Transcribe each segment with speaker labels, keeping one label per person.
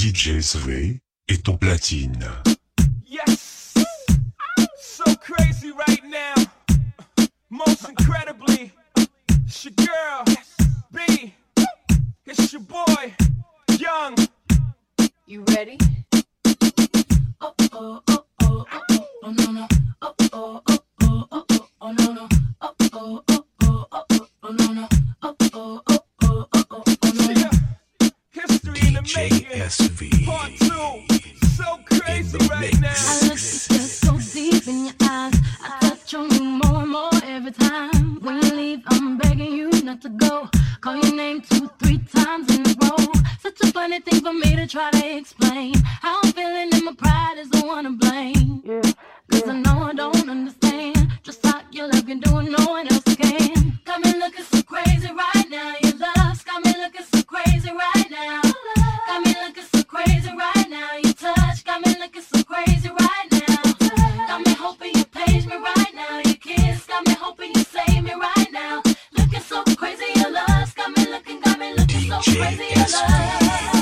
Speaker 1: DJ SV et ton platine.
Speaker 2: Yes, so crazy right now. Most incredibly, it's your girl, B. It's your boy, Young.
Speaker 3: You ready? Oh oh oh oh oh oh no no. Oh oh oh oh oh oh oh no no. Oh oh oh oh oh oh no no. Oh oh oh oh oh oh no no.
Speaker 2: History in the making.
Speaker 1: SV.
Speaker 2: Part 2. So crazy right now.
Speaker 3: I look at you so deep in your eyes. I touch on you more and more every time. When you leave, I'm begging you not to go. Call your name 2-3 times in a row. Such a funny thing for me to try to explain. How I'm feeling and my pride is the one to blame. Cause I know I don't understand just how your love can do and no one else can. Got me looking so crazy right now. Your love's got me looking so crazy right now. Got me looking so crazy right now. Your touch got me looking so crazy right now. Got me hoping you page me right now. Your kiss got me hoping you save me right now. Looking so crazy, your love's got me looking so crazy, your love.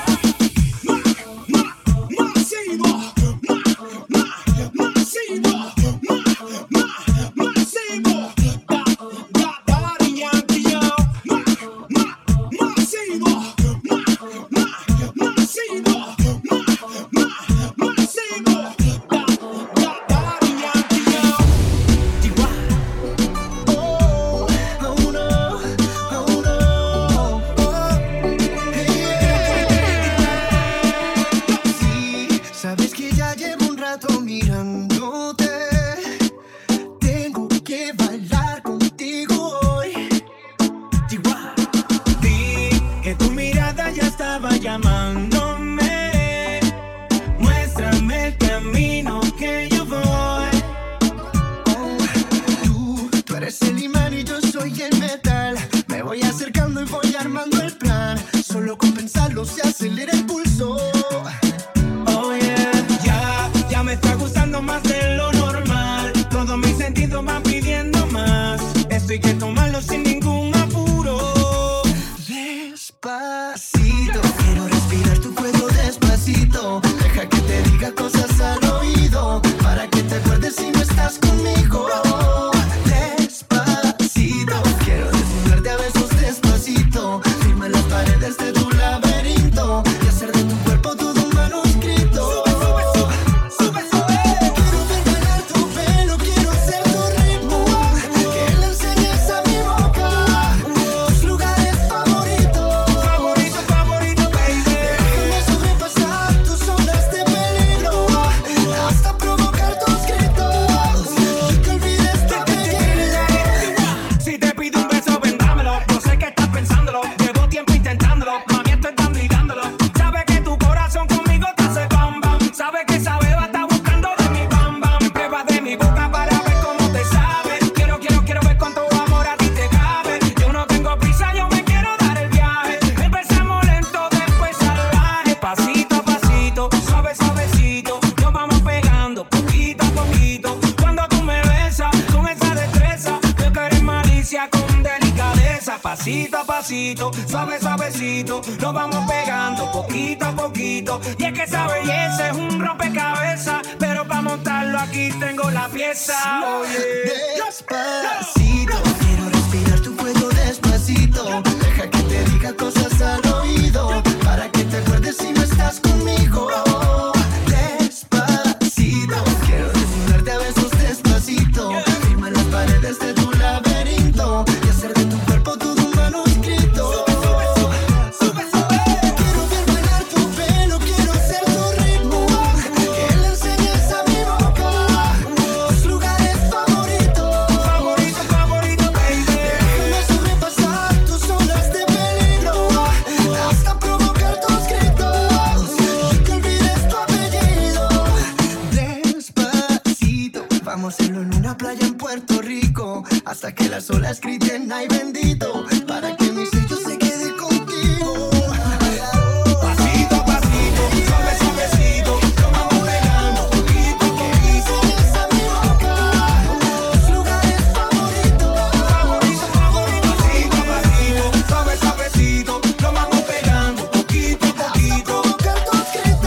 Speaker 4: Pasito a pasito, suave suavecito, nos vamos pegando poquito a poquito. Y es que esa belleza es un rompecabezas, pero para montarlo aquí tengo la pieza. Oye,
Speaker 5: despacito, quiero respirar tu cuello despacito. Deja que te diga cosas al oído, para que te acuerdes si no estás conmigo. Despacito, quiero desnudarte a besos despacito. Firma las paredes de tu laberinto y hacer de tu cuerpo todo un manuscrito. Quiero ver bailar tu pelo, quiero ser tu ritmo, que le enseñes a mi boca tus lugares favoritos.
Speaker 4: Favorito, favorito, baby.
Speaker 5: Déjame sobrepasar tus zonas de peligro hasta provocar tus gritos y que olvides tu apellido. Despacito, vamos a hacerlo en una playa en Puerto Rico, hasta que las olas griten ay bendito, para que mi sello se quede contigo.
Speaker 4: Pasito a pasito, suave suavecito, nos vamos pegando poquito a poquito.
Speaker 5: Enseñas a mi boca tus lugares favoritos.
Speaker 4: Favorito, favorito, pasito a pasito, suave suavecito, nos vamos pegando poquito a
Speaker 5: Hasta
Speaker 4: poquito.
Speaker 5: provocar tus gritos.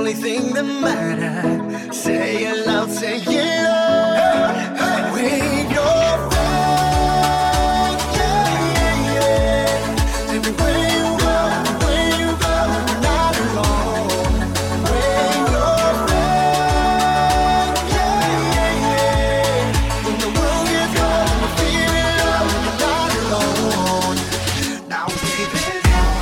Speaker 5: only thing that matters. Say it loud, say it loud. Wave your flag, yeah, yeah. Everywhere you go, you're not alone. Wave your flag, yeah, yeah. When the world gets cold, we're feeling love, you're not alone. Now wave it.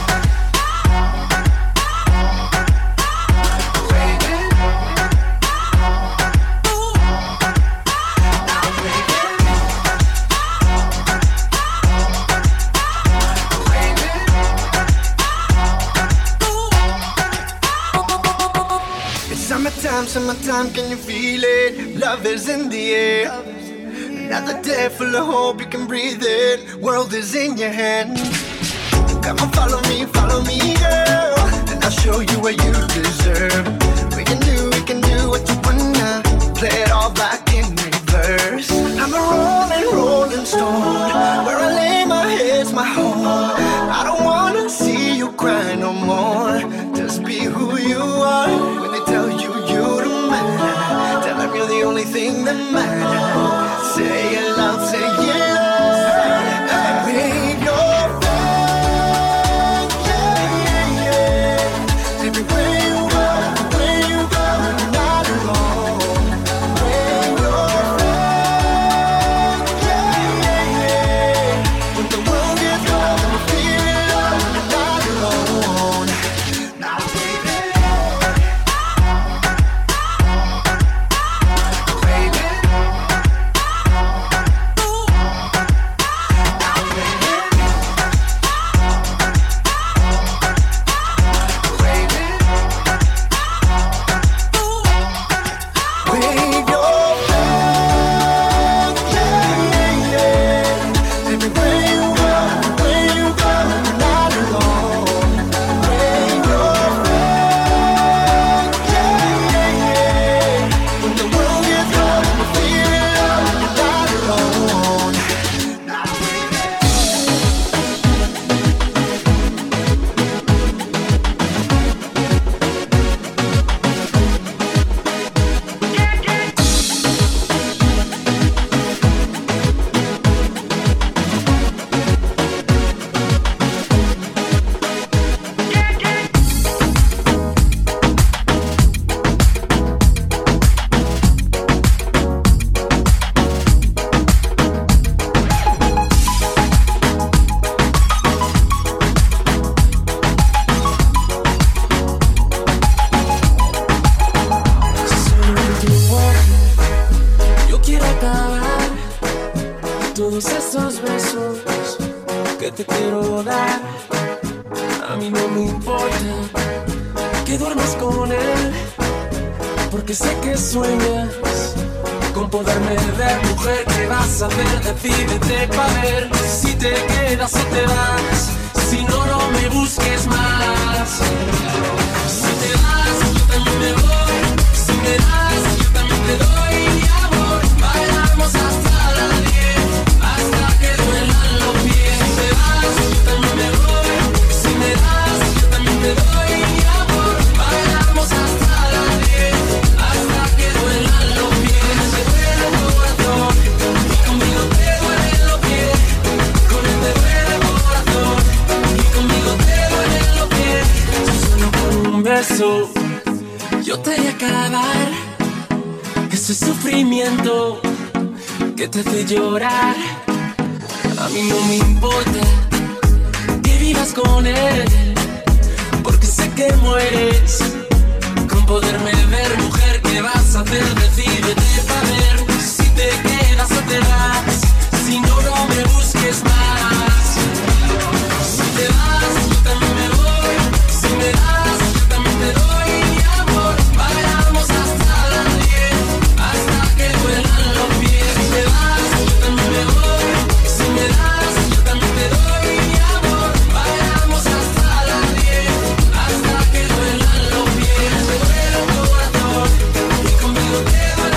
Speaker 5: Summertime, can you feel it? Love is in the air. Another day full of hope, you can breathe it. World is in your hand. Come on, follow me, girl. And I'll show you what you deserve. We can do what you wanna. Play it all back in reverse. I'm a rolling stone. Where I lay my head's my home. I don't wanna see you cry no more. Just be who you are. When they tell you you don't matter, tell them you're the only thing that matters. Say it loud, say it loud. Wave your flag, yeah, yeah. Everywhere you go, you're not alone. Wave your flag, yeah, yeah. When the world gets cold, we're feeling love, you're not alone. Now wave it.
Speaker 6: Todos esos besos que te quiero dar, a mí no me importa que duermas con él, porque sé que sueñas con poderme ver. Mujer, ¿qué vas a hacer? Decídete pa' ver si te quedas o te vas. Si no, no me busques más. Si te vas, yo también me voy. Si me das, yo también te doy mi amor. Bailamos hasta las 10, hasta que duelan los pies. Si te vas, yo también me voy. Si me das, yo también te doy mi amor. Bailamos hasta las 10, hasta que duelan los pies. Te duele el corazón y conmigo te duelen los pies. Con él te duele el corazón y conmigo te duelen los pies. Solo con un beso yo te haré acabar ese sufrimiento que te hace llorar. A mí no me importa que vivas con él, porque sé que mueres con poderme ver. Mujer, ¿qué vas a hacer? Decídete pa' ver si te quedas o te vas. Si no, no me busques más. Si te vas, yo también me voy. Si me das, yo también te doy mi amor. Bailamos hasta las 10, hasta que duelan los pies. Si te vas, yo también me voy. Si me das, yo también te doy mi amor. Bailamos hasta las 10, hasta que duelan los pies. Te duele el corazón y conmigo te duele.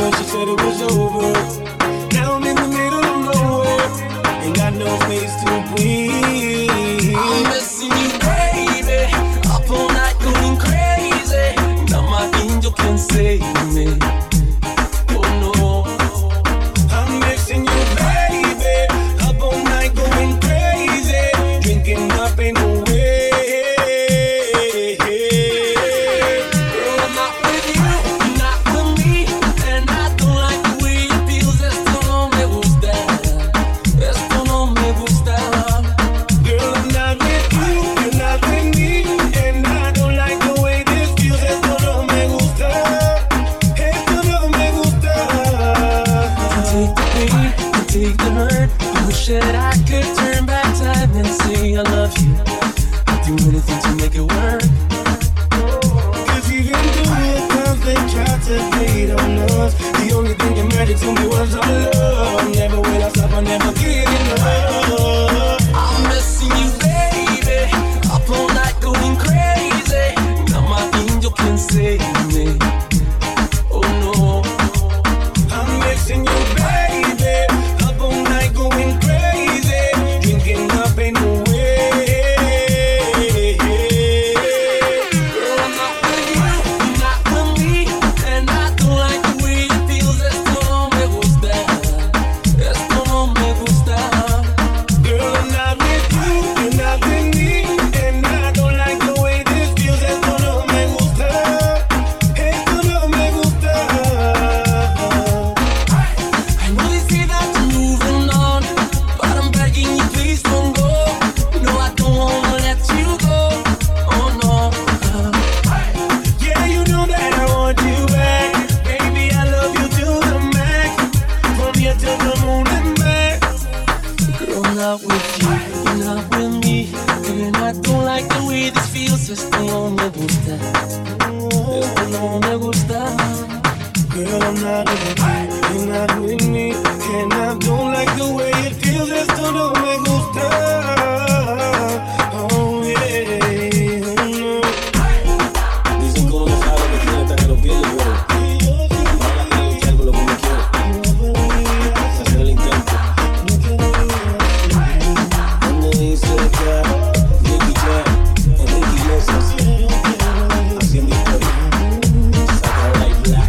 Speaker 6: her, she said it was over. Now I'm in the middle of nowhere, ain't got no place to breathe. I'm missing you, baby. Up all night going crazy. Now my angel can save me. Oh no, I'm missing you, baby. Up all night going crazy, drinking up in the way. Girl, I'm not with you, not with me, and I don't like the way it feels. Esto no me gusta, esto no me gusta. Girl, I'm not with you, you're not with me, and I don't like the way this feels. Esto no me gusta, esto no me gusta. Take the pain, take the hurt. I wish that I could turn back time and say I love you. I'd do anything to make it work. Cause even though at times they tried to hate on us, the only thing that mattered to me was our love. Never will I stop, I never get enough. I'm missing you, baby. Up all night going crazy. Now my angel can save me. Oh no, I'm missing you, baby. Up all night going crazy, drinking up in the way. Girl, I'm not with you, not with me, and I don't like the way it feels. Esto no me gusta, esto no me gusta. Girl, I'm not with you, you're not with me, and I don't like the way this feels. Esto no me gusta, esto no me gusta. I know they say that you're moving on, but I'm begging you, please don't go. No, I don't wanna let you go. Oh no. Yeah, you know that I want you back. Baby, I love you to the max. From here to the moon and back. Girl, I'm not with you, you're not with me, and I don't like the way this feels. Esto no me gusta, esto no me gusta. Girl, I'm not with you, you're not with me, and I don't like the way it feels. Esto no me gusta. Oh yeah. Dicen que uno no sabe que tiene hasta que lo pierde, pero ahora quiero luchar por lo que uno quiere. Hacer el intento. Cuando dice que Nicky Jam, Enrique Iglesias, haciendo historia. Saca like black.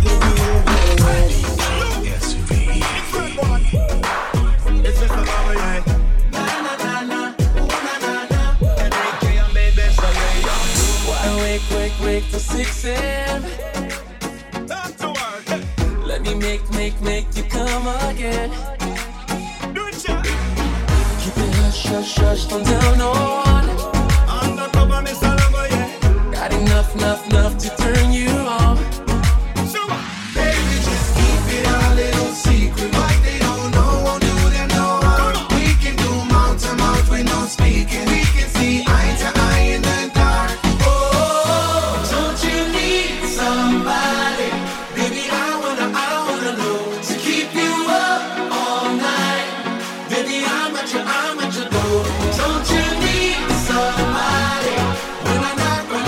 Speaker 7: It's just a bubble, yeah. Na na na na, ooh na na na. Enrique and baby, so yeah.
Speaker 6: Why wake till 6 a.m.
Speaker 7: Time to work.
Speaker 6: Let me make you come again.
Speaker 7: Do it, yeah.
Speaker 6: Keep it hush from down on.
Speaker 7: Undercover, Mr. Lover, yeah.
Speaker 6: Got enough to turn you on.
Speaker 7: So what?
Speaker 5: Baby, just keep it a little secret. What they don't know won't do them no harm. We can do mouth to mouth with no speaking. We can see eye to eye in the dark. Oh, don't you need somebody? Baby, I wanna know to keep you up all night. Baby, I'm at your door. Don't you need somebody? When I knock, your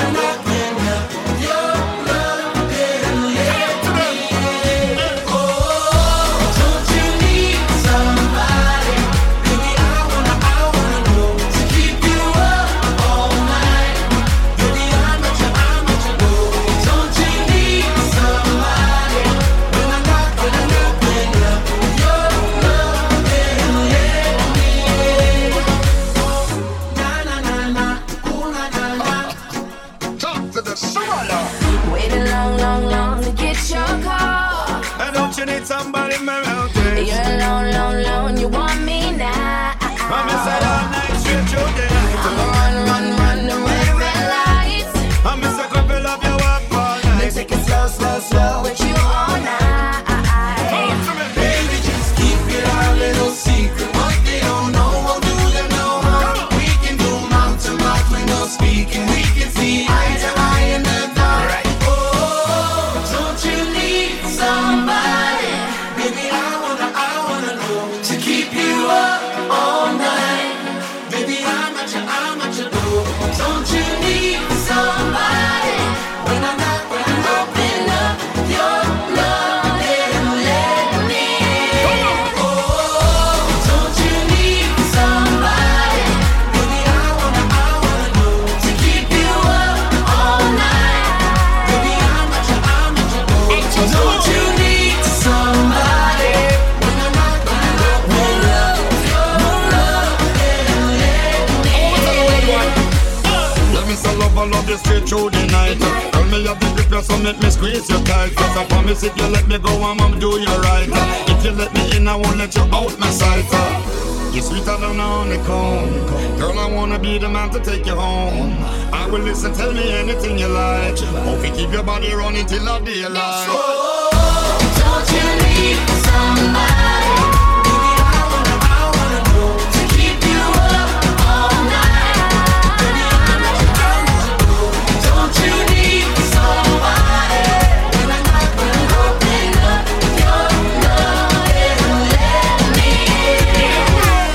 Speaker 5: love didn't let me in. Oh, don't you need somebody? Baby, I wanna know to keep you up all night. Baby, I'm at your door. Don't you need somebody? When I knock, your love didn't let me in. Na na na na, ooh na na na.
Speaker 7: Talk to the summer.
Speaker 3: Waiting long to get your call.
Speaker 7: And don't you need somebody around there?
Speaker 3: You're alone, you want me now.
Speaker 7: I'm inside all night, straight through the night.
Speaker 3: I'ma run the red lights.
Speaker 7: I'm Mr. Couple of your walk all night.
Speaker 3: Take it slow with you all night.
Speaker 5: Baby, just keep it a little secret. What they don't know won't do them no harm. We can do mouth to mouth with no speaking. We can see eye to eye in the dark. Oh, don't you need somebody? Baby, I wanna know to keep you up all night. Baby, I'm at your door.
Speaker 8: so make me squeeze you tight. Cause I promise if you let me go, I'ma do you right. If you let me in, I won't let you out my sight. You're sweeter than a honeycomb. Girl, I wanna be the man to take you home. I will listen, tell me anything you like. Hope you keep your body running till the daylight.
Speaker 3: Don't you need somebody? Baby, I wanna know to keep you up all night. Baby, I'm the girl. Don't you need somebody? When I knock, when I open up your love and let me in.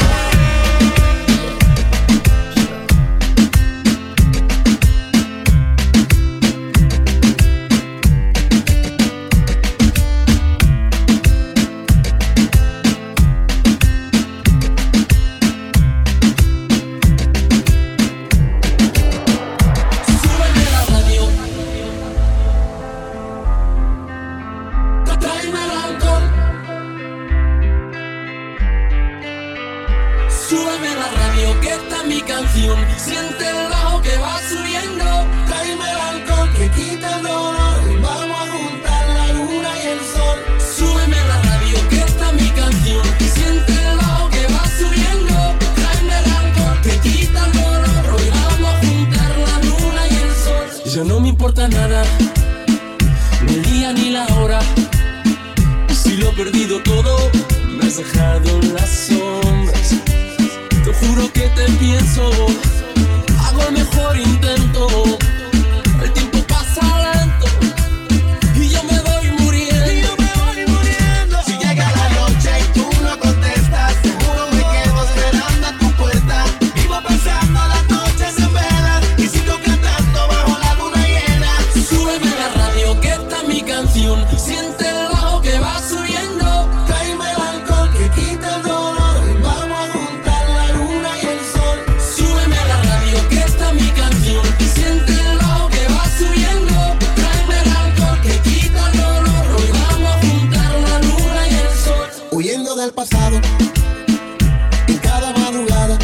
Speaker 6: Súbeme la radio que está mi canción. Siente el bajo que va subiendo. Tráeme el alcohol que quita el dolor. Vamos a juntar la luna y el sol. Súbeme la radio que está mi canción. Siente el bajo que va subiendo. Tráeme el alcohol que quita el dolor. Hoy vamos a juntar la luna y el sol. Ya no me importa nada, ni el día ni la hora. Si lo he perdido todo, me has dejado en las sombras. Te juro que te pienso, hago el mejor intento. El tiempo pasa lento y yo me voy muriendo.
Speaker 5: Si llega la noche y tú no contestas, seguro me quedo esperando a tu puerta. Vivo pensando las noches en vela y sigo cantando bajo la luna llena.
Speaker 6: Súbeme la radio que está mi canción. Siente el bajo que va subiendo. Tráeme el alcohol que quita el dolor. Vamos a juntar la luna y el sol. Súbeme la radio que está mi canción. Siente el bajo que va subiendo. Tráeme el alcohol que quita el dolor. Hoy vamos a juntar la luna y el sol.
Speaker 5: Huyendo del pasado, en cada madrugada,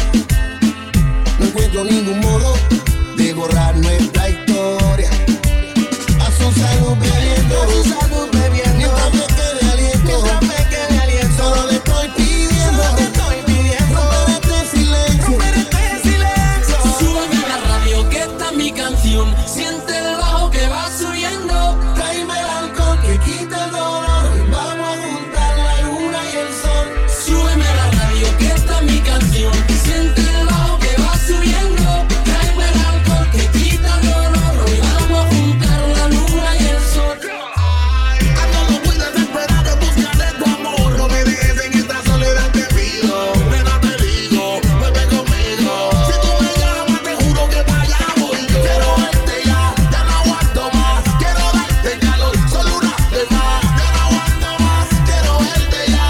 Speaker 5: no encuentro ningún modo de borrar nuestra historia. A su salud bebiendo, mientras me quede aliento, solo le estoy pidiendo, romper este silencio.
Speaker 6: Súbeme la radio que está mi canción. Siente el bajo que va subiendo. Tráeme el alcohol que quita el dolor. Vamos a juntar la luna y el sol. Súbeme la radio que está mi canción. Siente el bajo que va subiendo. Tráeme el alcohol que quita el dolor. Hoy vamos a juntar la luna y el sol.
Speaker 5: Ando muy desesperado en busca de tu amor. No me dejes en esta soledad, te pido. Nena, te digo, vuelve conmigo. Si tú me llamas, te juro que para allá voy yo. Quiero verte ya no aguanto más. Quiero darte calor, solo una vez más. Ya no aguanto más, quiero verte ya.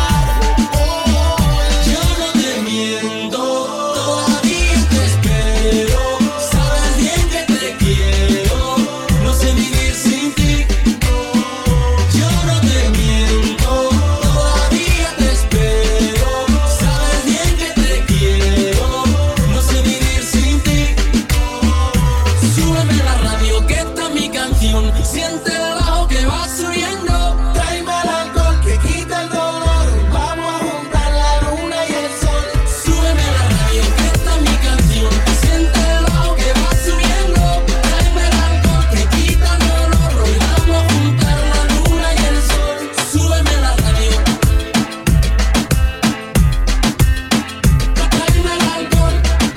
Speaker 6: Yo no te miento, todavía te espero. Sabes bien que te quiero, no sé vivir sin ti. Yo no te miento, todavía te espero. Sabes bien que te quiero, no sé vivir sin ti. Súbeme la radio que está mi canción. Siente el bajo que va subiendo. Tráeme el alcohol que quita el dolor. Vamos a juntar la luna y el sol. Súbeme la radio que está mi canción. Siente el bajo que va subiendo. Tráeme el alcohol que quita el dolor. Hoy vamos a juntar la luna y el sol. Súbeme la radio. Tráeme el alcohol.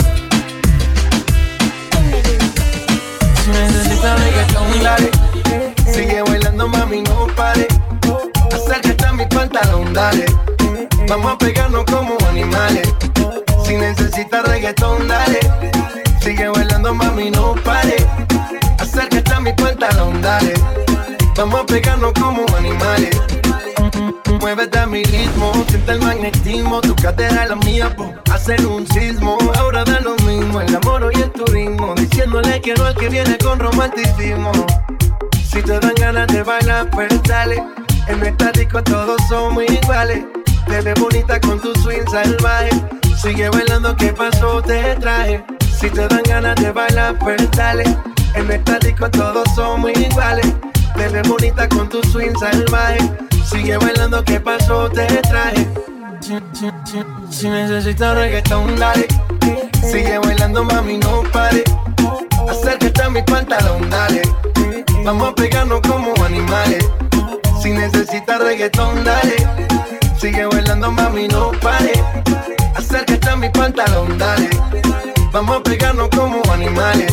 Speaker 5: Si necesitas reggaetón, dale. Sigue bailando, mami, no pare. Acércate a mi pantalón, dale. Vamos a pegarnos como animales. Si necesitas reggaetón, dale. Sigue bailando, mami, no pare. Acércate a mi pantalón, dale. Vamos a pegarnos como animales. Muévete a mi ritmo, siente el magnetismo. Tu cadera es la mía, po, hacer un sismo. Ahora da lo mismo, el amor y el turismo. Diciéndole que no al que viene con romanticismo. Si te dan ganas de bailar, pues dale. En nuestra disco todos somos iguales. Te ves bonita con tu swing salvaje. Sigue bailando, ¿qué pasó? Te traje. Si te dan ganas de bailar, pues dale. En nuestra disco todos somos iguales.
Speaker 9: Te ves bonita con tu swing salvaje. Sigue bailando, ¿qué pasó? Te traje. Si necesitas reggaetón, dale. Sigue bailando, mami, no pare. Acércate a mi pantalón, dale. Vamos a pegarnos como animales. Si necesitas reggaetón, dale. Sigue bailando, mami, no pare. Acércate a mi pantalón, dale. Vamos a pegarnos como animales.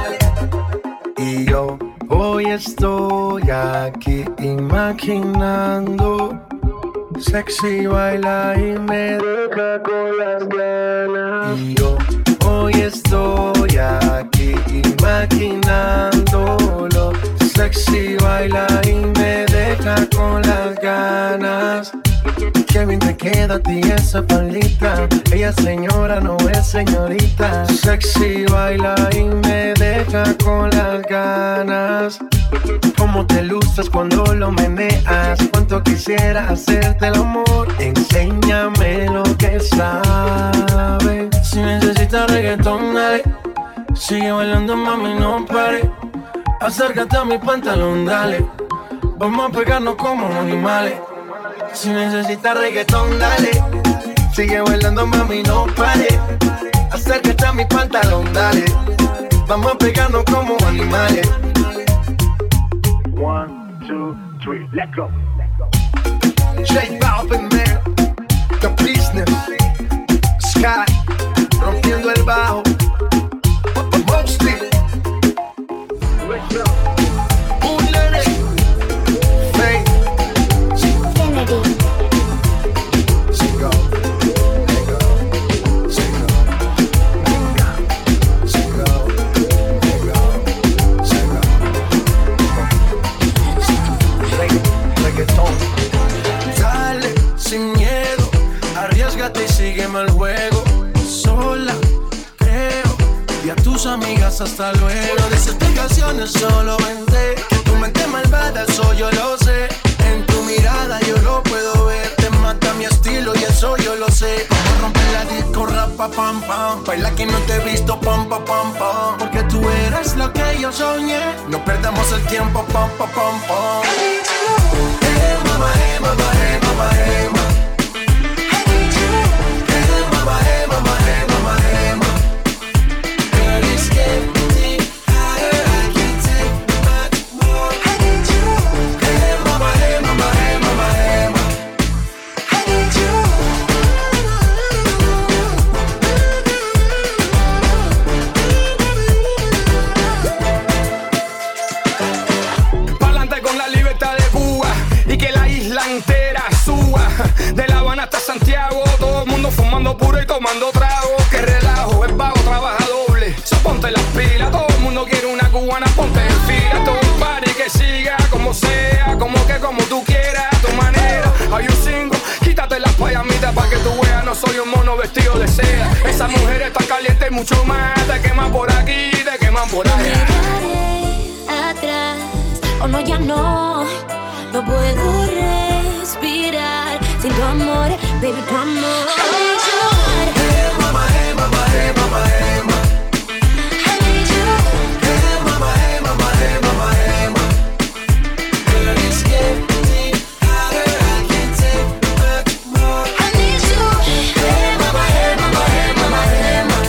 Speaker 9: Y yo hoy estoy aquí imaginando. Sexy baila y me deja con las ganas. Y yo hoy estoy aquí imaginándolo. Sexy baila y me deja con las ganas. Qué bien te queda a ti esa faldita. Ella es señora, no es señorita. Sexy baila y me deja con las ganas. Cómo te luces cuando lo meneas. Cuánto quisiera hacerte el amor. Enséñame lo que sabes. Si necesitas reggaetón, dale. Sigue bailando, mami, no pare. Acércate a mi pantalón, dale. Vamos a pegarnos como animales. Si necesitas reggaetón, dale. Sigue bailando, mami, no pare. Acércate a mi pantalón, dale. Vamos a pegarnos como animales. 1, 2, 3, let's go. J Balvin, man. The business. Sky. Rompiendo el bajo. Mostly. Dale, sin miedo, arriésgate y sígueme al juego. Sola, creo, y a tus amigas hasta luego. De esas explicaciones solo vente. Que tu mente malvada, eso yo lo sé. En tu mirada yo lo puedo ver. Te mata mi estilo y eso yo lo sé. Como romper la disco, rapa, pam, pam. Baila que no te he visto, pam, pam, pam, pam. Porque tú eres lo que yo soñé. No perdamos el tiempo, pam, pam, pam, pam. Hey, mama, hey, mama, hey, mama, hey, mama. Hey, mama, hey, mama, hey, mama, hey, mama. Girl, it's getting higher, I can't take much more. Hey, mama, hey, mama, hey, mama, hey, mama.
Speaker 10: Pa'lante con la libertad de Cuba y que la isla entera suba. De La Habana hasta Santiago, todo el mundo fumando puro y tomando trago. Que relajo, el vago trabaja doble. So ponte las pilas, todo el mundo quiere una cubana, ponte en fila. Todo un party que siga como sea, como tú quieras, a tu manera. Hay un single, quítate las payamitas pa' que tú veas, no soy un mono vestido de seda. Esa mujer está caliente y mucho más. Te queman por aquí, te queman por allá.
Speaker 3: Atrás, o no, ya no puedo respirar sin tu amor, baby, tu amor.
Speaker 9: Hey, mama, hey, mama, hey, mama, hey, mama. Hey, mama, hey, mama, hey, mama, hey, mama. Girl, it's getting hotter, I can't take much more.
Speaker 3: I need you.
Speaker 9: Hey, mama, hey, mama, hey, mama, hey, mama.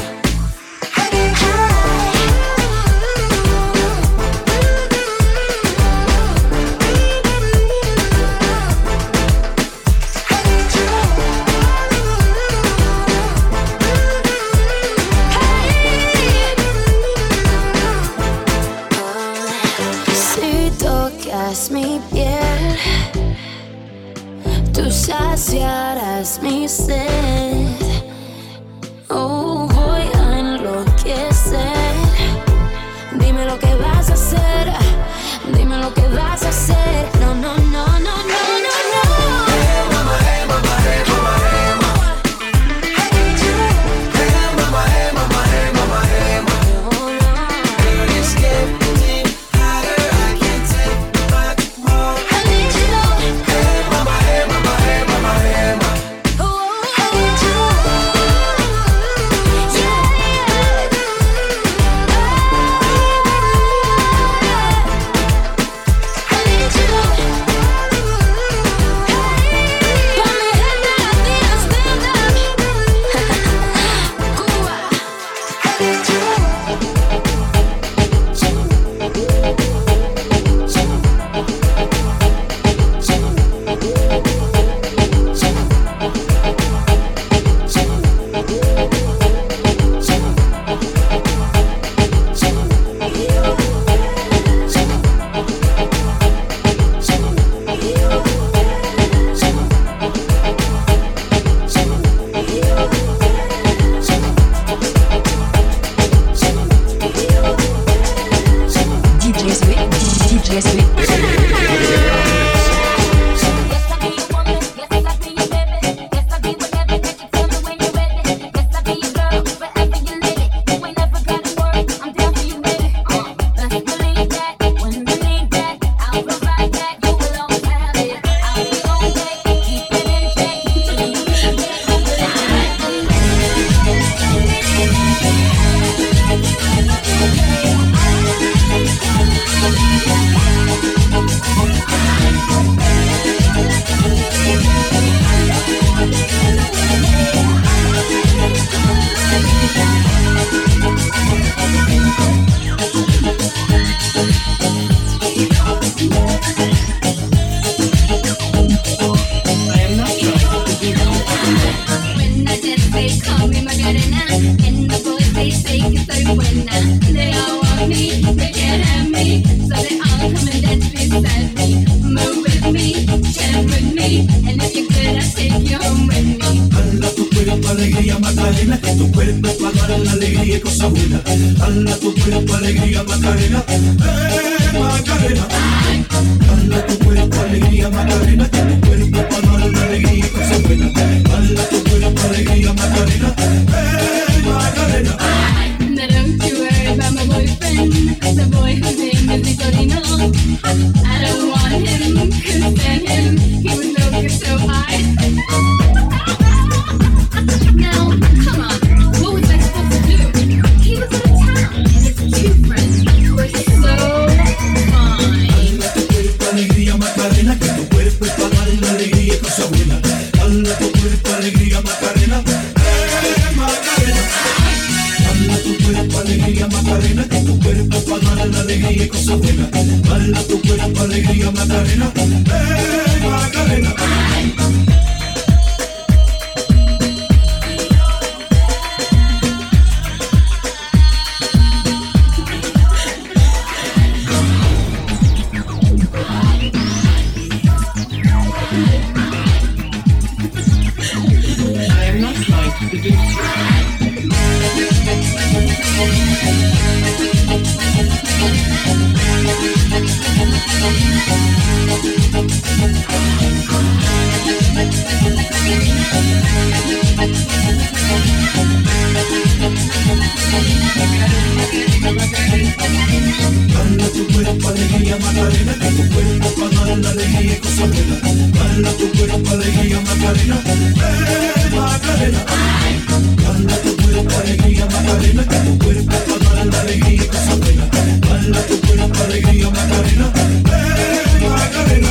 Speaker 3: Si tocas mi piel, tú saciarás mi sed. Oh, voy a enloquecer. Dime lo que vas a hacer. Dime lo que vas a hacer. No, no, no, no, no, no, no.
Speaker 9: Hey, mama, hey, mama, hey, mama, hey, mama. Hey, mama, hey, mama, hey, mama, hey, mama. Girl, it's getting hotter, I can't take much more.
Speaker 3: I need you.
Speaker 9: Hey, mama, hey, mama, hey, mama, hey, mama.
Speaker 3: I need you. Yeah, yeah.
Speaker 7: Macarena, que tu cuerpo es para dar la alegría y cosas buenas. Dale a tu cuerpo alegría, Macarena. Macarena. Dale a tu cuerpo alegría, Macarena, que tu cuerpo es para dar la alegría y cosas buenas. Dale a tu cuerpo alegría, Macarena. Macarena.
Speaker 3: Now don't you worry about my boyfriend, the boy whose name is Nicolino. I don't want him, couldn't stand him, he was no good so high. Now, come on, what was I supposed to do? He was out of town, and his two friends were so fine.
Speaker 7: Dale a tu cuerpo alegría, Macarena, que tu cuerpo es para dar la alegría y cosas buenas. Dale a tu cuerpo alegría, Macarena. Macarena. Dale a tu cuerpo alegría, Macarena, que tu cuerpo es para dar la alegría y cosas buenas. Dale a tu cuerpo alegría, Macarena. Macarena.
Speaker 11: I am not trying to seduce you.
Speaker 7: Dale a tu cuerpo alegría, Macarena, que tu cuerpo es para dar la alegría y cosas buenas. Dale a tu cuerpo alegría, Macarena. Macarena. Dale a tu cuerpo alegría, Macarena, que tu cuerpo es para dar la alegría y cosas buenas. Dale a tu cuerpo alegría, Macarena. Macarena.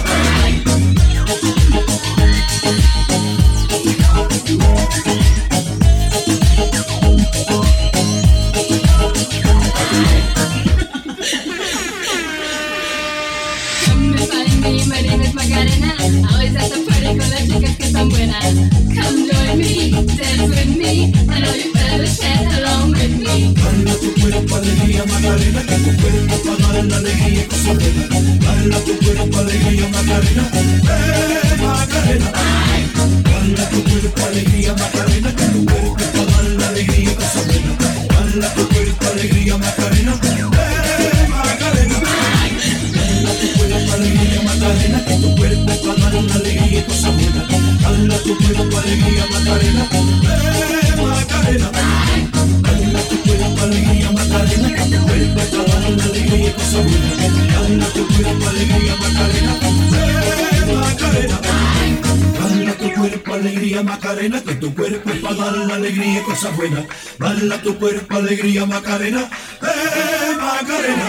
Speaker 3: Come and find me, my name is Macarena. Always at the party con las chicas que están buenas. Come join me, dance with me, and all you fellas chat along with me.
Speaker 7: Dale a tu cuerpo alegría, Macarena, que tu cuerpo es para dar la alegría y cosas buenas. Dale a tu cuerpo alegría, Macarena. Macarena. Dale a tu cuerpo alegría, Macarena, que tu cuerpo es para dar la alegría y cosas buenas. Dale a tu cuerpo alegría, Macarena. Macarena. Dale a tu cuerpo alegría, Macarena, que tu cuerpo es para dar la alegría y cosas buenas. Dale a tu cuerpo alegría, Macarena. Macarena. Dale a tu cuerpo alegría, Macarena, que tu cuerpo es para dar la alegría y cosas buenas. Dale a tu cuerpo alegría, Macarena. Macarena. Dale a tu cuerpo alegría, Macarena, que tu cuerpo es para dar la alegría y cosas buenas. Dale a tu cuerpo alegría, Macarena. Macarena.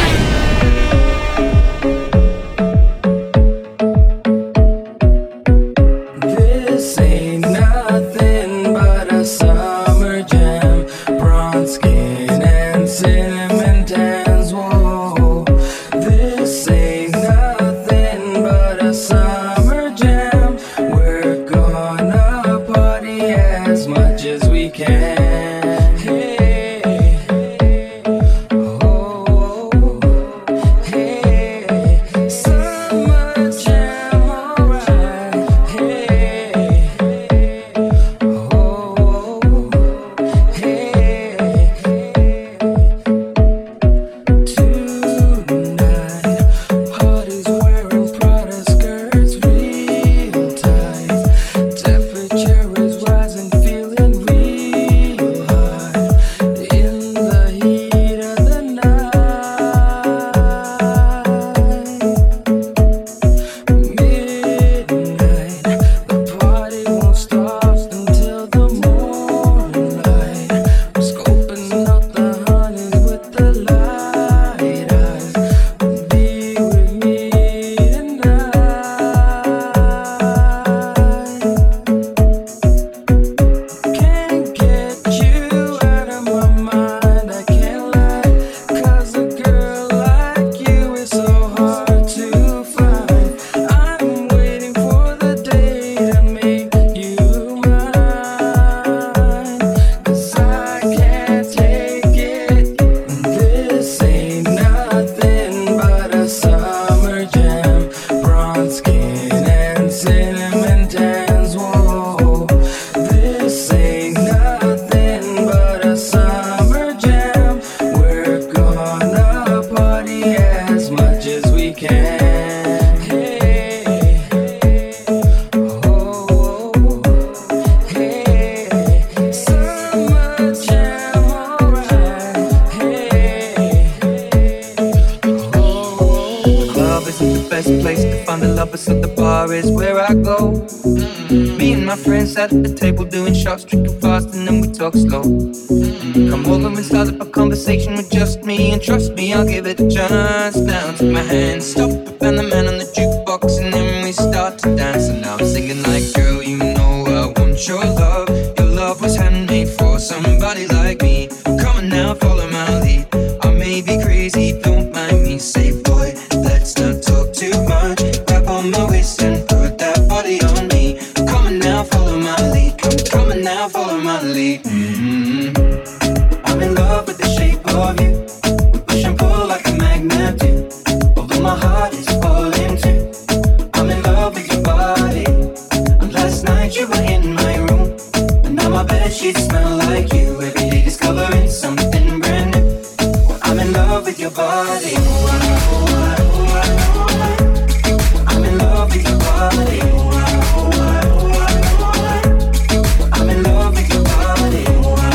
Speaker 6: This ain't nothing but a summer jam. Bronze skin and cinnamon tans. Whoa, this ain't nothing but a summer jam. We're gonna party as much as we can. Hey, oh,
Speaker 12: opposite the bar is where I go. Me and my friends at the table doing shots, drinking fast, and then we talk slow. Come over and start up a conversation with just me, and trust me, I'll give it a chance. Now take my hand, stop, and the man on the jukebox, and then we start to dance. And now I'm singing like, girl, you know I want your love. Your love was handmade for somebody like me. Come on now, follow my lead. I may be crazy, don't mind me. Say, boy, let's not talk too much. Grab on my waist and put that body on me. Come on now, follow my lead. Come on now, follow my lead. I'm in love with the shape of you. We push and pull like a magnet do. Although my heart is falling too. I'm in love with your body. And last night you were in my room, and now my bedsheets smell like you. Every day discovering something brand new. I'm in love with your body. I'm in love with your body. I'm in love with your body.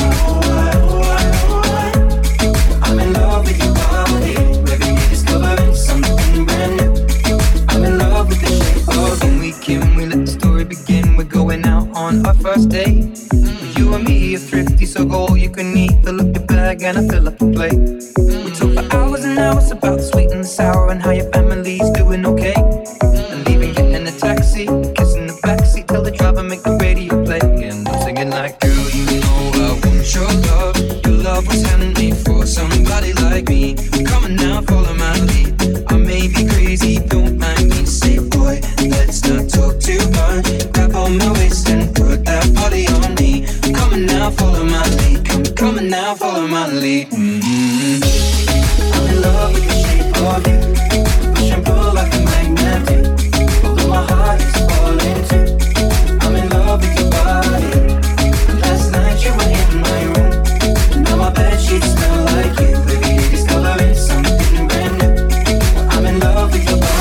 Speaker 12: I'm in love with your body. Every day discovering something brand new. I'm in love with the shape of you. We let the story begin. We're going out on our first date. You and me are thrifty, so go all you can eat. Fill up your bag and I fill up the plate. We talk for hours and hours about the sweet and the sour and how your family's doing okay. And leaving, getting a taxi, kissing the backseat, tell the driver make the radio play. And I'm singing like, girl, you know I want your love. Your love was handmade for somebody like me. Come on now, follow my lead. I may be crazy, don't mind me. Say, boy, let's not talk too much. Grab on my waist and put that body on me. Come on now, follow my lead. Come on now, follow my lead. I'm in love with the shape of you. Push and pull like a magnet do. Although my heart is falling too. I'm in love with your body. Last night you were in my room, and now my bedsheets smell like you. Every day discovering something brand new. I'm in love with your body.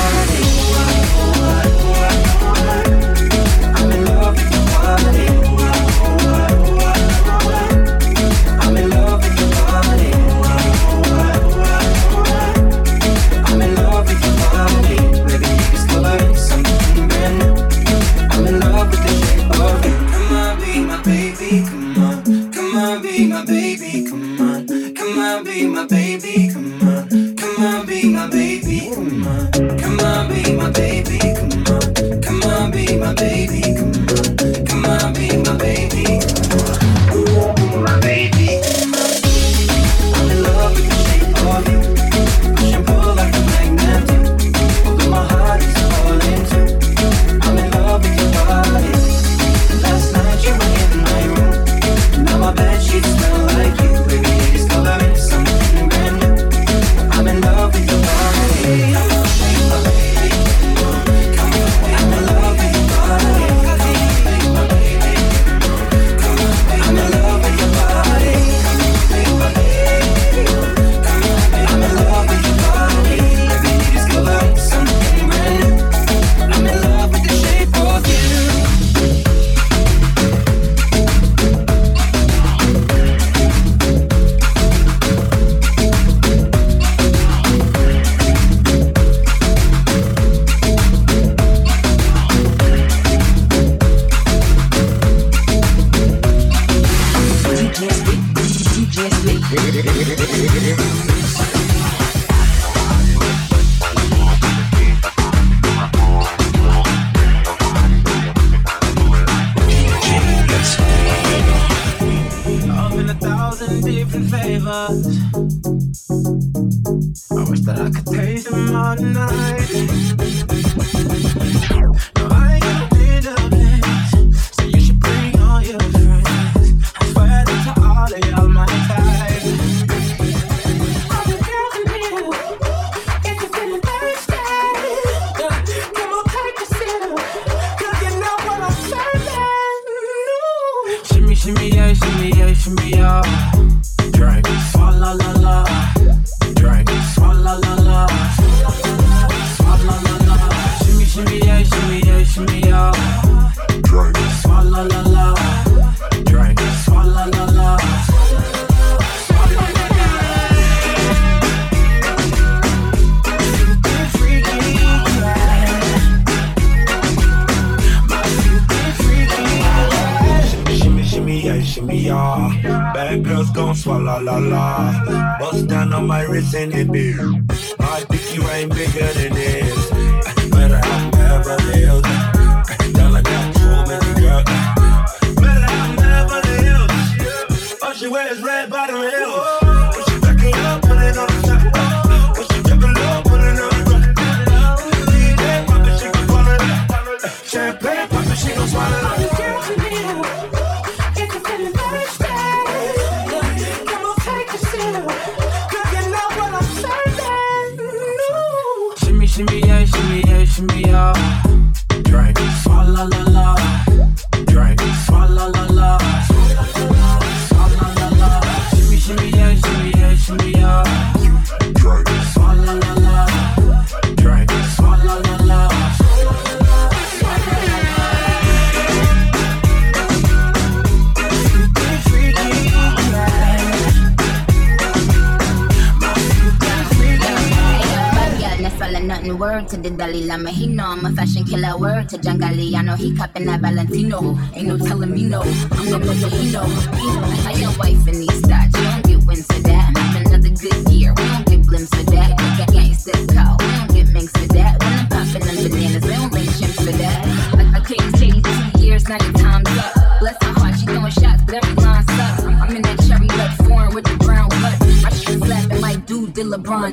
Speaker 12: I'm in love with your body. I'm in love with your body. I'm in love with your body. Every day discovering something brand new. I'm in love with the shape of you. Come on, be my baby, come on. Come on, be my baby, come on. Come on, be my baby, come on. Come on, be my baby, come on. Come on, be my baby, come on. Come on, be my baby, come on. Come on, be my baby, come on. My baby, come on. I'm in love with the shape of you. Push and pull like a magnet do. Although my heart is falling too. I'm in love with your body. Last night you were in my room, now my bedsheets smell like you. Every day discovering something brand new. I'm in love with your body. I'm in love with your body. I'm in love with your body. I'm in love with your body. Every day discovering something brand new. I'm in love with the shape of you.
Speaker 13: I'm in 1,000 different flavors. I wish that I could taste them all night. No, I ain't gonna be the place, so you should bring all your friends. I swear that to all of y'all my type. All the girls in here, if you're feeling thirsty, come on, take a sip, 'cause you know what I'm serving. Shimmy, shimmy, yeah, shimmy, yeah, shimmy, yeah. Drink, swalla la la. Drink, swalla la la. Swalla la la. Shimmy, shimmy, yeah, shimmy, yeah, shimmy, yeah. Drink, swalla la la. Drink, swalla la la. Swalla la la. Super freaky, yeah.
Speaker 14: yeah. Bad girls gon' swallow la la. Bust down on my wrist and it be. My pinky ring bigger than this. Better have Beverly Hills. Girl, I got so many girls. Better have Beverly Hills. All she wears red bottom heels. When she back it up, put it on the top. When she drop it low, put it on the ground. DJ pop it, she gon' swallow it. Champagne pop it, she gon' swallow it.
Speaker 13: Shimmy yeah, shimmy yeah, shimmy yeah. Drink, swalla la la. Drink, swalla la la. Swalla la la. Shimmy yeah, shimmy yeah, shimmy yeah. Drink, swalla la la. Drink, swalla la la.
Speaker 15: Nothing word to the Dalai Lama, he know I'm a fashion killer. Word to John Galliano, he copping that Valentino. Ain't no telling me no, I'm the one that he know. I your wife in these thoughts, you don't get wins for that. I'm another good year, we don't get blimps for that. Gangsta call, we don't get minks for that. When I'm popping them bananas, we don't make chimps for that. I couldn't tell you 2 years, now your time's up. Bless her heart, she throwing shots, but every line sucks. I'm in that cherry red foreign with the brown blood. My shit slapping like dude did LeBron.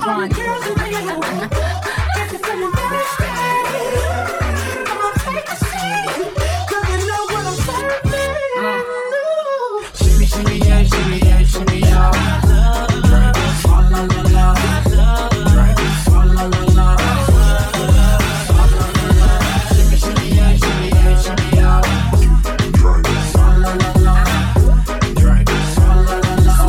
Speaker 13: Shimmy yeah, shimmy yeah, shimmy yeah. Drink, swalla la la. Drink, swalla la la. Shimmy yeah, shimmy yeah, shimmy yeah. Drink, swalla la la. Drink, swalla la la.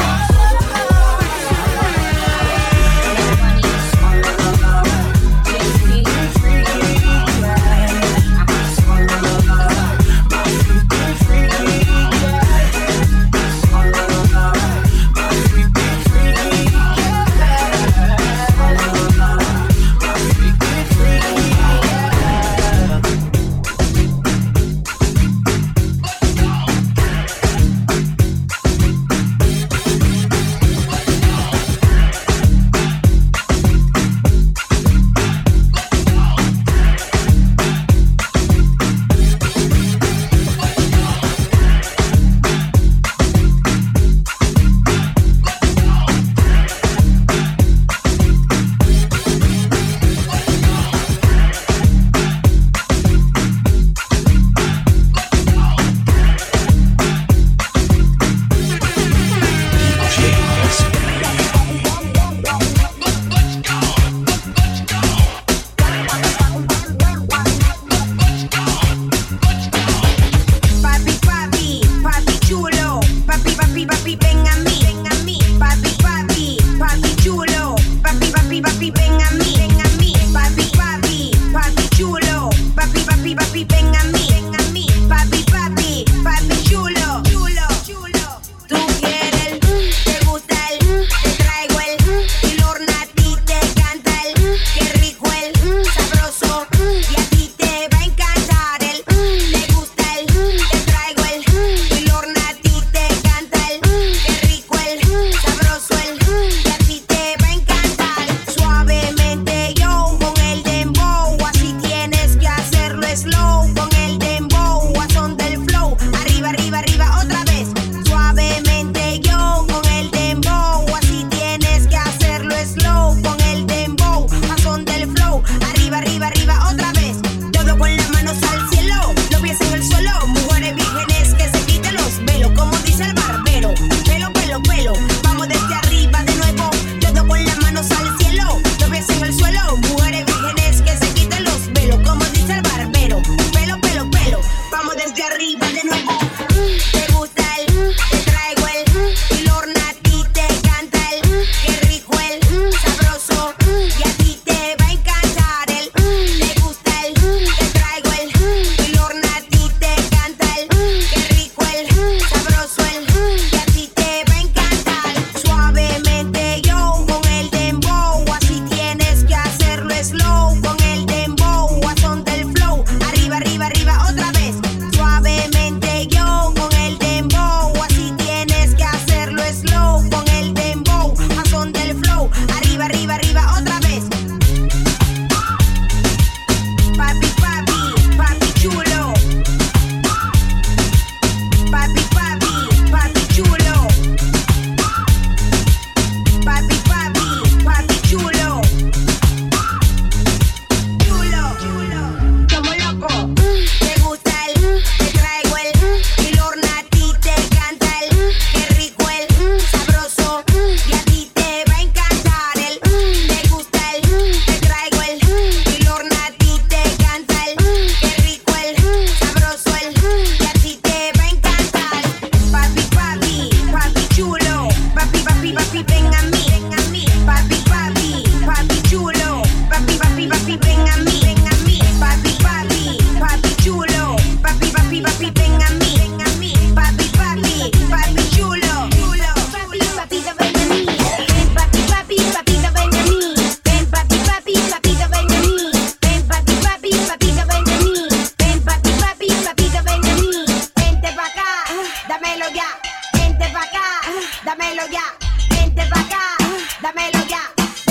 Speaker 16: Arriba, otra vez, suavemente papi, papi, ven a mí, papi, papi, papi chulo, papi, papito, ven a mí, ven papi, papi, papito, ven a mí, ven papi, papi, papito, ven a mí, ven papi, papi, papito, ven a mí, ven papi, papi, papito, ven a mí, vente pa' acá, dámelo ya, vente pa' acá, dámelo ya, vente pa' acá, dámelo ya.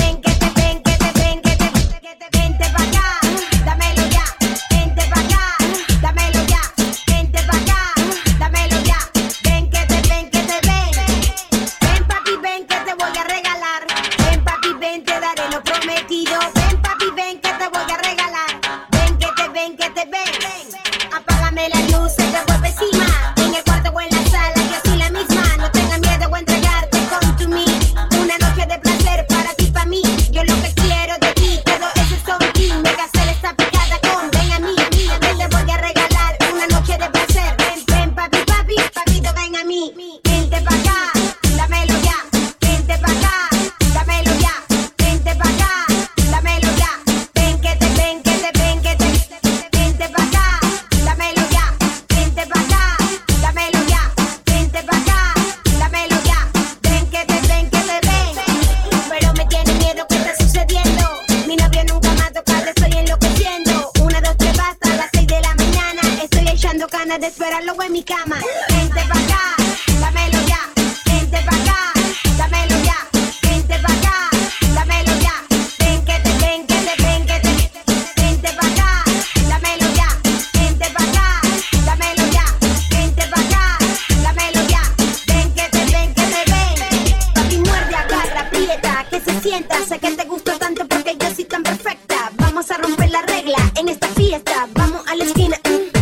Speaker 16: De esperarlo en mi cama. Vente pa' acá, dámelo ya. Vente pa' acá, dámelo ya. Vente pa' acá, dámelo ya. Ven que te, ven que te, ven que te. Vente pa' acá, dámelo ya. Vente pa' acá, dámelo ya. Vente pa' acá, dámelo ya. Ven que te, ven que te, ven. Papi, muerde, agarra, aprieta, que se sienta. Sé que te gustó tanto porque yo soy tan perfecta. Vamos a romper la regla en esta fiesta. Vamos a la esquina.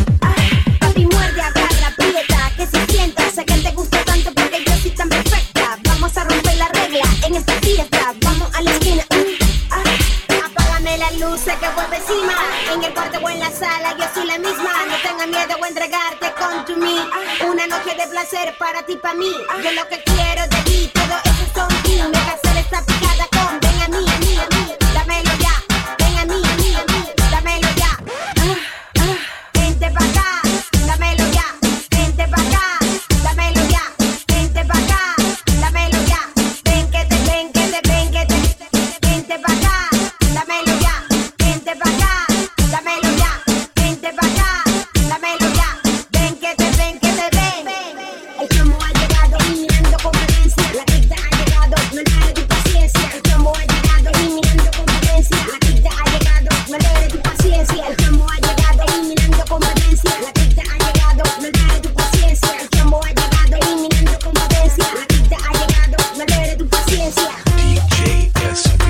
Speaker 16: Sé que vuelve encima, en el cuarto o en la sala, yo soy la misma. No tengas miedo a entregarte con to me. Una noche de placer para ti, para mí. Yo lo que quiero de ti, todo eso son ti. Me casé esta picada con ven a mí, dámelo ya. Ven a mí, dámelo ya. Vente pa' acá, dámelo ya. Vente pa' acá, dámelo ya. Vente pa' acá, dámelo ya. Ven que te, ven que te, ven que te. Vente pa' acá, dámelo ya. Vente pa' acá, dámelo ya. Vente pa' acá, dámelo ya. Ven que te, ven que te, ven. El chamo ha llegado eliminando competencia. La cripta ha llegado, no le tu paciencia. El chamo ha llegado eliminando competencia. La cripta ha llegado, no le tu paciencia. El chamo ha llegado eliminando competencia. La cripta ha llegado, no le tu paciencia. El chamo ha llegado eliminando competencia. La cripta ha llegado, no le tu paciencia.
Speaker 17: DJ SB.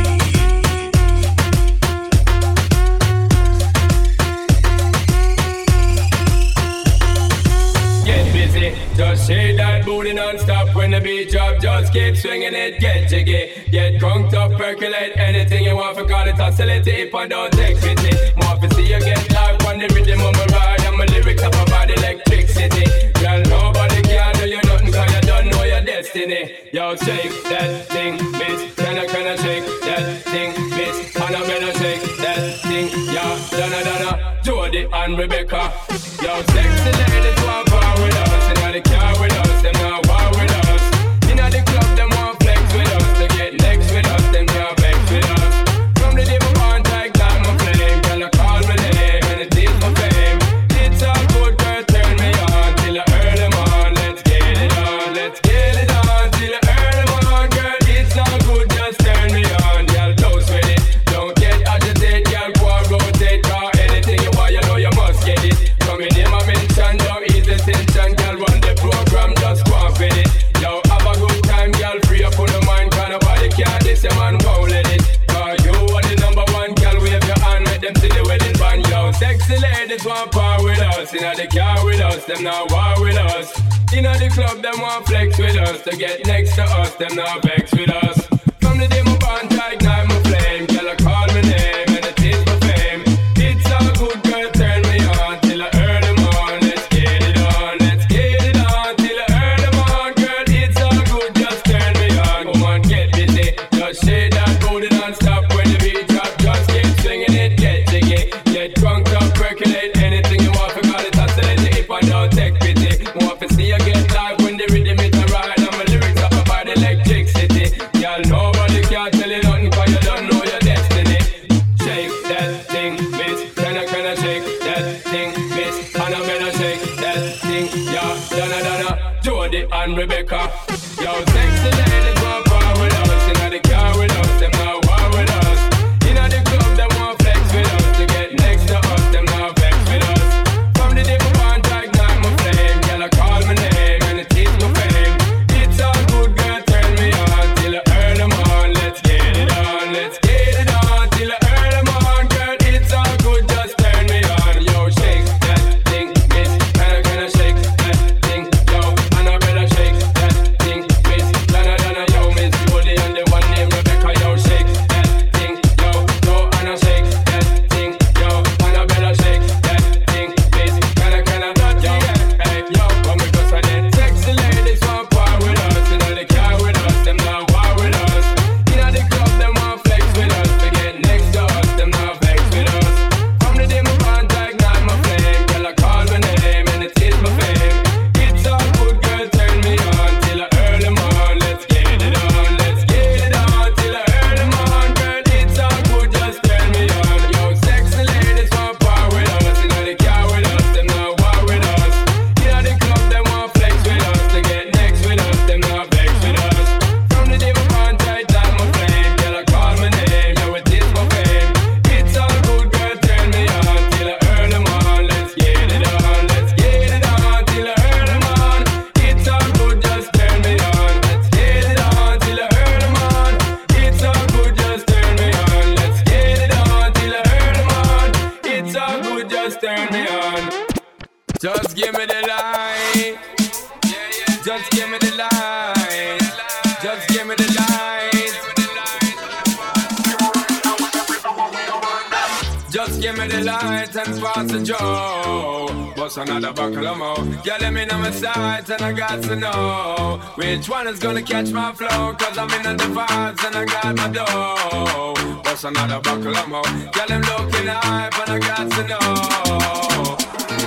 Speaker 18: Just shake that booty non-stop when the beat drop. Just keep swinging it, get jiggy. Get crunked up, percolate anything you want. For call it oscillate if I don't take pity. More to see you get live on the rhythm of my ride. And my lyrics up about electricity. Girl, nobody can do you nothing cause you don't know your destiny. Yo, shake that thing, bitch. Can I shake that thing, bitch? And I better shake that thing, yeah. Donna, Jody and Rebecca. Yo, sexy ladies want power with us. Inna the car with us, them not war with us. Inna the club, them want flex with us. They get next with us, them can't vex with us. From the day my contact, like my flame. Girl, I call my name and it is my fame. It's all good, girl, turn me on till I earn them on. Let's get it on, let's get it on till I earn them on. Girl, it's all good, just turn me on. Girl, toast with it, don't get agitated. Girl, go and rotate, cause anything you want, you know you must get it. Coming in my mention, don't ease the tension. Girl, run the program, just go and fit it. Yo, have a good time, girl, free up on the mind. Cause nobody care, this your man won't let it. Cause you are the number one, girl, wave your hand, let them see the wedding band. Yo, sexy ladies want power with us. Inna the car with us, them not war with us. Inna the club, them want flex with us. To get next to us, them not vex with us. From the day my band, I ignite my flame. Girl, I call my name and it is my fame. It's all good, girl, turn me on till I earn them on. Let's get it on, let's get it on till I earn them on. Girl, it's all good, just turn me on. Come on, get busy, just shake that booty non-stop when the beat drop. Just keep swinging it, get jiggy. Get drunk up, percolate anything you want. For call it oscillate if I don't thing. Yeah, Donna, Jody and Rebecca. Yo, sexy ladies want power with us. Inna the car with us, them not war with us. Inna the club, them want flex with us. To get next to us, them not vex with us. From the day we want to ignite my flame, girl, I call my name and it is my fame. It's all good, girl, turn me on till the early morn. Let's get it on, let's get it on till the early morn, girl. It's all good, just turn me on. Yo, shake that thing, miss. Can I shake that thing, yo? And I better shake that thing, miss. Donna, yo, miss Julie and the one named Rebecca, yo, shake that thing, yo, and I shake that thing, yo, and I better shake that thing, miss. Can I not, yo, hey, yo, come with us and then sexy ladies want power with us. Inna the car with us, them not war with us. Inna the club, them want flex with us. To get next to us, them not vex with us. From the day my bond ignite my flame, girl, I call my name and it is my fame. It's all good, girl, turn me on till the early morn. Let's get it on, let's get it on till the early morn, girl. It's all good, just turn me on. Yo, sexy ladies want power with us. Inna the car with us, them not war with us. Inna the club, them want flex with us. To get next with us, them not vex with us. From the day my bond ignite my flame, girl, I call my name, yo, it is my fame. It's all good, girl, turn me on till the early morn. Let's get it on, let's get it on till the early morn. It's all good, just turn me on. Let's get it on till the early morn. It's all good, just turn me on. Let's get it on till the early morn. It's all good, just turn me on. Just give me the light. Just give me the light. Just give me the light. Just give me the light and pass the joe. Bust another buckle of more. Girl, let me know my sights and I got to know which one is gonna catch my flow. Cause I'm in the vibes and I got my dough. Bust another buckle of more. Girl, I'm looking hype and I got to know.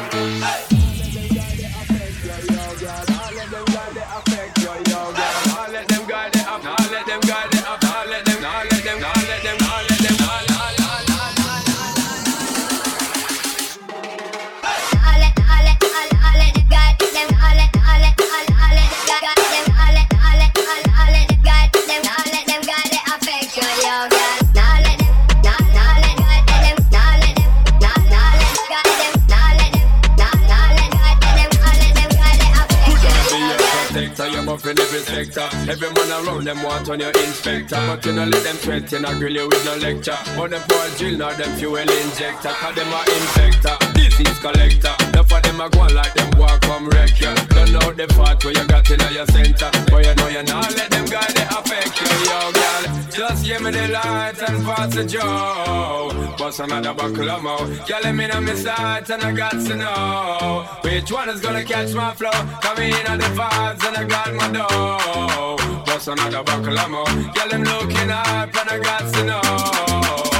Speaker 18: In every sector, every man around them want on your inspector, but you know let them sweat, you know grill you with no lecture. But them for a drill, now them fuel injector, cause them a infector, disease collector. Enough of them a go on like them walk come wreck you. Don't know the part where you got in your center, but you know you not let them guys they affect you, yo girl. Just give me the light and pass the joe. Bust another buckle of more. Girl, let me know my sights and I got to know which one is gonna catch my flow. Come in on the vibes and I got my dough. Bust another buckle of more. Girl, I'm looking up and I got to know.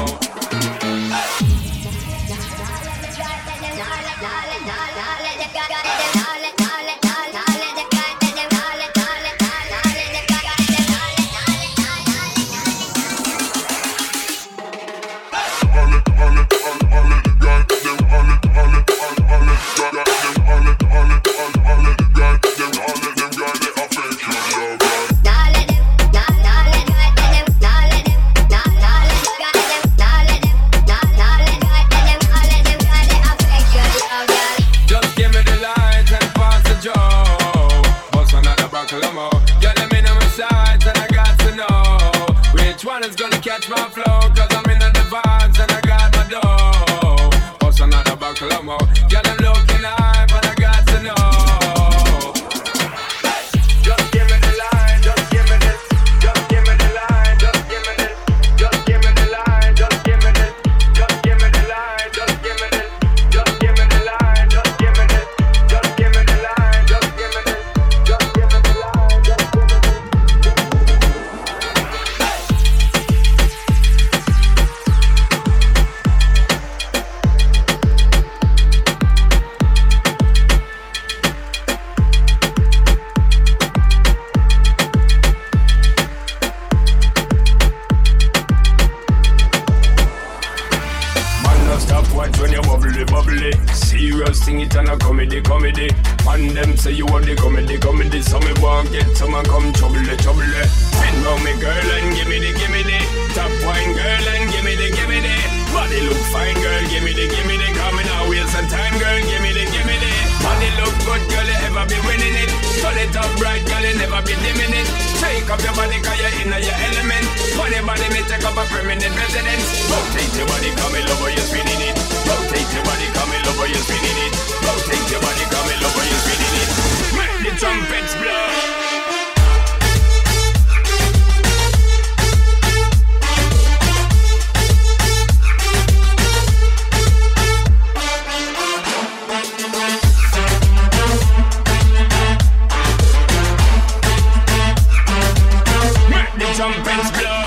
Speaker 18: And them say you want the comedy. So me want get someone come trouble. Bend round me girl and give me the. Top wine girl and give me the. Body look fine girl, give me the. Come now waste some time girl, give me the. Body look good girl, you ever be winning it. Turn it up bright girl, you never be dimming it. Take up your body cause you're in your element. Body me take up a permanent residence. Rotate your body, come in over, you're spinning it. Rotate your body, come in over, you're spinning it. Rotate your body, come in over, you're spinning it. Make the trumpets blow. Trumpets blow.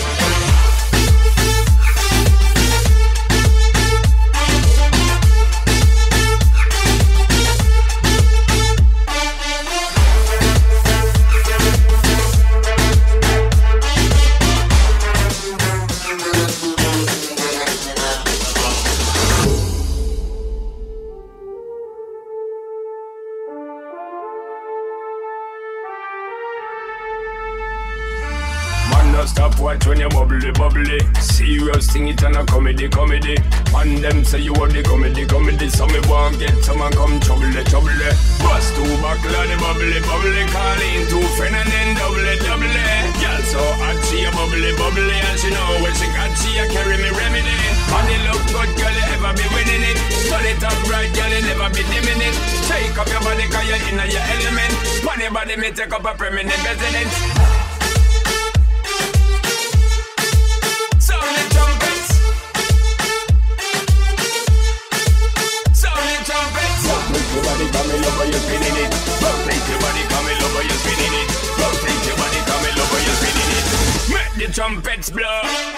Speaker 18: Stop watch when you bubbly. Serious thing it and a comedy. And them say you want the comedy. So me want get someone come trouble. Bust two buckle of the bubbly. Call in two friend and then double. Girl so hot she a bubbly. And she know when she got she a carry me remedy. And it look good girl you ever be winning it. Turn it up right girl you never be dimming it. Take up your body cause you're in your element. On your body me take up a permanent residence. Your body coming over, you're spinning it. Rotate your body coming over, you're spinning it. Rotate your body coming over, you're spinning it. Make the trumpets blow.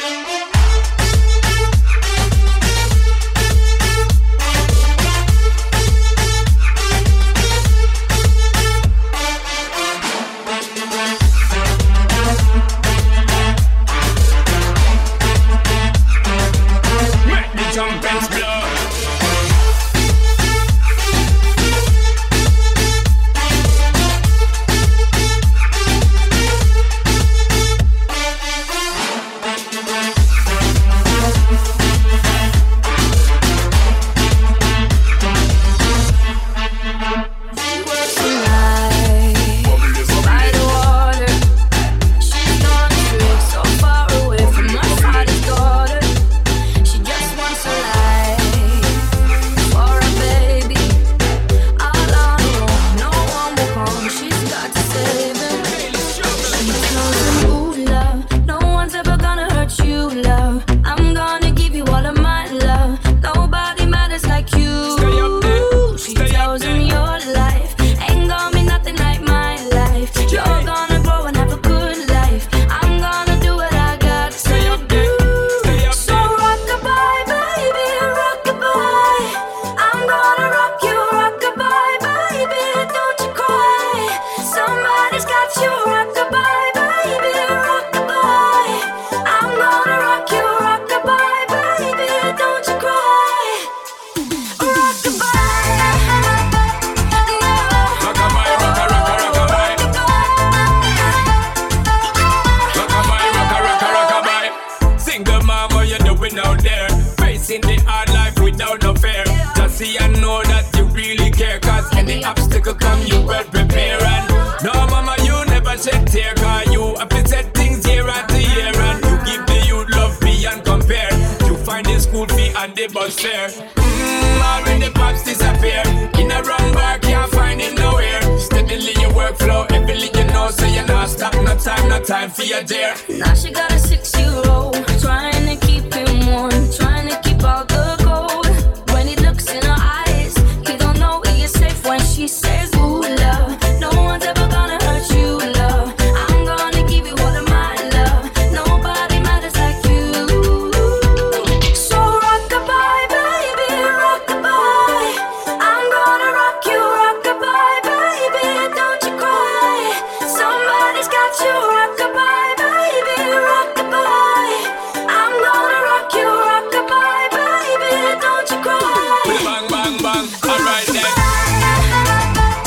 Speaker 18: Make the trumpets blow. Already pops disappear. In a wrong bar, can't find it nowhere. Steadily your workflow, everything you know, so you're not stop. No time for your dear.
Speaker 3: Now she got a 6-year-old, trying to keep him warm, trying to keep all the gold. When he looks in her eyes, he don't know he is safe when she says, ooh, love. No one's ever gonna hurt you, love. I'm gonna give you all of my love. Nobody matters like you. So rock-a-bye, baby, rock-a-bye. I'm gonna rock you, rock-a-bye, baby. Don't you cry. Somebody's got you, rock-a-bye, baby, rock-a-bye. I'm gonna rock you, rock-a-bye, baby. Don't you cry.
Speaker 18: Bang, bang, bang. Alright then.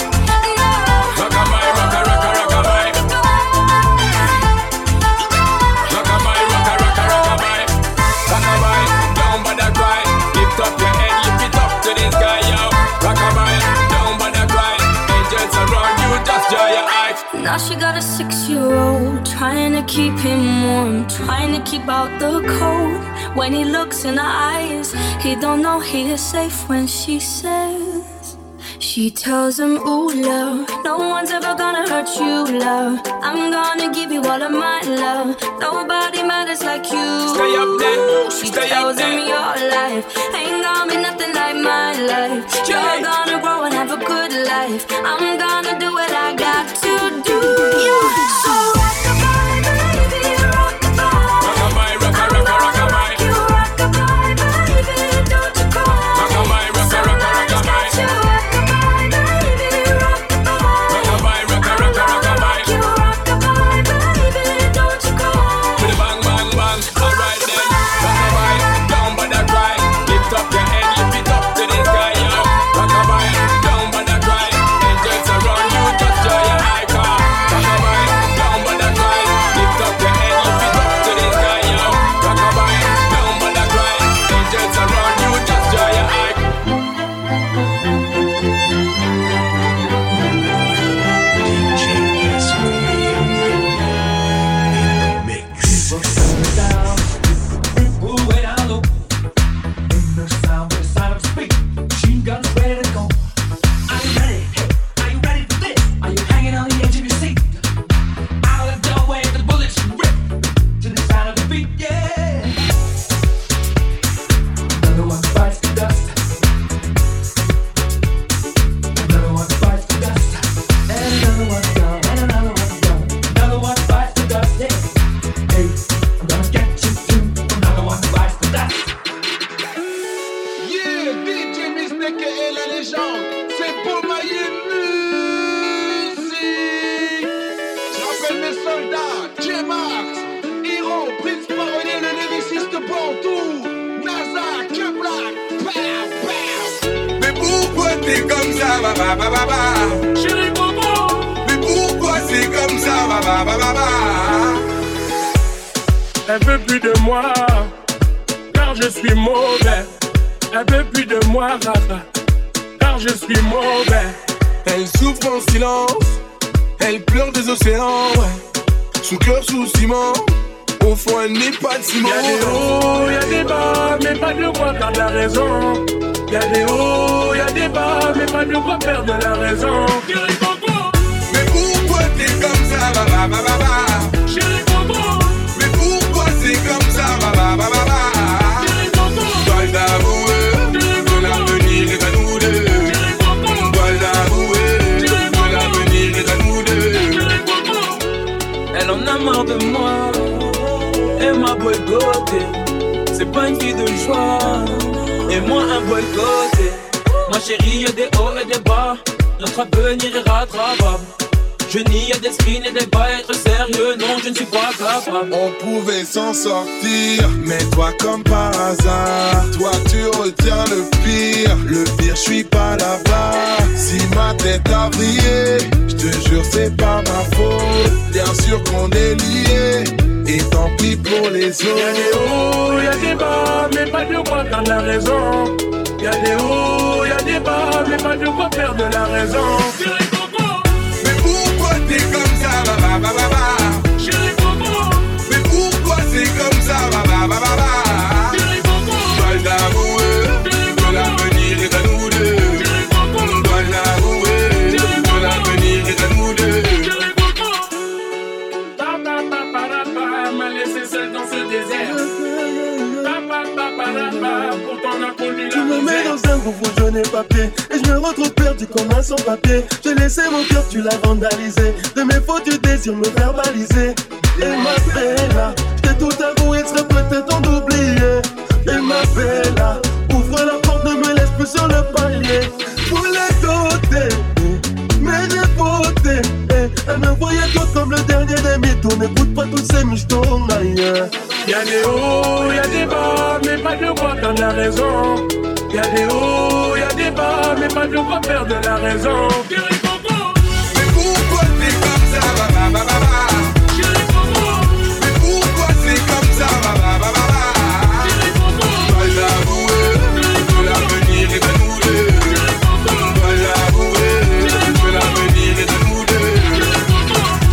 Speaker 3: Now she got a 6-year-old, trying to keep him warm, trying to keep out the cold. When he looks in her eyes, he don't know he is safe when she says, she tells him, ooh, love, no one's ever gonna hurt you, love. I'm gonna give you all of my love. Nobody matters like you.
Speaker 10: Stay up there.
Speaker 3: She
Speaker 10: Stay
Speaker 3: tells
Speaker 10: up there.
Speaker 3: him your life ain't gonna be nothing like my life. You're gonna grow and have a good life. I'm gonna do what I got to do. Yeah. So rock-a-bye, baby, rock-a-bye.
Speaker 10: Rock-a-bye, rock-a-bye, rock-a-bye.
Speaker 3: You rock-a-bye, baby, don't you cry.
Speaker 10: Rock-a-bye, rock-a-bye, rock-a-bye.
Speaker 3: You rock-a-bye, baby, rock-a-bye.
Speaker 10: Rock-a-bye, rock-a-bye, rock-a-bye.
Speaker 3: You rock-a-bye, baby, don't you cry.
Speaker 10: With a bang, bang, bang. Alright then. Rock-a-bye, down by the cry. Lift up your head, lift it up to the sky, yo. Rock-a-bye, down by the cry. Angels around you, just joy your icon. Rock-a-bye, down by the cry. Lift up your head, lift it up to the sky, yo. Rock-a-bye, down by the cry. Angels around you, just joy your icon.
Speaker 2: Yeah, DJ Mistake et la légende, c'est pour mailler musique. J'appelle mes soldats, J-Max, Hero, Prince Parolier, le lyriciste Bantou, NASA, K-Black, pow, pow.
Speaker 8: Mais pourquoi t'es comme ça, ba ba ba ba ba?
Speaker 10: Chérie Bobo.
Speaker 8: Mais pourquoi c'est comme ça, ba ba ba ba ba?
Speaker 6: Elle veut plus de moi, car je suis mauvais. Elle veut plus de moi, Rafa, car je suis mauvais.
Speaker 8: Elle souffre en silence, elle pleure des océans, ouais. Son cœur sous ciment, au fond elle n'est pas de ciment.
Speaker 6: Y'a des hauts, y'a des bas, mais pas de quoi perdre la raison. Y'a des hauts, y'a des bas, mais pas de quoi perdre la raison. Chérie Bobo.
Speaker 8: Mais pourquoi t'es comme ça, ba ba ba ba ba?
Speaker 6: Chérie Bobo.
Speaker 8: Mais pourquoi c'est comme ça, ba ba ba ba ba?
Speaker 6: Chérie Bobo.
Speaker 8: Dois l'avouer, que l'avenir est à nous deux. Dois l'avouer, que l'avenir est à nous deux.
Speaker 12: Elle en a marre de moi, elle m'a boycotté. C'est pas une fille de joie, et moi un boycotté. Ma chérie, y'a des hauts et des bas, notre avenir est rattrapable. Je nie à des screens et des bas, être sérieux, non, je ne suis pas capable.
Speaker 8: On pouvait s'en sortir, mais toi comme par hasard, toi tu retiens le pire. Le pire, je suis pas là-bas. Si ma tête a brillé, je te jure c'est pas ma faute. Bien sûr qu'on est liés, et tant pis pour les autres.
Speaker 6: Y'a des hauts, y'a des bas, mais pas de quoi perdre la raison. Y'a des hauts, y'a des bas, mais pas de quoi perdre la raison. Chérie Bobo.
Speaker 8: Mais pourquoi t'es comme ça, ba ba ba ba ba?
Speaker 6: Chérie Bobo.
Speaker 8: Mais pourquoi c'est comme ça, ba ba ba ba ba?
Speaker 6: Chérie Bobo.
Speaker 8: Dois l'avouer, que l'avenir est à nous deux. Dois l'avouer, que l'avenir est à nous deux.
Speaker 6: Chérie Bobo. Papa, papa, papa, m'a laissé seul dans ce désert. Papa, papa, papa, pourtant on a connu la
Speaker 9: Tu me mets
Speaker 6: misère.
Speaker 9: dans un groupe où je n'ai pas pied, et je me retrouve perdu comme un sans-papier. J'ai laissé mon cœur, tu l'as vandalisé. De mes fautes, tu désires me verbaliser. Et ma bella, je t'ai tout avoué, je serais peut-être d'oublier. Et ma bella, ouvre la porte, ne me laisse plus sur le palier. Pour les doter, mais j'ai voté. Elle me voyait toi comme le dernier des mythos. N'écoute pas tous ces michtos, ailleurs.
Speaker 6: Y'a des hauts, y'a des bas, mais pas de quoi perdre la raison. Y'a des hauts, y'a des bas, mais pas de quoi perdre la raison. Chérie Bobo.
Speaker 8: Mais pourquoi t'es comme ça, ba ba ba ba ba?
Speaker 6: Chérie Bobo.
Speaker 8: Mais pourquoi c'est comme ça, ba ba ba ba ba?
Speaker 6: Chérie Bobo.
Speaker 8: Dois l'avouer, que l'avenir est à nous deux. Dois l'avouer, que l'avenir est à nous deux.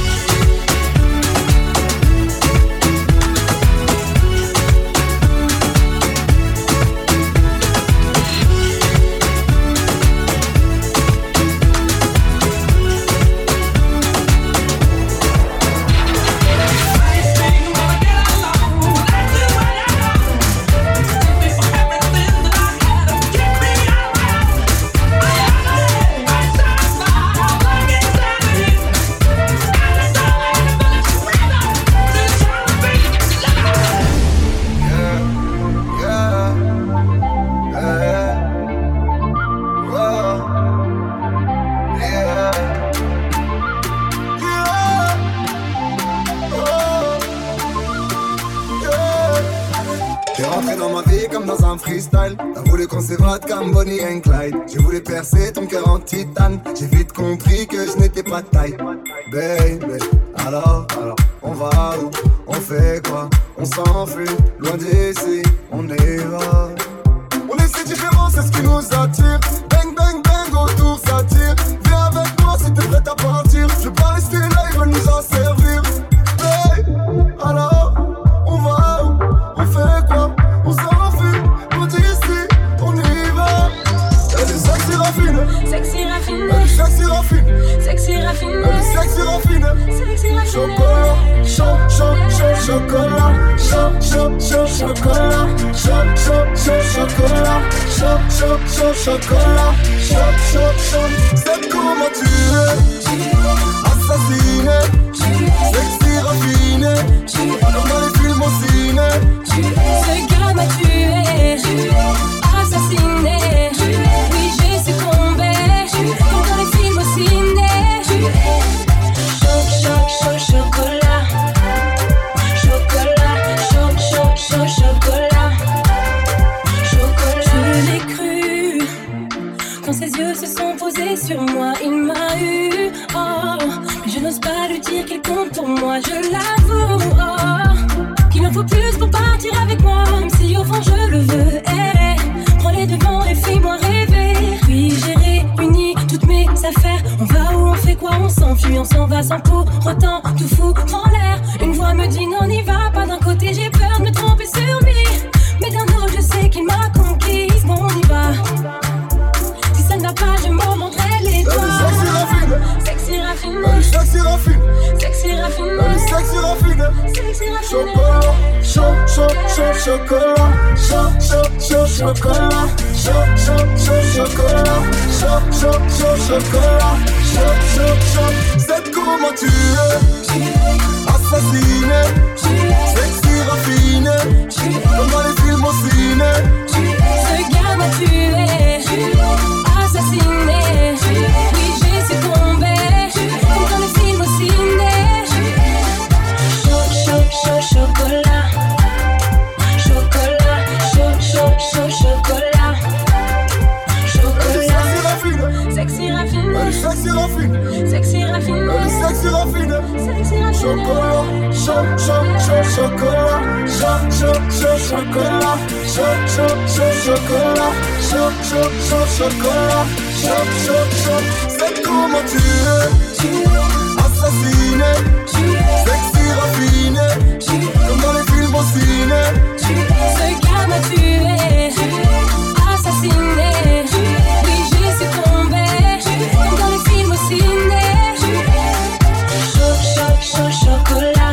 Speaker 19: ma vie comme dans un freestyle. T'as voulu qu'on s'évade comme Bonnie and Clyde. J'ai voulu percer ton cœur en titane. J'ai vite compris que je n'étais pas de taille. Baby, alors, on va où? On fait quoi? On s'enfuit, loin d'ici, on y va. On est si différents, c'est ce qui nous attire. Bang, bang, bang, autour ça tire. Viens avec moi si t'es prête à partir. Je veux pas rester là, ils veulent nous en servir. Hey, alors, on va où? On fait quoi? On s'enfuit, loin d'ici, on y va. Elle est sexy raffine.
Speaker 3: Sexy raffine.
Speaker 19: Elle est sexy raffine.
Speaker 3: Sexy raffine.
Speaker 19: Elle est sexy raffine.
Speaker 3: Sexy raffine.
Speaker 19: Chocolat, chocolat, chocolat, chocolat, chocolat. C'est comment tu es, assassiné, sexy raffiné, comme dans les films au ciné.
Speaker 3: Ce gars m'a tué, assassiné. Oui, j'ai succombé, comme dans les films au ciné. Chocolat. Je l'ai cru quand ses yeux se sont posés sur moi, il m'a eu. Oh, mais je n'ose pas lui dire qu'il compte pour moi, je l'avoue. Oh, qu'il en faut plus pour partir avec moi, même si au fond je le veux. Prends les devants et fais-moi rêver. Puis j'ai réuni toutes mes affaires. On va où, on fait quoi, on s'enfuit, on s'en va sans pour autant tout foutre en l'air. Une voix me dit non, n'y va pas. D'un côté j'ai peur de me tromper sur lui, mais d'un autre je sais qu'il m'a conquise. Bon, on y va. Si ça ne va pas, je m'en mordrai les doigts. Sexy raffine.
Speaker 19: Sexy raffine.
Speaker 3: Sexy raffine.
Speaker 19: Sexy raffine.
Speaker 3: Sexy raffine.
Speaker 19: Chocolat, chocolat, chocolat, chocolat. C'est comment tu es, assassiné, sexy raffiné, comme dans les films au ciné.
Speaker 3: Ce gars m'a tué, assassiné. Oui, j'ai succombé, comme dans les films au ciné. Chocolat. Sexy raffine.
Speaker 19: Sexy raffine.
Speaker 3: Sexy raffine.
Speaker 19: Sexy raffine.
Speaker 3: Sexy raffine.
Speaker 19: Chocolat, chocolat, chocolat, chocolat. C'est comment tu es, assassiné, sexy raffiné, comme dans les films au ciné.
Speaker 3: Ce gars m'a tué, assassiné. Oui, j'ai succombé, comme dans les films au ciné. Chocolat.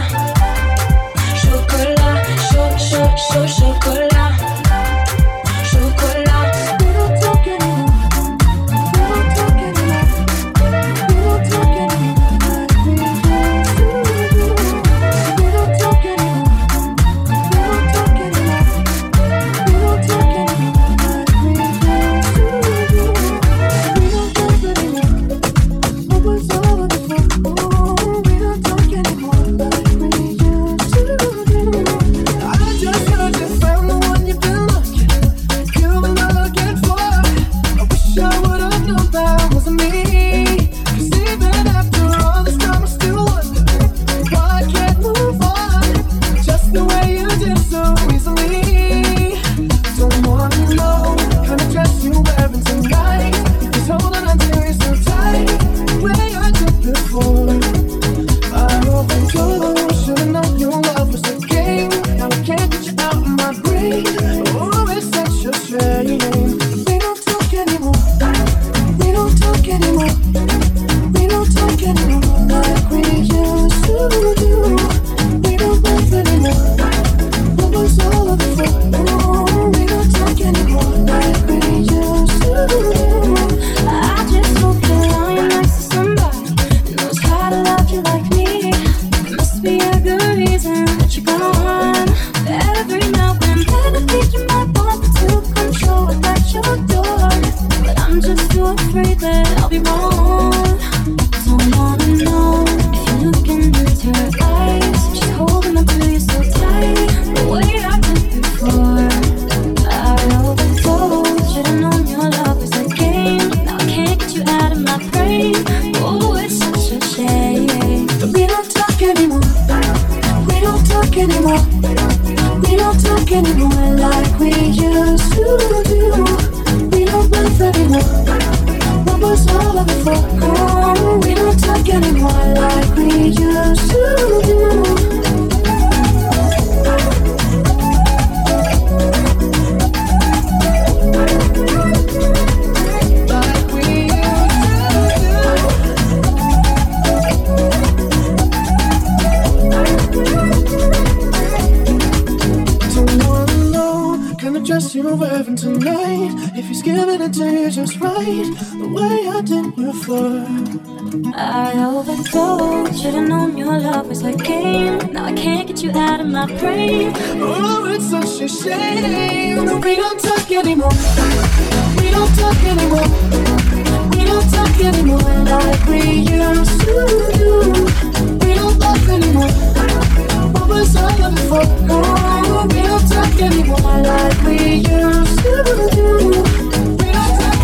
Speaker 13: do just right, the way I did before.
Speaker 3: I overdosed, should've known your love was a game. Now I can't get you out of my brain.
Speaker 13: Oh, it's such a shame that we don't talk anymore. We don't talk anymore. We don't talk anymore like we used to do. We don't love anymore. What was I looking for? Oh, we don't talk anymore like we used to do. We don't talk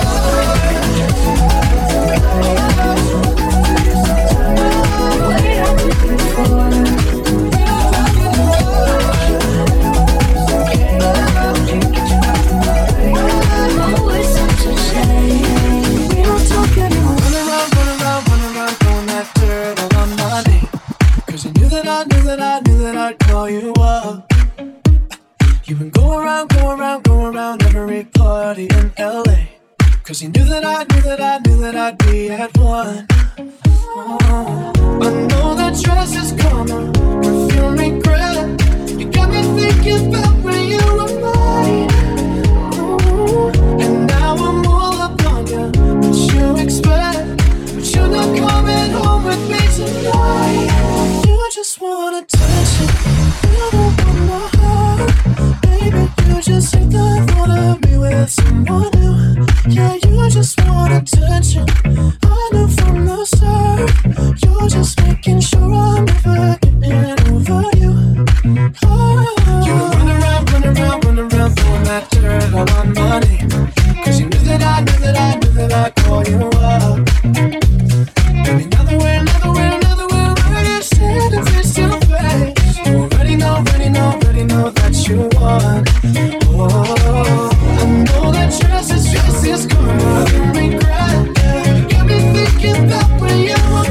Speaker 13: I knew that I'd call you up. You've been going around every party in LA. Cause you knew that I'd be at one. Oh, I know that dress is karma, perfume regret. You got me thinking about when you were mine. Oh, and now I'm all up on you. What you expect? But you're not coming home with me tonight. You just want attention. You don't want my heart. Baby, you just hate the thought of me with someone new. Yeah, you just want attention. I knew from the start. You're just making sure I'm never getting over you. Oh, you run around, throwing that dirt all on my name. Cause you knew that I'd call you up. Baby, another way, we're standing face to face. You already know that you want. Oh, I know that dress is karma, you regret. Yeah. You got me thinking about when you were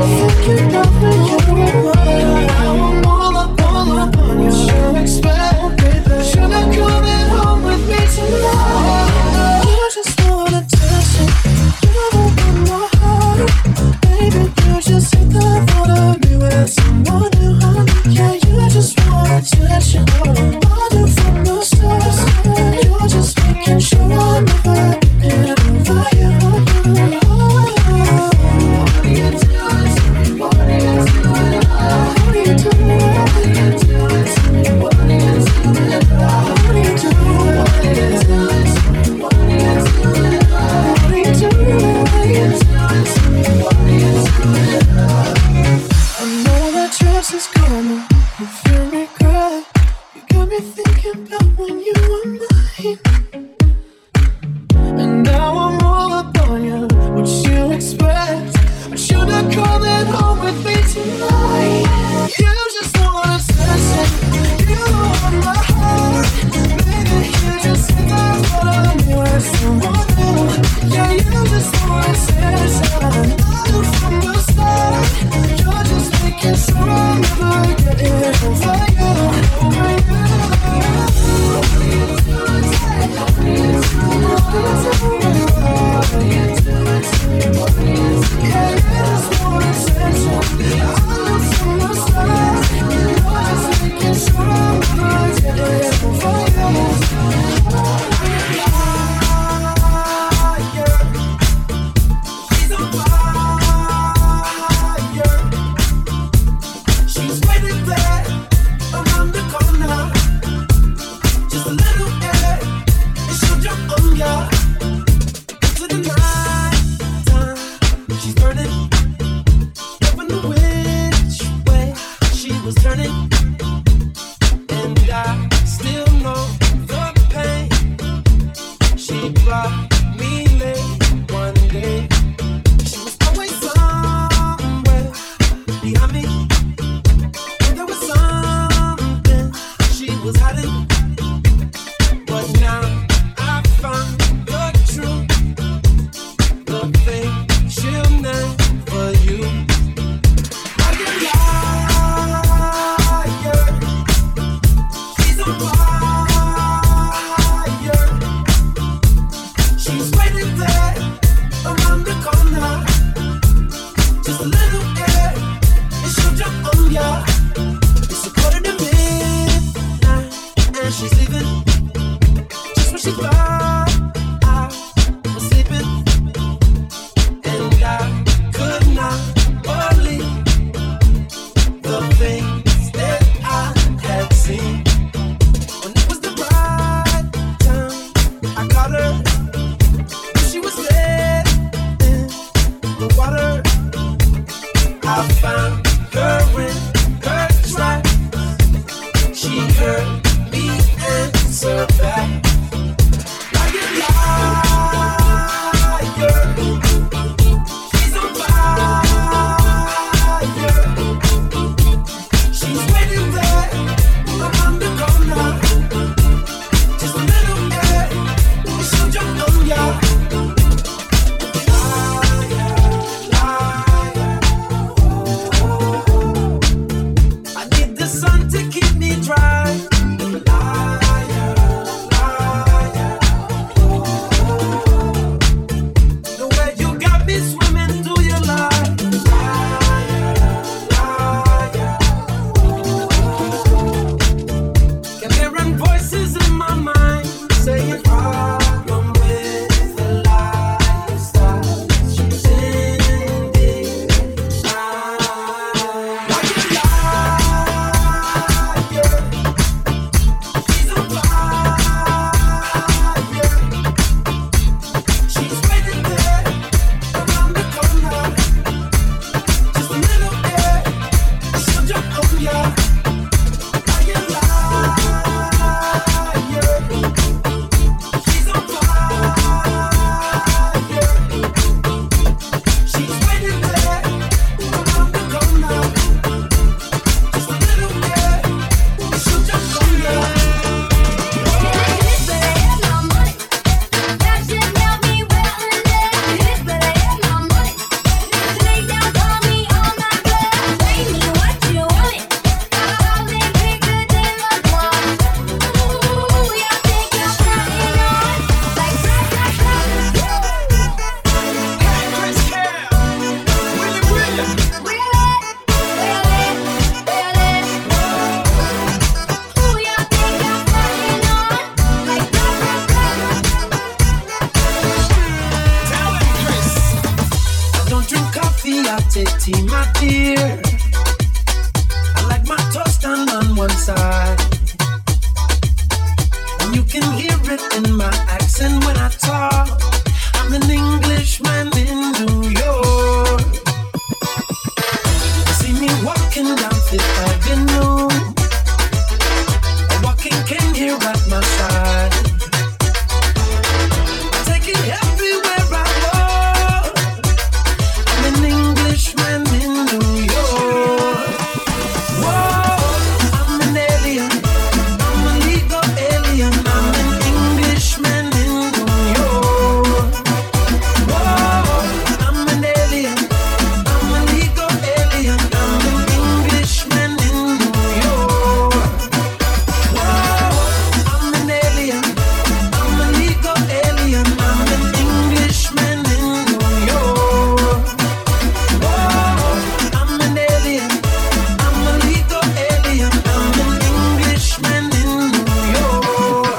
Speaker 13: mine. Now I'm all up on you. You expect, baby, you're not coming home with me tonight. You just want attention. You don't want my heart. Baby, you just hate the thought of me with someone new. Yeah, you just want attention. I knew from the start. You're just making sure I'm never getting over you. What are you doing? What are you doing? What are you doing? What are you doing? What are you doing? What are you doing? What are you doing? What are you doing? What are you doing? I know that dress is karma, you feel regret. You got me thinking about when you were mine. And now I'm all up on you. What you expect? But you're not coming home with me tonight. You just want attention. You want my heart. Baby, you just hit the thought of me with someone new. Yeah, you just want attention. I knew from the start. You're just making sure I'm never getting over you. Over you. What are you doing? What are you doing? What are you doing? What are you doing? Yeah, you just want attention. I knew from the start. You're just making sure I'm never getting over you. She's on fire. She's waiting there around the corner. Just a little air, and she'll jump on ya. To the night time, she's burning. Never knew which way she was turning. And I still know the pain. She brought me late one day. She was always somewhere behind me. There was something she was hiding. But now I found the truth. The thing she'll never use. I get I found her in her track. She heard me answer back. Like a liar, she's on fire. She's waiting there around the corner. Just a little bit, and she'll jump on ya. I need the sun to keep me dry. The way you got me swimming through your life. Kept hearing voices in my mind saying, problem with the lifestyle she's ending. Like a liar, she's on fire. She's waiting there around the corner. Just a little bit, she'll jump on ya. Like a liar, she's on fire. She's waiting there around the corner. Just a little bit, she'll jump on ya. I don't drink coffee, I take tea, my dear. I like my toast done on one side. And you can hear it in my accent when I talk. I'm an Englishman in New York. See me walking down Fifth Avenue. A walking king here at my side. I take it everywhere I go. I'm an Englishman in New York. Whoa, I'm an alien. I'm a legal alien. I'm an Englishman in New York. Whoa, I'm an alien. I'm a legal alien. I'm an Englishman in New York. Whoa, I'm an alien. I'm a legal alien. I'm an Englishman in New York. Whoa, I'm an alien. I'm a legal alien. I'm an Englishman in New York.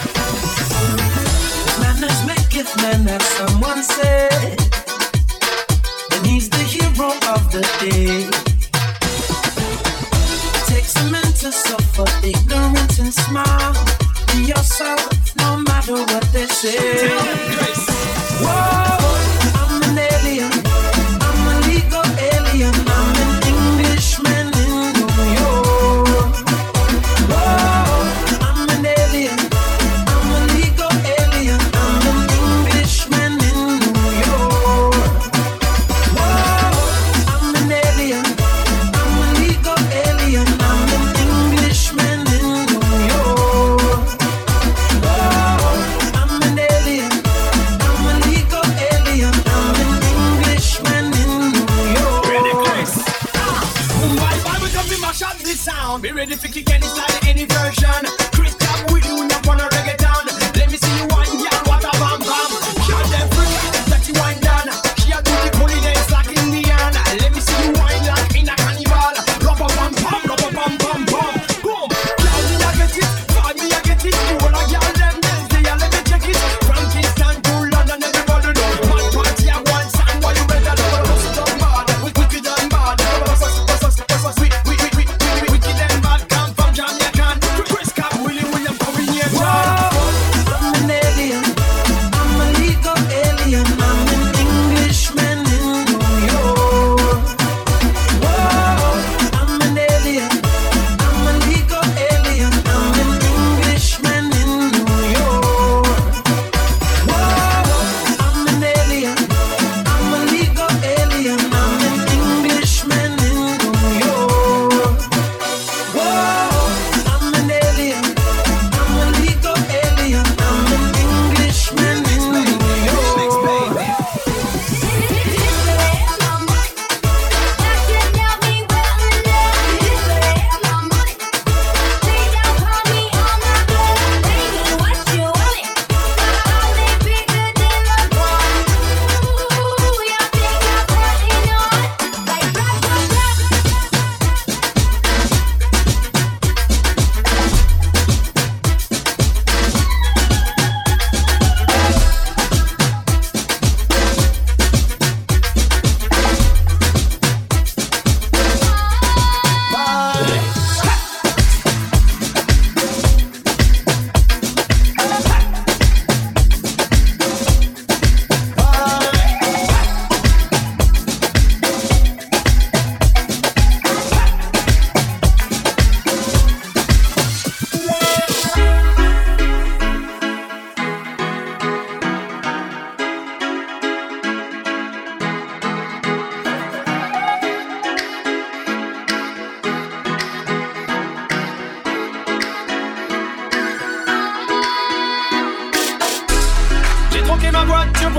Speaker 13: Manners maketh man, as someone said. And he's the hero of the day. Takes a man to suffer ignorance and smile. Be yourself, no matter what they say. Whoa, I'm an alien. I'm a legal alien. I'm an Englishman in New York. Whoa, I'm an alien. I'm a legal alien. I'm an Englishman in New York. Whoa, I'm an alien. I'm a legal alien. I'm an Englishman in New York. Whoa, I'm an alien. I'm a legal alien. I'm an Englishman in New York.
Speaker 4: Mumbai vibe, we come to mash up this sound. Be ready for kick any style, any version. Chris Cap with you, not wanna reggaeton. Let me see you wine, girl, what a bam bam. Shot them free, let you wine down. She a do the pony dance like Indian. Let me see you wine like in a carnival. Rubber bam bam, rubber bam bam bam. Boom, girl, me a get it, vibe me a get it. You all a girl them dance, they a let me check it. From Kingston to London, everybody know. Mad party a one song, why you better know? Bust it up bad, wicked and bad. Wicked and bad, come from Jamaica.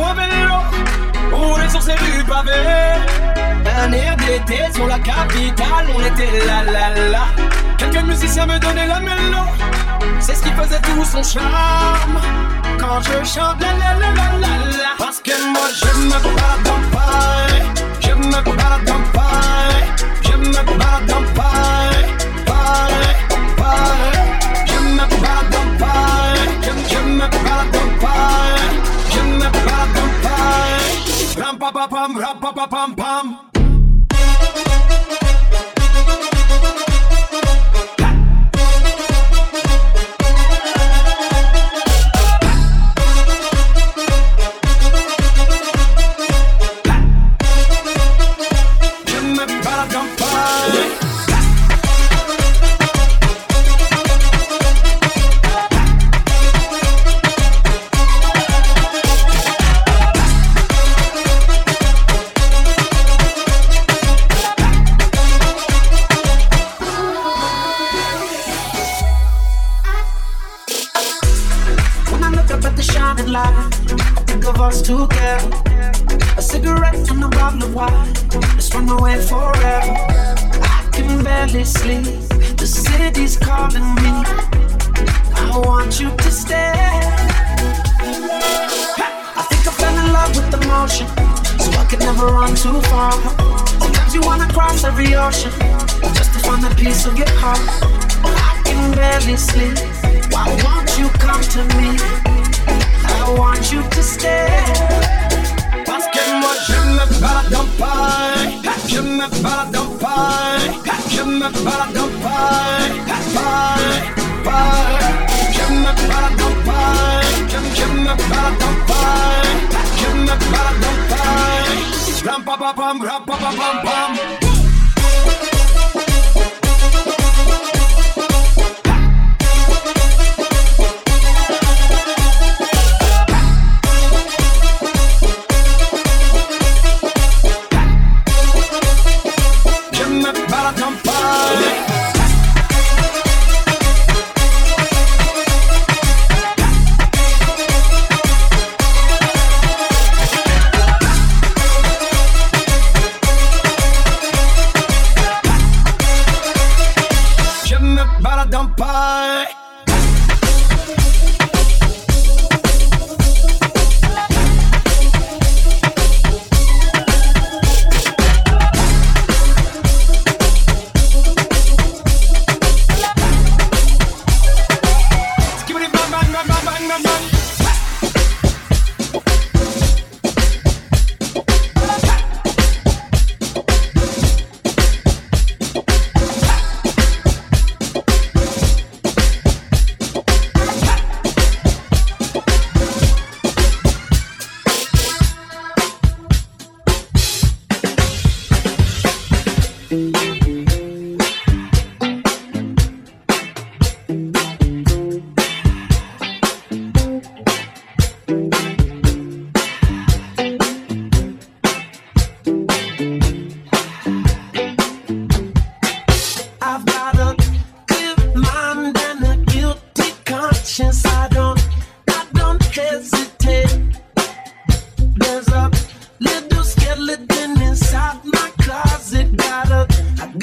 Speaker 10: en vélo, rouler sur ces rues pavées. Un air d'été sur la capitale, on était là là là. Quelques musiciens me donnaient la mélo, c'est ce qui faisait tout son charme. Quand je chante la la la la la la. Parce que moi je me balade en paille, je me balade en paille, je me balade en paille, paille, paille. Je me balade en paille, je me balade en paille, je me balade en paille. Ram pa pa pam, ram pa pa pam pam.
Speaker 13: Together, a cigarette and a bottle of wine. Let's run away forever. I can barely sleep. The city's calling me. I want you to stay. I think I fell in love with the motion, so I could never run too far. Sometimes you wanna cross every ocean just to find a piece of your heart. I can barely sleep. Why won't you come to me? I want you to stay.
Speaker 10: Parce que moi je me balade en paille, je me balade en paille, je me balade en paille, paille, paille. Je me balade en paille, je me balade en paille, je me balade en paille. Ram pa pa pam, ram pa pa pam pam.
Speaker 13: There's a little skeleton inside my closet. Got a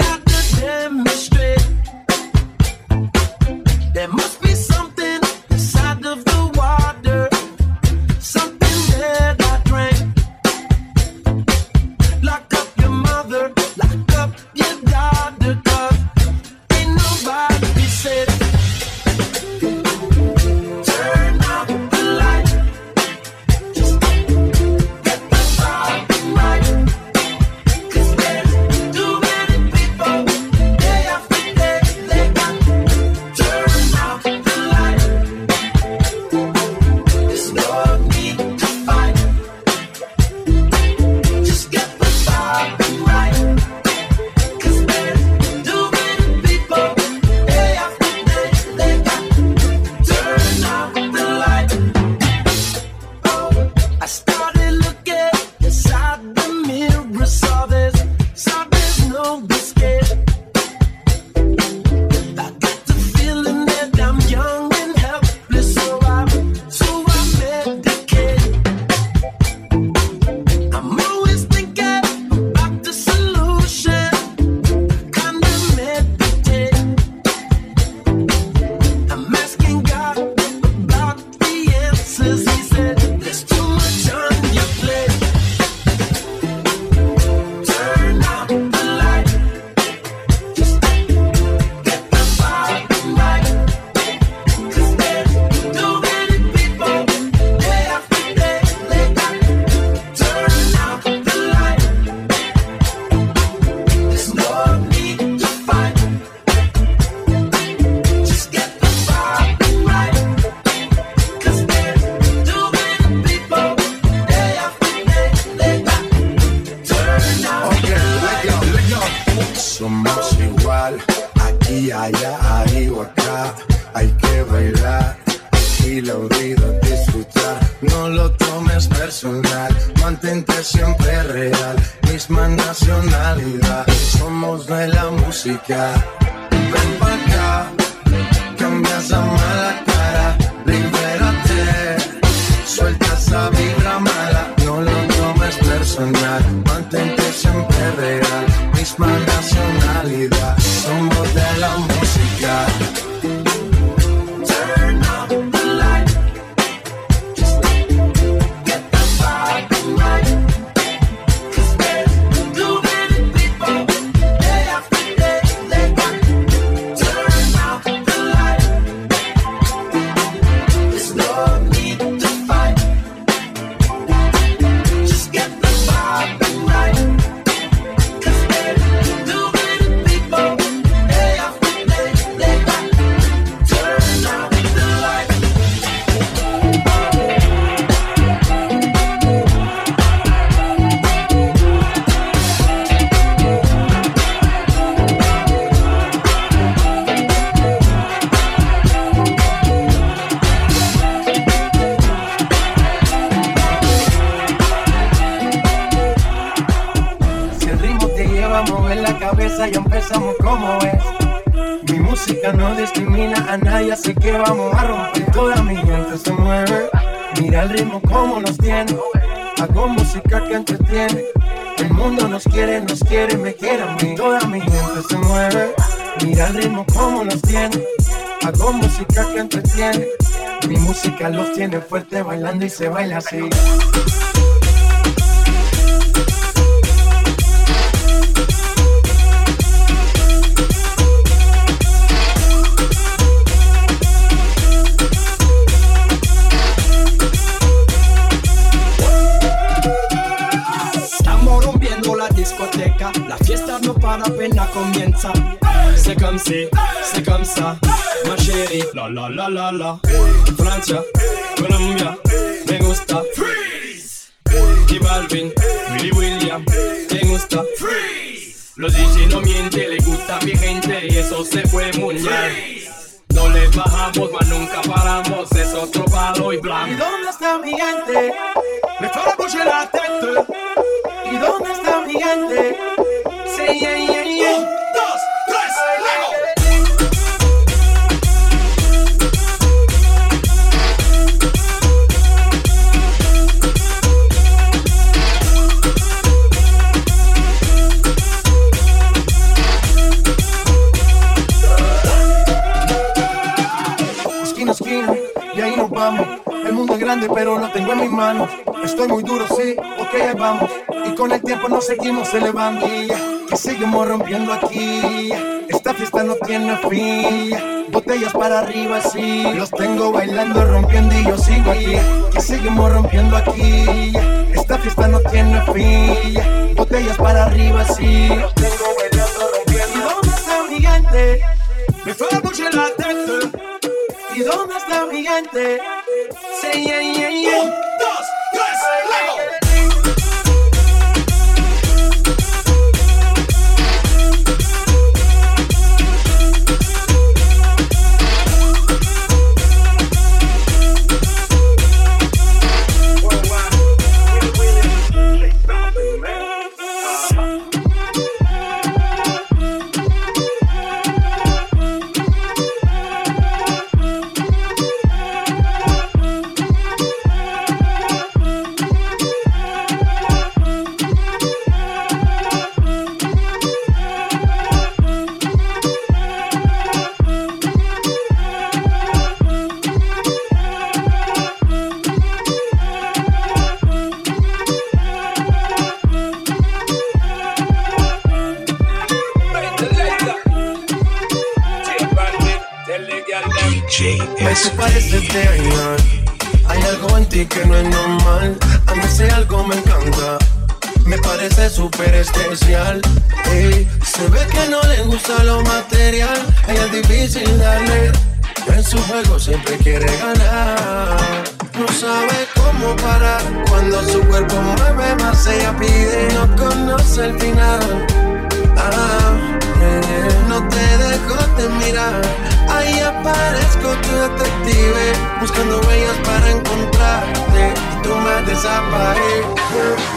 Speaker 9: Somos igual, aquí, allá, ahí o acá. Hay que bailar y la vida disfrutar. No lo tomes personal, mantente siempre real. Misma nacionalidad, somos de la música. Ven pa' acá, cambia esa mala cara. Libérate, suelta esa vibra mala. No lo tomes personal, mantente siempre real. Misma nacionalidad, somos de la música. Turn up the light, just get the vibe right. 'Cause there's too many people, day after day, they got. Turn up the light, there's no need to fight. Just get the vibe right. 'Cause there's too many people, day after day, they got. Turn up the light. Si el ritmo te lleva a mover la cabeza, ya empezamos como es. Mi música no discrimina a nadie, así que vamos a romper. Toda mi gente se mueve, mira el ritmo como nos tiene. Hago música que entretiene. El mundo nos quiere, me quiere a mí. Toda mi gente se mueve, mira el ritmo como nos tiene. Hago música que entretiene. Mi música los tiene fuerte bailando y se baila así.
Speaker 20: Estamos rompiendo la discoteca, la fiesta no para, apenas comienza. C'est comme si, c'est comme ça, ma chérie. La la la la la. Francia, Colombia, me gusta. Freeze. J Balvin, Willy William, me gusta. Freeze. Los DJ no mienten, le gusta a mi gente y eso se fue mundial. No le bajamos, mas nunca paramos, es otro palo y blanco.
Speaker 9: ¿Y dónde está mi gente?
Speaker 20: Me fera bouger la tête.
Speaker 9: ¿Y dónde está mi gente?
Speaker 20: Sí, yeah, yeah, yeah. 1, 2, 3, luego.
Speaker 9: Esquina a esquina, y ahí nos vamos. El mundo es grande, pero lo tengo en mis manos. Estoy muy duro, sí, ok, ahí vamos. Y con el tiempo nos seguimos elevando. Que seguimos rompiendo aquí. Esta fiesta no tiene fin. Botellas para arriba, sí. Los tengo bailando, rompiendo y yo sigo aquí. Que seguimos rompiendo aquí. Esta fiesta no tiene fin. Botellas para arriba, sí. Los tengo bailando, rompiendo. ¿Y dónde está mi gente?
Speaker 20: Me fera bouger la tête.
Speaker 9: ¿Y dónde está mi gente?
Speaker 20: Sí, yeah, yeah, yeah. 1, 2, 3, luego.
Speaker 9: Me te pareces de ayer. Hay algo en ti que no es normal. A mí ese algo me encanta. Me parece súper especial. Ey, se ve que no le gusta lo material. Ella es difícil darle. En su juego siempre quiere ganar. No sabe cómo parar. Cuando su cuerpo mueve más ella pide. No conoce el final. mirar. Ahí aparezco tu detective, buscando huellas para encontrarte y tú me desapareces.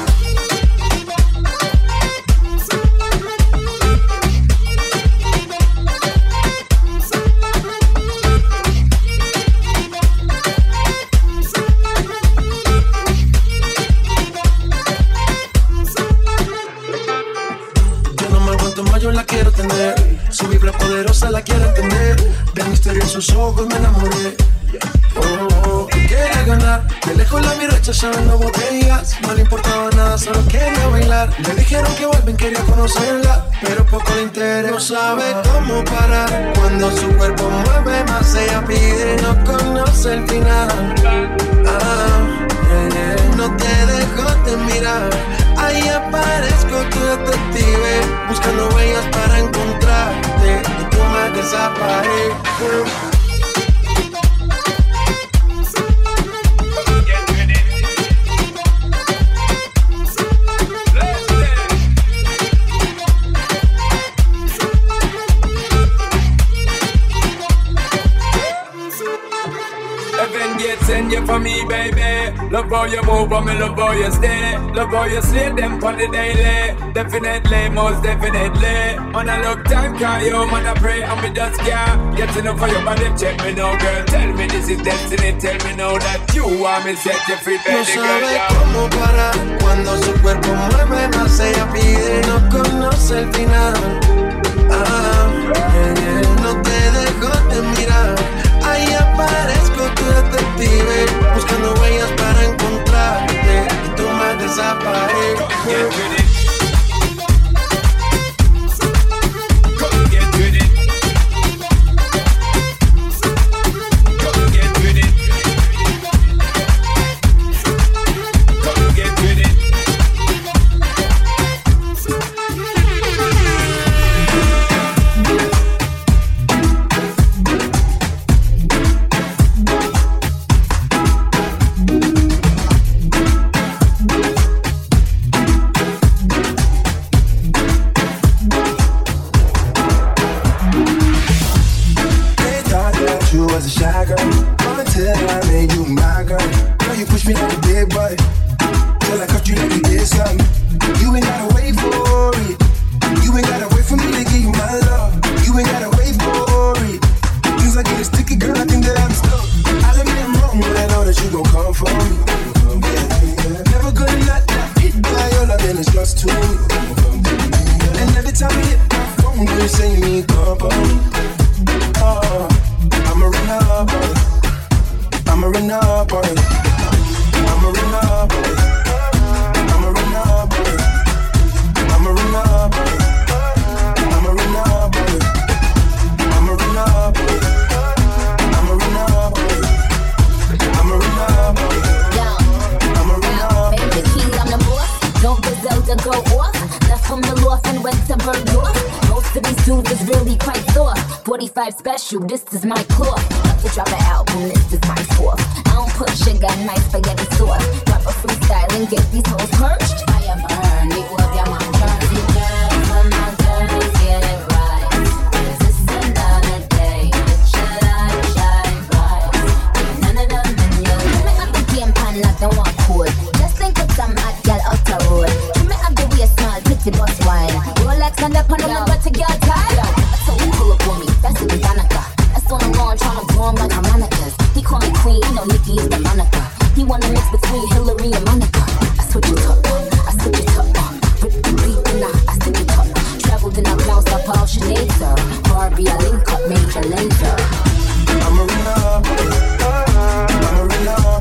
Speaker 9: Yo la quiero tener, su vibra poderosa la quiero entender. De misteriosos ojos me enamoré. Quería ganar, de lejos la vi rechazando botellas. No le importaba nada, solo quería bailar. Le dijeron que vuelven, quería conocerla, pero poco le interesa. No sabe cómo parar, cuando su cuerpo mueve más ella pide. No conoce el final. No te dejo de mirar. Ahí aparezco tu detective, buscando huellas para encontrarte y tú me desapareces.
Speaker 18: Send you for me, baby. Love how you move, but me love how you stay. Love how you slay them on the daily. Definitely, most definitely. On a look time, call you, man, I pray. And me just can't get enough for your body. Check me now, girl. Tell me this is destiny. Tell me now that you want me set you free, baby.
Speaker 9: No sabe cómo parar, cuando su cuerpo mueve más ella pide. No conoce el final. No te dejo de mirar. Ahí aparezco tu detective, buscando huellas para encontrarte y tú me desapareces.
Speaker 15: Special, this is my cloth. About to drop an album, this is my fourth. I don't put sugar in my spaghetti sauce. Drop a freestyle and get these hoes purged. I am earned, equal of your mom burns. You girls on my girls, get it right. This is another day. Should I shine bright? Ain't none of them in your way. Me up the game pan like the one cool. Just think of some hot girl out the road. Give me up the way small, pretty bus wine. Rolex on the pan, I'm about to get tired. So you pull up on me, that's it, Danica. That's on the lawn, tryna blow him like harmonicas. He call me queen, you know Nikki is the Monica. He wanna mix between Hillary and Monica. I switch it up, I switch it up. Rip the beat and I stick it up. Traveled and I bounced up all Sinead, sir. Barbie, I link up, major laser.
Speaker 9: I'm a runner, I'm a runner,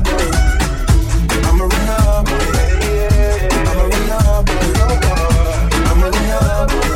Speaker 9: I'm a runner, I'm a runner, I'm a runner.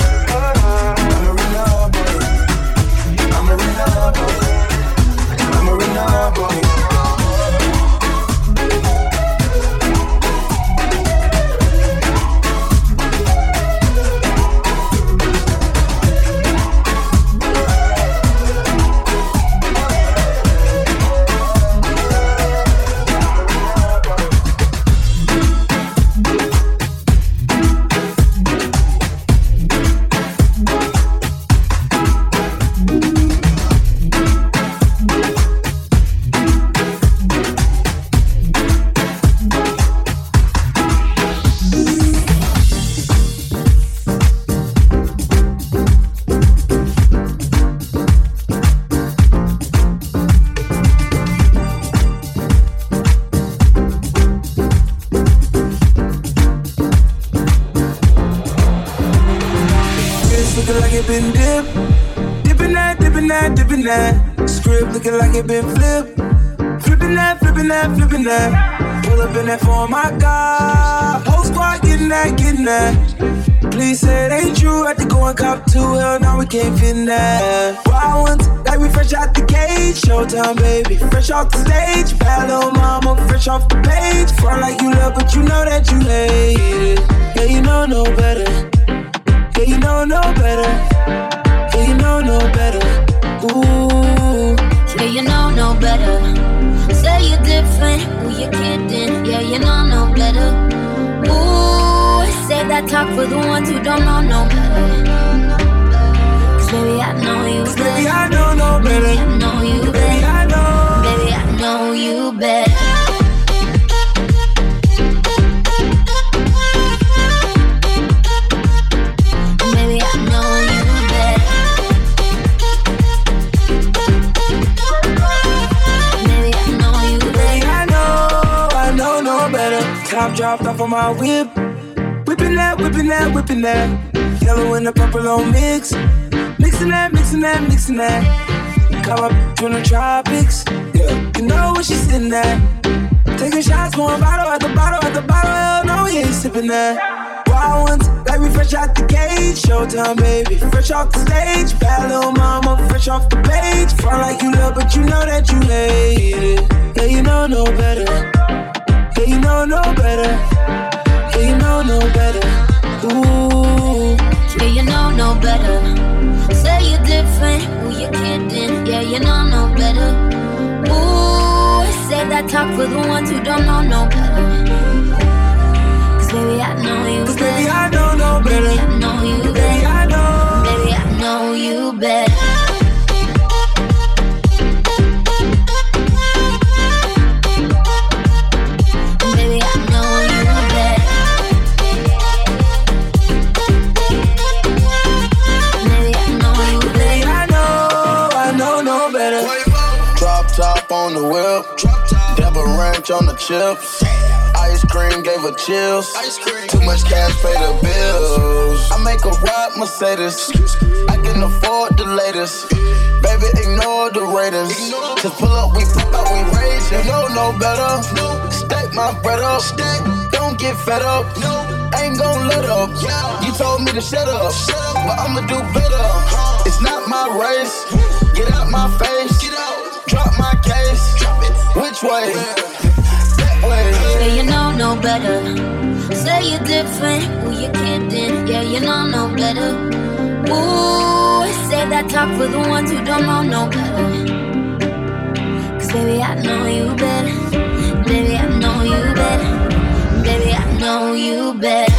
Speaker 6: looking like it been dipped. Dipping that, dipping that, dipping that. Script looking like it been flipped. Flipping that, flipping that, flipping that. Pull up in that for my God. Whole squad getting that, getting that. Please say it ain't true. Had to go and cop 2. Hell, now we can't fit in that. Wild ones, like we fresh out the gate. Showtime, baby, fresh off the stage. Bad little mama, fresh off the page. Front like you love, but you know that you hate it. Yeah, you know no better. Yeah, you know no better. Yeah, you know no better. Ooh.
Speaker 15: Yeah, you know no better. Say you're different, who you kidding? Yeah, you know no better. Ooh, say that talk for the ones who don't know no better. Cause baby, I know you better.
Speaker 6: Baby, I know no better.
Speaker 15: Baby, I know you better.
Speaker 6: Baby, I know.
Speaker 15: Baby, I know you better.
Speaker 6: Top dropped off on my whip. Whipping that, whipping that, whipping that. Yellow and the purple on mix. Mixing that, mixing that, mixing that. Come up from the tropics. Yeah, you know where she's sitting at. Taking shots, pouring bottle at the bottle at the bottle. Hell no, we ain't sipping that. Wild ones, like we fresh out the gate. Showtime, baby, fresh off the stage. Bad little mama, fresh off the page. Front like you love, but you know that you hate it. Yeah, you know no better. Yeah, you know no better. Yeah, you know no better. Ooh.
Speaker 15: Yeah, you know no better. Say you're different, who you kidding? Yeah, you know no better. Ooh, say that talk for the ones who don't know no better. Cause baby, I know you better.
Speaker 6: Baby, I know no better.
Speaker 15: Baby, I know you better.
Speaker 6: Baby, I know.
Speaker 15: Baby, I know you better.
Speaker 21: Top on the whip, Devil Ranch on the chips. Ice cream gave her chills. Too much cash, pay the bills. I make a ride Mercedes. I can afford the latest. Baby, ignore the Raiders. Just pull up, we pop out, we raise. You know no better. Stack my bread up. Don't get fed up. Ain't gon' let up. You told me to shut up, but I'ma do better. It's not my race. Get out my face. Drop my case. Drop it. Which way? That way.
Speaker 15: Yeah, you know no better. Say you're different, who you kidding? Yeah, you know no better. Ooh, say that talk for the ones who don't know no better. Cause baby, I know you better. Baby, I know you better. Baby, I know you better.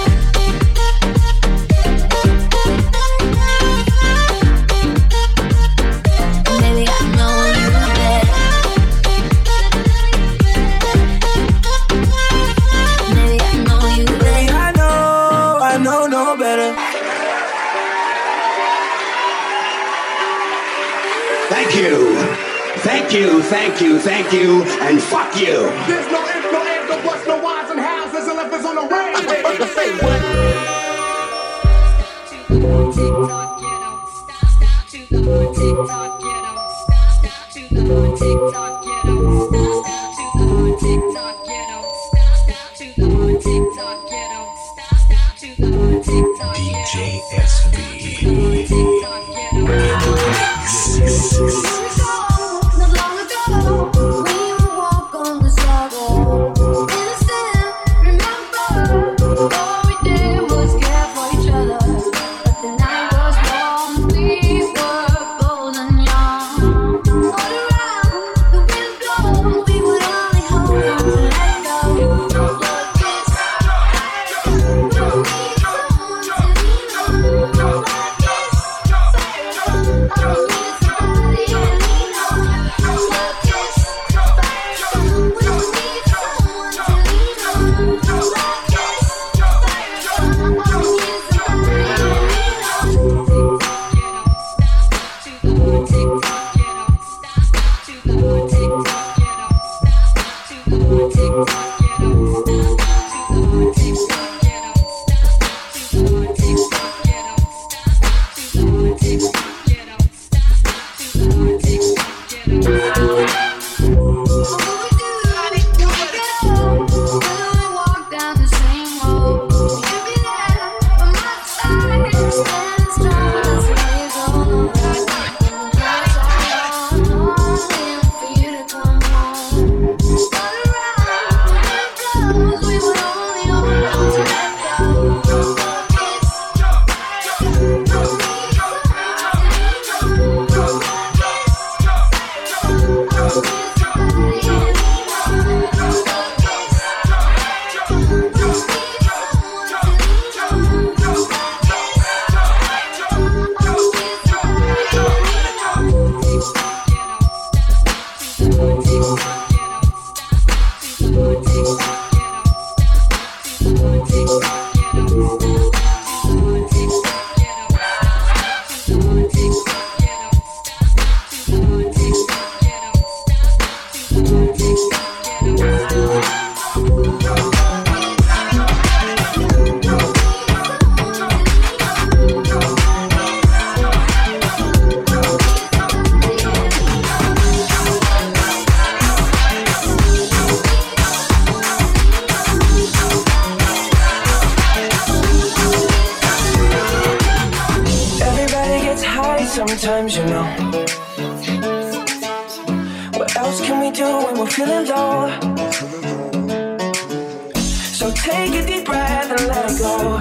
Speaker 22: Thank you, thank you, thank you, and fuck you.
Speaker 2: There's no if, no if, no buts, no whys and hows. There's a left, on the range. Say what?
Speaker 17: DJ SV.
Speaker 3: Not long ago, we would walk on the sidewalk. Innocent, remember, all we did was care for each other. But the night was long, we were bold and young. All around, the wind blows, we would only hold on to let go. Love kiss, don't need someone to lean on. Love kiss, I don't need somebody else.
Speaker 6: sometimes, you know. What else can we do when we're feeling low? So take a deep breath and let it go.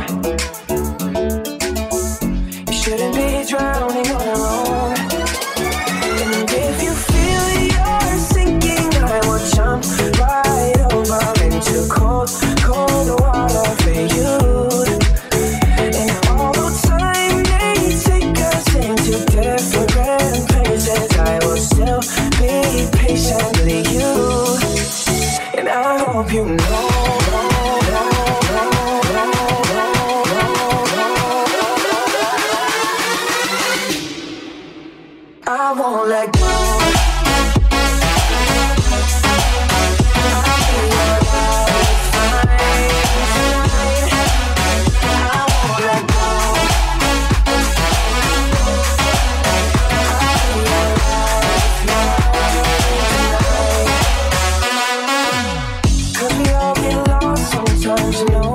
Speaker 6: You shouldn't be drowning on your own. And if you feel you're sinking, I will jump right over into cold, cold water for you. And although time may take us into different places, I will still be patiently you. And I hope you know. I won't let go. Cause we all get lost sometimes, you know.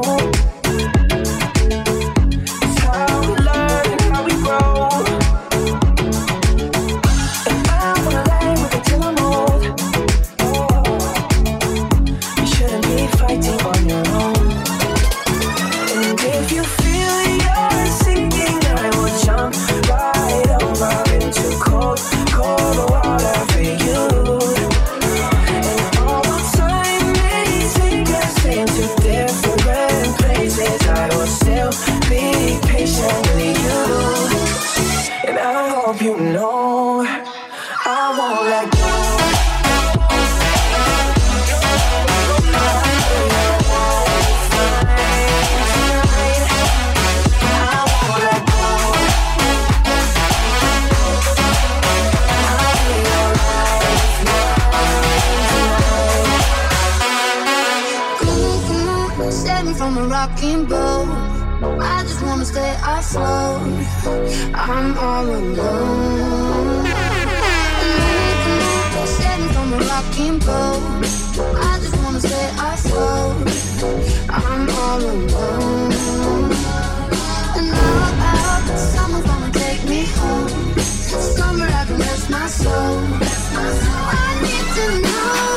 Speaker 6: It's how we learn and how we grow. You know, I won't let go.
Speaker 3: Come on, save me from a rocking boat. I just wanna stay afloat. I'm all alone. Save me from a rocking boat. I just wanna stay afloat. I'm all alone. And now someone's gonna take me home. Somewhere I can rest my soul. I need to know.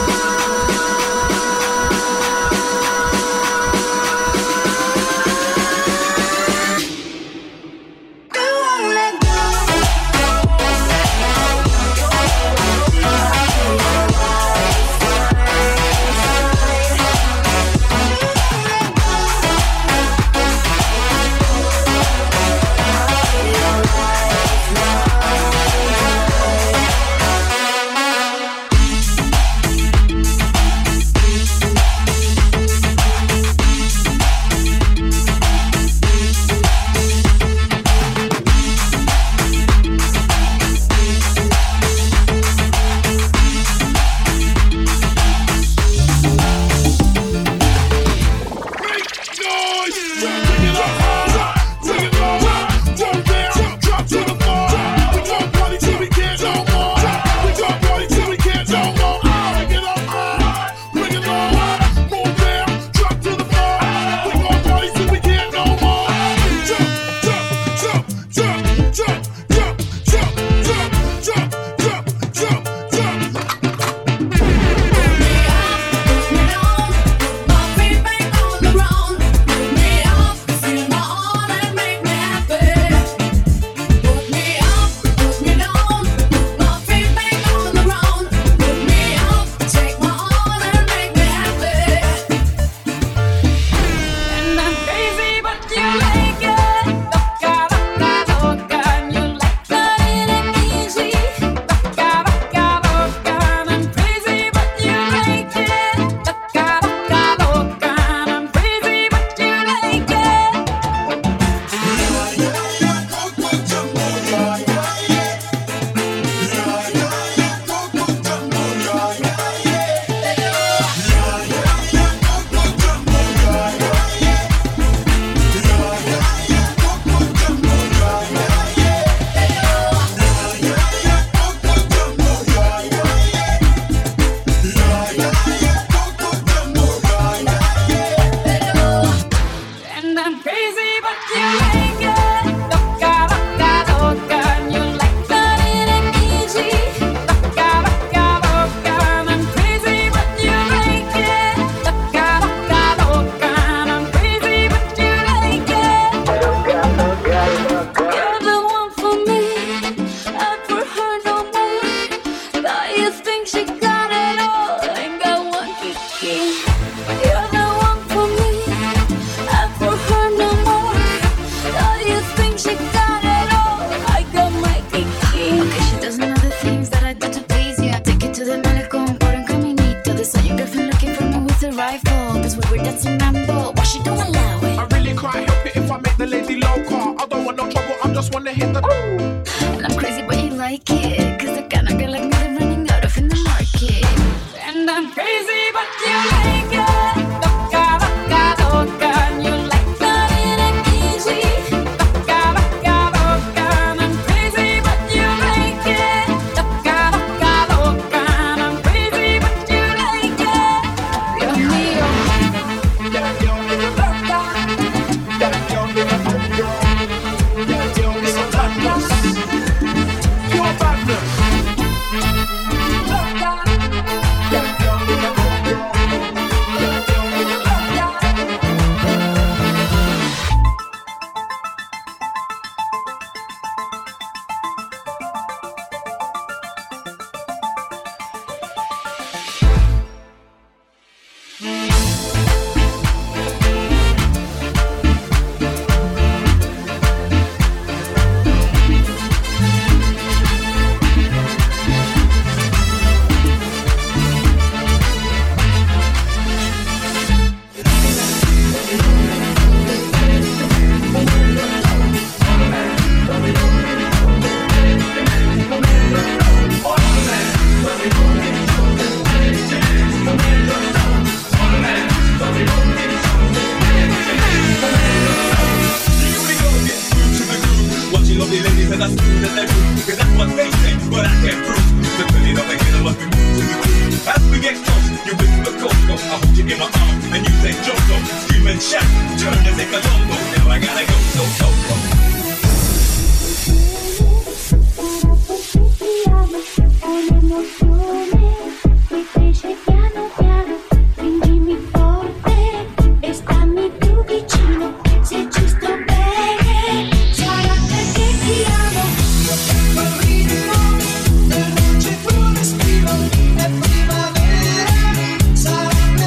Speaker 2: just wanna hit the.
Speaker 3: And I'm crazy, but you like it. Cause the kind of girl like me they're running out of in the market. And I'm crazy, but you like it. Loca, loca, loca. And you like loving it easy. Loca, loca, loca. And I'm crazy, but you like it. Loca, loca, loca. And I'm crazy, but you like it. Dios mío.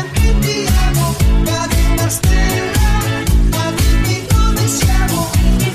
Speaker 13: Stella, a dimmi come siamo.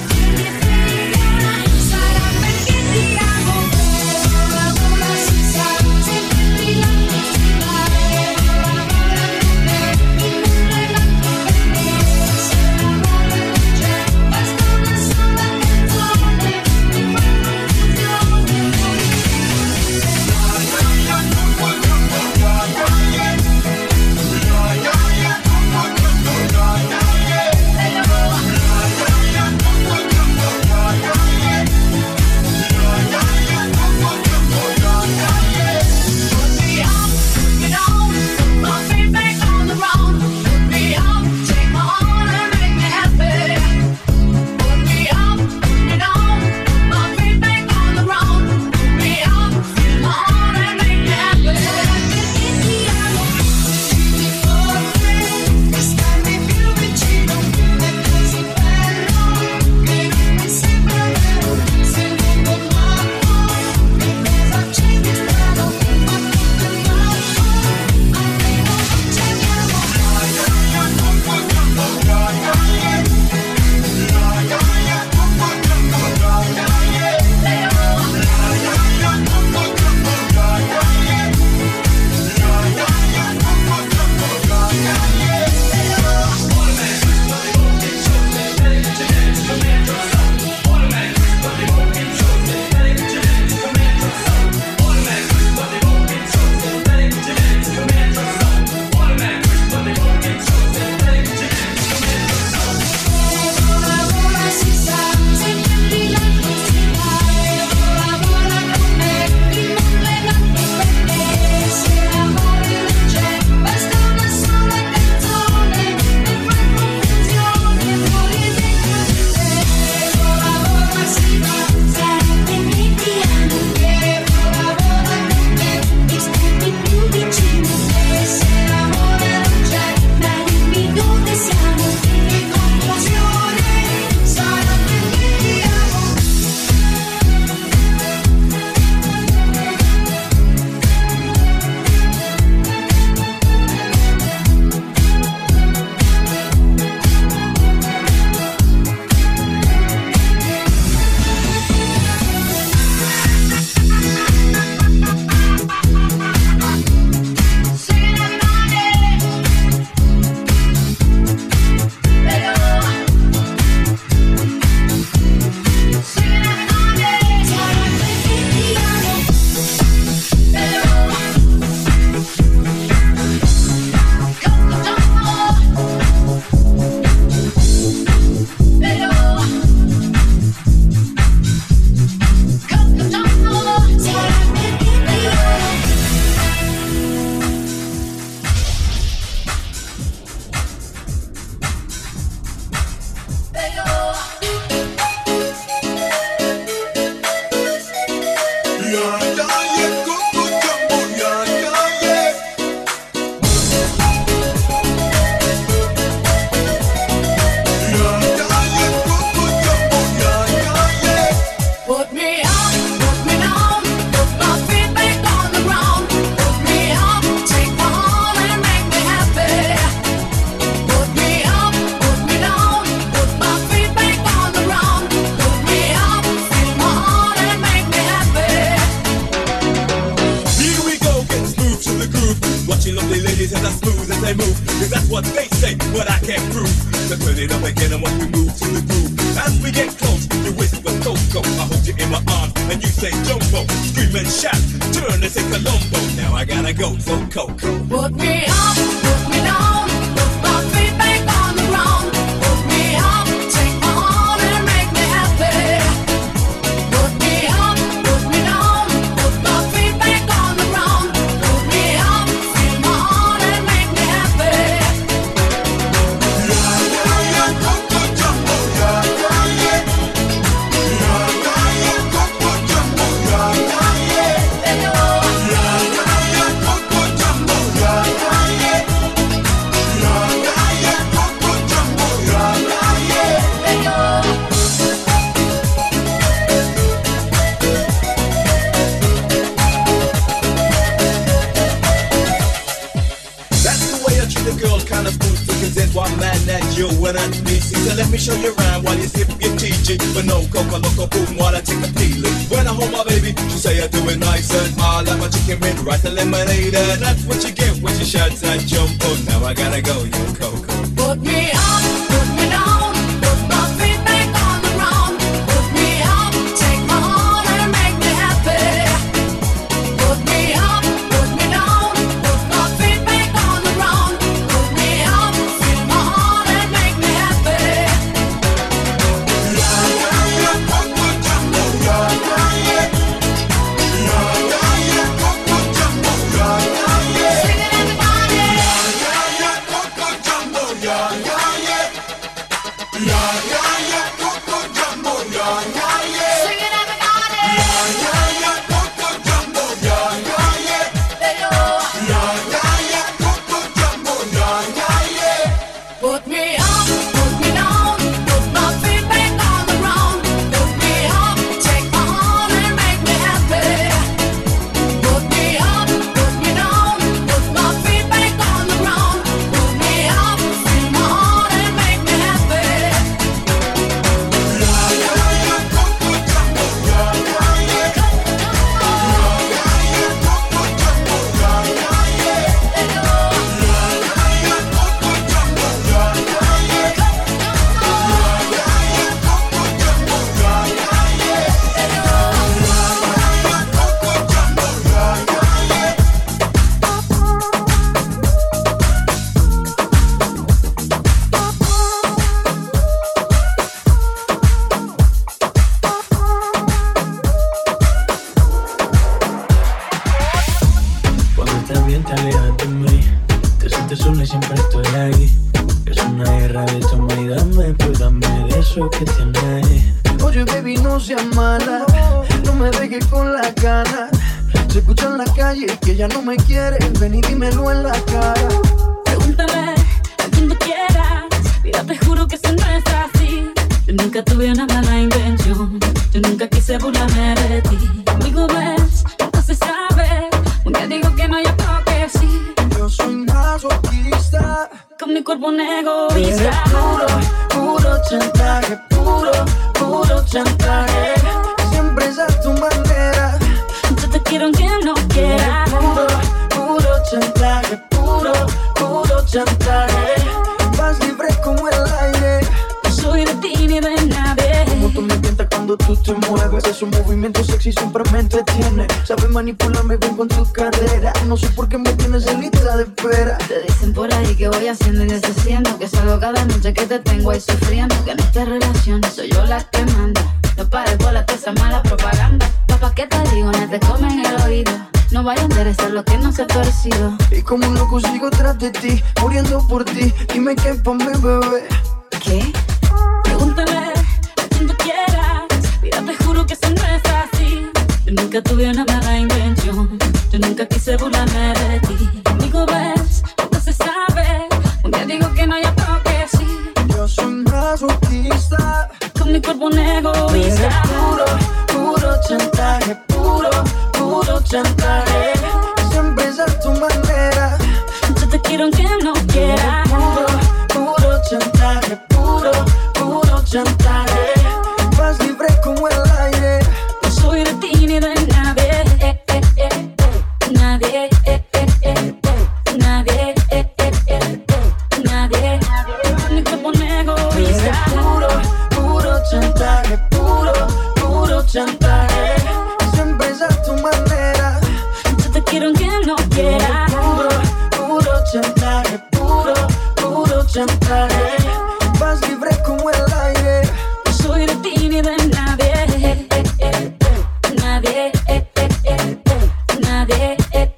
Speaker 1: what they say, but I can't prove. So turn it up again and watch me move to the groove. As we get close, you whisper Coco. I hold you in my arms and you say Jumbo. Scream and shout, turn and say Colombo. Now I gotta go, so Coco.
Speaker 3: Put me up, put me down, put my feet back on the ground. Put me up, take my heart and make me happy. Put me up, put me down, put my feet back on the ground. Put me up, feel my heart and make me happy.
Speaker 2: Coco Jumbo, Coco Jumbo,
Speaker 1: One man that you and I busy. So let me show you around while you sip your TG. But no coca loco boom while I take a peeling. When I hold my baby, she say I do it nice and hard like my chicken with rice and lemonade. And that's what you get when you shout that jump. Oh, now I gotta go, you Coco.
Speaker 3: Put me up, put me down, put my feet back on the ground. Put me up, take my heart and make me happy. Put me up, put me down, put my feet back on the ground. Put me up, feel my heart and make me happy.
Speaker 2: Coco Jumbo, Coco Jumbo, sing it everybody. Coco Jumbo, Coco Jumbo, sing it everybody. Coco Jumbo, Coco Jumbo,
Speaker 3: Put me up, put me down, put my feet back on the ground. Put me up, take my heart and make me happy. Put me up, put me down, put my feet back on the ground. Put me up, feel my heart and make me happy.
Speaker 20: Cuando estás bien te alejas de mí. Te sientes sola y siempre estoy ahí. Es una guerra de toma y dame, pues dame de eso que tienes.
Speaker 9: Oye, baby, no seas mala, no me dejes con la gana. Se escucha en la calle que ya no me quieres, ven y dímelo en la cara.
Speaker 5: Pregúntale a quien tú quieras, mira, te juro que eso no es así. Yo nunca tuve una mala intención, yo nunca quise burlarme de ti. Conmigo ves, nunca se sabe, un día digo que no, yo creo que sí.
Speaker 9: Yo soy masoquista,
Speaker 5: con mi cuerpo un egoísta.
Speaker 9: eres puro chantaje, puro chantaje. Siempre es a tu manera.
Speaker 5: Yo te quiero aunque no quiera.
Speaker 9: Puro chantaje, puro chantaje. Vas libre como el aire.
Speaker 5: No soy de ti ni de nadie.
Speaker 9: Como tú me tientas cuando tú te mueves. Es un movimiento sexy, siempre me entretiene. Sabes manipularme bien con tu carrera. No sé por qué me tienes en lista de espera.
Speaker 5: Te dicen por ahí que voy haciendo y deshaciendo, que salgo cada noche que te tengo ahí sufriendo, que en esta relación soy yo la que manda. No pares bola toda esa mala propaganda. Papá, ¿qué te digo? No te comen el oído. No vaya a interesar lo que no se ha torcido.
Speaker 9: Y como un loco sigo tras de ti, muriendo por ti. Dime qué pa' mi bebé.
Speaker 5: ¿Qué? Pregúntale a quien tú quieras. Mira, te juro que eso no es así. Yo nunca tuve una mala intención, yo nunca quise burlarme de ti. Conmigo ves, nunca se sabe, un día digo que no, yo creo que sí.
Speaker 9: Yo soy masoquista,
Speaker 5: con mi cuerpo un egoísta.
Speaker 9: Eres puro chantaje, puro chantaje. Siempre es a tu manera.
Speaker 5: Yo te quiero aunque no quiera.
Speaker 9: Puro chantaje, puro chantaje. Vas libre como el aire.
Speaker 5: No soy de ti ni de nadie. Nadie. Nadie.
Speaker 13: chantaje. Siempre es a tu manera.
Speaker 5: Yo te quiero aunque no quiera.
Speaker 13: Puro chantaje, puro chantaje. Vas libre como el aire.
Speaker 5: No soy de ti ni de nadie. Nadie. Nadie.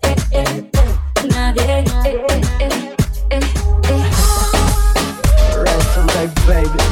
Speaker 5: Nadie.
Speaker 13: Right, baby.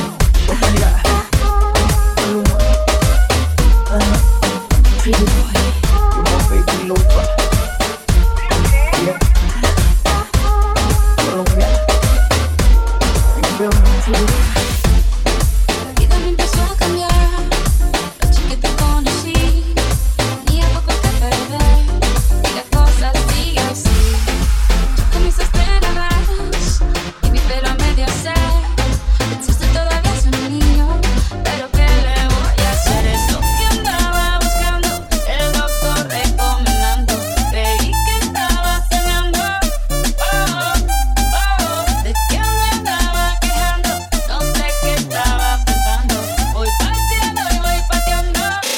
Speaker 5: Pretty boy.
Speaker 13: You're my baby lover. Yeah. Colombia. You feel me?
Speaker 5: La vida me empezó a cambiar. La noche que te conocí, tenía poco que perder y la cosa sigue así. Tú comenzaste a narrar y mi pelo a medio se. Pensaste todavía soy un niño, pero ¿qué le voy a hacer? Eso que andaba buscando, el doctor recomendando. Creí que estaba soñando. ¿De qué me andaba quejando? No sé qué estaba pensando. Voy partiendo y voy pateando.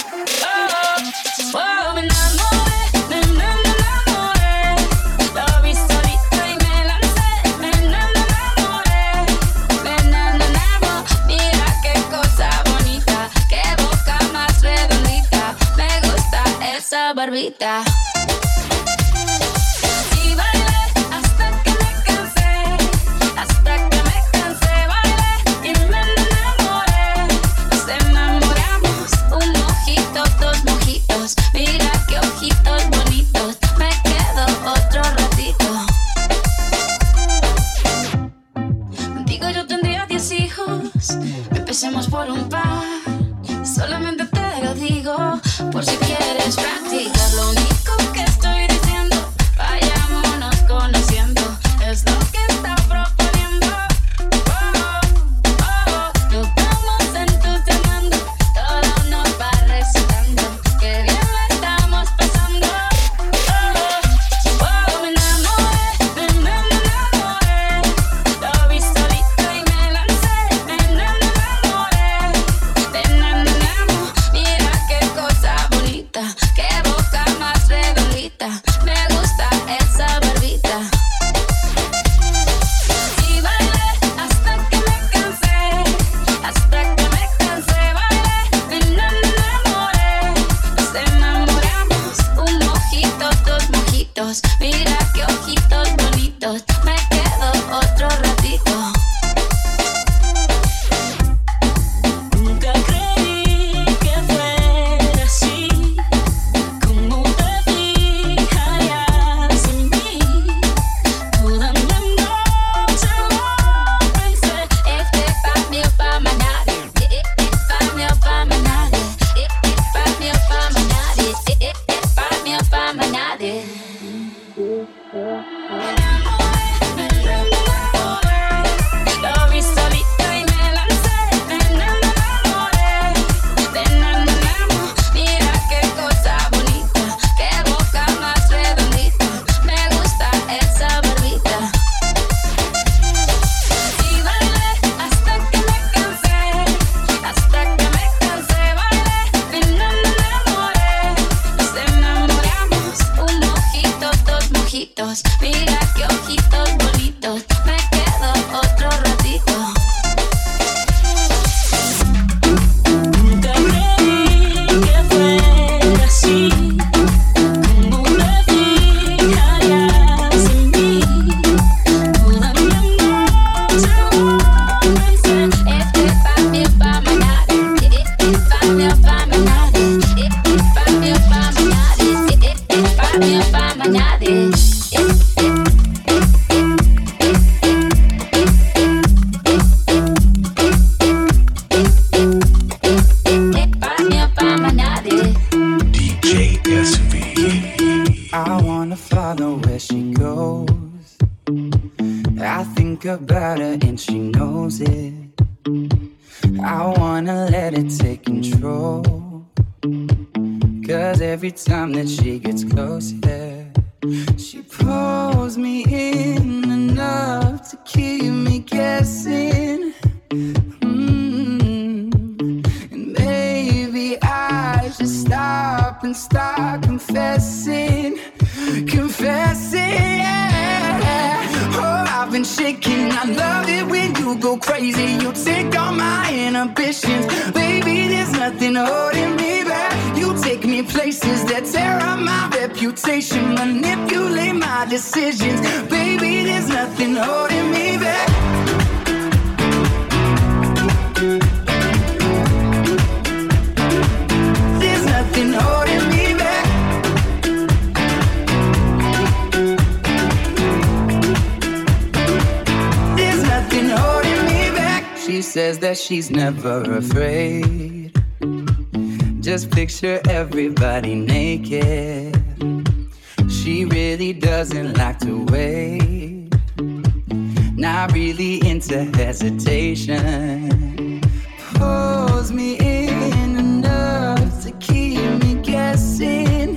Speaker 5: Me enamoré. Lo vi solito y me lancé. Me enamoré. Mira qué cosa bonita, qué boca más redondita. Me gusta esa barbita. Y bailé hasta que me cansé, bailé y me enamoré. Nos enamoramos, un mojito, dos mojitos. Mira qué ojitos bonitos, me quedo otro ratito. Contigo yo tendría 10 hijos, empecemos por un par. Solamente te lo digo, por si quieres practicar. Lo único que estoy diciendo, vayámonos conociendo, es lo que está proponiendo. Nos vamos entusiasmando, todo nos va recitando, que bien lo estamos pasando. Me enamoré. Lo vi solito y me lancé. Me enamoré. Mira qué cosa bonita, qué boca más redondita. Me gusta esa barbita. Y bailé hasta que me cansé, bailé. Me enamoré. Nos enamoramos, un mojito, dos mojitos. Mira qué ojitos bonitos, me quedo otro ratito. Nunca creí que fuera así, como te fijarías en mí. Toda la noche lo pensé. Este pa' mí o pa' más nadie. Pa' mí o pa' más nadie. Pa' mí o pa' más nadie. Pa' mí o pa' más nadie. Lo vi solito y me lancé. Me enamoré. Mira qué cosa bonita, qué boca más redondita. Me gusta esa barbita. Y bailé hasta que me cansé, bailé. Me enamoré. Nos enamoramos, un mojito, dos mojitos. Mira qué ojitos bonitos, me quedo otro ratito. Nunca creí que fuera así, como te fijarías en mí. Toda la noche lo pensé. Este pa' mí o pa' más nadie. Pa' mí o pa' más nadie. Pa' mí o pa' más nadie. Pa' mí o pa' más nadie. Pa' mí o pa' más nadie.
Speaker 17: DJ SV.
Speaker 7: I wanna follow where she goes. I think about her and she knows it. I wanna let it take control. 'Cause every time that she gets closer, she pulls me in enough to keep me guessing. And maybe I stop and start confessing, yeah. Oh, I've been shaking. I love it when you go crazy. You take all my inhibitions. Baby, there's nothing holding me back. You take me places that tear up my reputation, manipulate my decisions. Baby, there's nothing holding me back. There's nothing holding me back. There's nothing holding me back. She says that she's never afraid. Just picture everybody naked. She really doesn't like to wait. Not really into hesitation. Pulls me in enough to keep me guessing.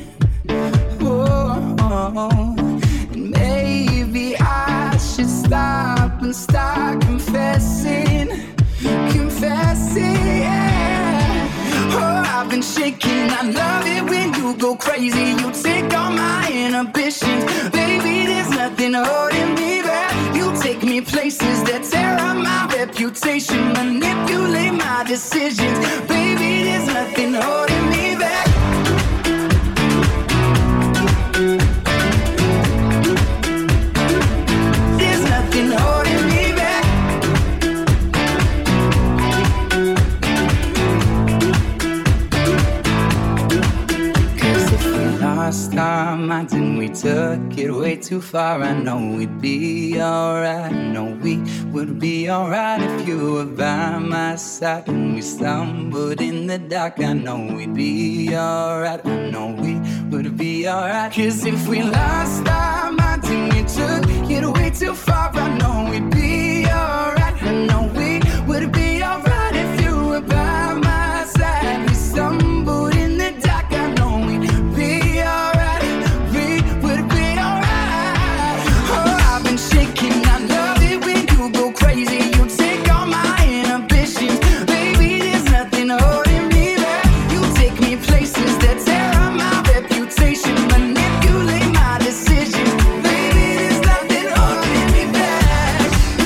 Speaker 7: And maybe I should stop and start confessing, yeah. Oh, I've been shaking. I love it when you go crazy. You take all my inhibitions. Baby, there's nothing holding me back. You take me places that tear up my reputation, manipulate my decisions. Baby, there's nothing holding me back. There's nothing holding me back. Last time I didn't, we took it way too far. I know we'd be alright. I know we would be alright if you were by my side. When we stumbled in the dark, I know we'd be alright. I know we would be alright. 'Cause if we last time I didn't, we took it way too far. I know we'd be alright. I know we would be alright if you were by my side. We stumbled in the dark, I know we'd be alright. We would be alright. Oh, I've been shaking. I love it when you go crazy. You take all my inhibitions. Baby, there's nothing holding me back. You take me places that tear up my reputation, manipulate my decisions. Baby, there's nothing holding me back.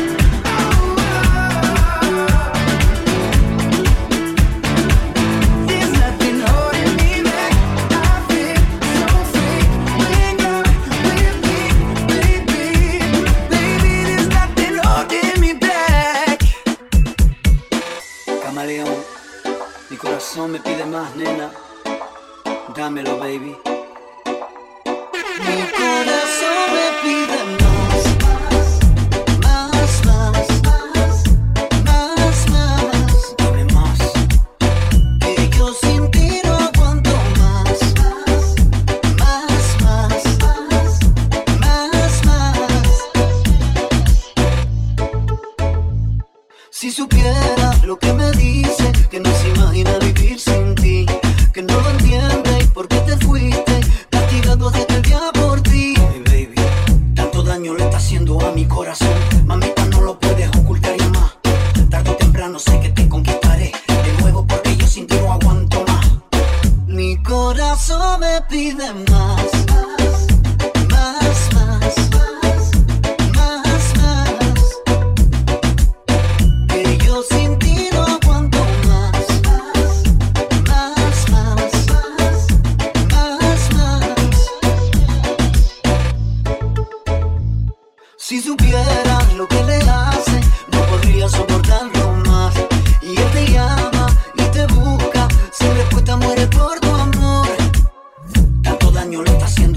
Speaker 7: There's nothing holding me back. I feel so free when you're with me, baby. Baby, there's nothing holding me back.
Speaker 11: Camaleón, mi corazón me pide más, nena. Dámelo, baby.
Speaker 7: Mi corazón me pide más, más, más, más, más.
Speaker 11: Dame más.
Speaker 7: Que yo sin ti no aguanto más, más, más, más, más. Si supiera lo que me dice, que no se imagina vivir sin ti, que no lo entiende y por qué te fuiste, castigado desde el día por ti.
Speaker 11: Hey, baby, tanto daño le está haciendo a mi corazón. Mamita, no lo puedes ocultar ya más. Tarde o temprano sé que te conquistaré de nuevo porque yo sin ti no aguanto más.
Speaker 7: Mi corazón me pide más, más, más, más, más. Que yo sin ti no aguanto más, más, más, más, más. Si supiera lo que le hace, no podría soportarlo más. Y él te llama y te busca, sin respuesta muere por tu amor.
Speaker 11: Tanto daño le está haciendo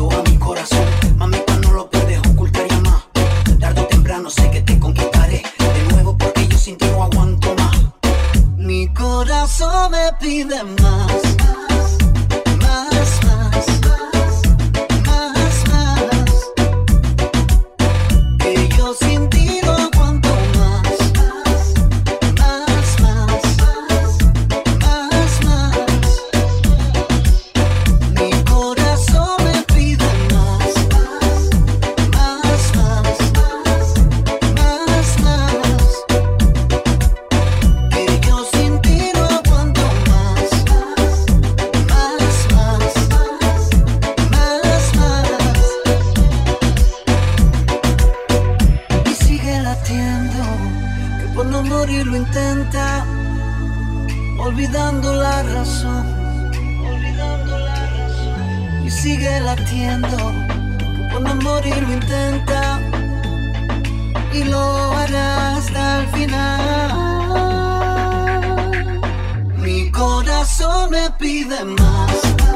Speaker 14: sigue latiendo, que por no morir lo intenta y lo hará hasta el final. Mi corazón me pide más.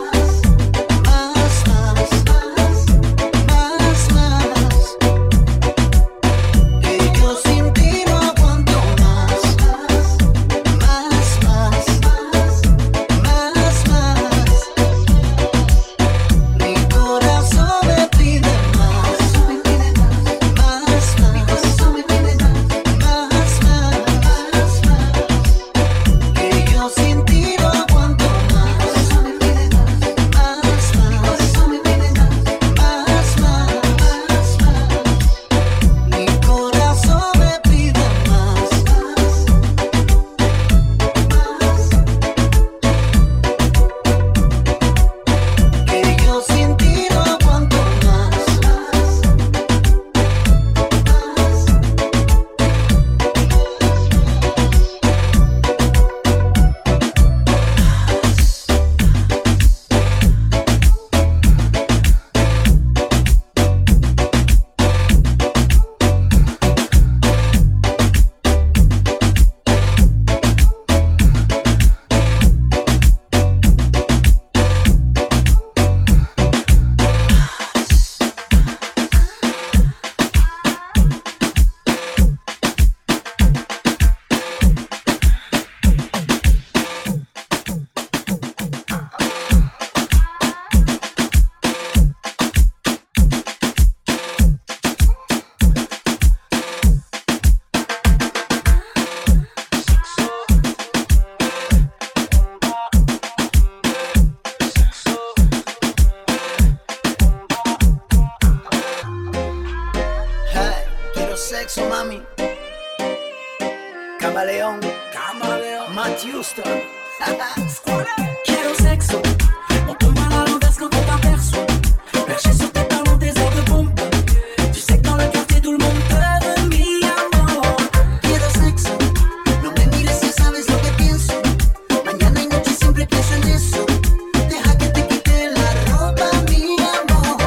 Speaker 4: Quiero sexo, on tombe à l'envers quand on t'aperçoit. Perché sur tes talons, des airs de bombe. Tu sais que dans le quartier tout le monde te veut, mi amor.
Speaker 14: Quiero sexo, no me mires si sabes lo que pienso. Mañana y noche siempre pienso en eso. Deja que te quite la ropa, mi amor.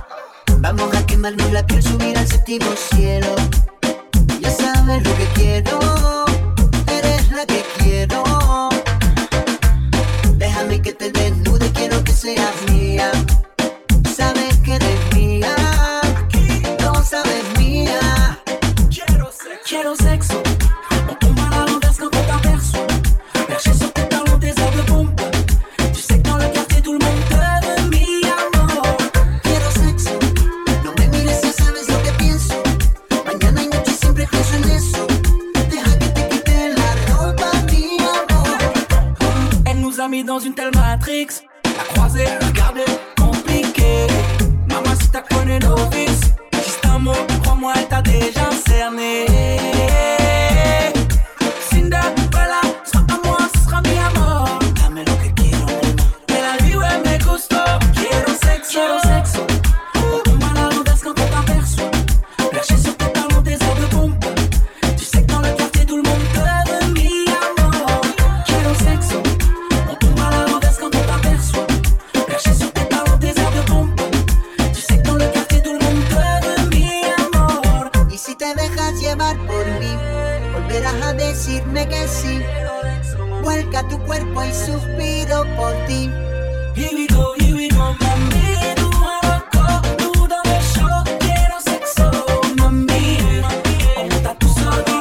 Speaker 14: Vamos a quemarnos la piel, subir al séptimo cielo. Ya sabes lo que quiero, eres la que quiero. Déjame que te desnude, quiero que seas mía. Sabes que eres mía, no sabes mía.
Speaker 4: Quiero sexo, on tombe à l'envers quand on t'aperçoit. Perché sur tes talons, des airs de bombe. Tu sais que dans le quartier tout le monde te veut, mi amor.
Speaker 14: Quiero sexo, no me mires si sabes lo que pienso. Mañana y noche siempre pienso en eso. Deja que te quite la ropa, mi amor.
Speaker 4: Elle nous a mis dans une telle matrix. La croisée, regardez, compliqué. Maman, si t'as connu novice, juste un mot, crois-moi, elle t'a déjà cerné. Cinderella, sera à moi, ce sera mi amor.
Speaker 14: Dame lo que quiero,
Speaker 4: Que la vie, ouais, me gusto. Quiero sexo, on tombe à l'envers quand on t'aperçoit. Perché sur tes talons, des airs de bombe. Tu sais que dans le quartier tout le monde te veut, mi amor. Quiero sexo, on tombe à l'envers quand on t'aperçoit. Perché sur tes talons, des airs de bombe. Tu sais que dans le quartier tout le monde te veut, mi amor.
Speaker 14: Y si te dejas llevar por mí, volverás a decirme que sí. Vuelca tu cuerpo y suspiro por ti.
Speaker 4: Here we go, mami. Tú a loco, tú dame show. Quiero sexo, mami. On t'a tout sorti.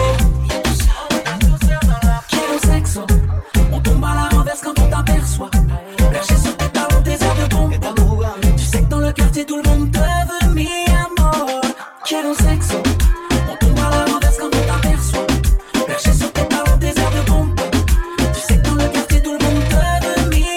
Speaker 4: Quiero sexo, on tombe à la renverse quand on t'aperçoit. Perché sur tes talons, des airs de bombe. Tu sais que dans le quartier tout le monde te veut, mi amor. Quiero sexo, on tombe à la renverse quand on t'aperçoit. Perché sur tes talons, des airs de bombe. Tu sais que dans le quartier tout le monde te veut, mi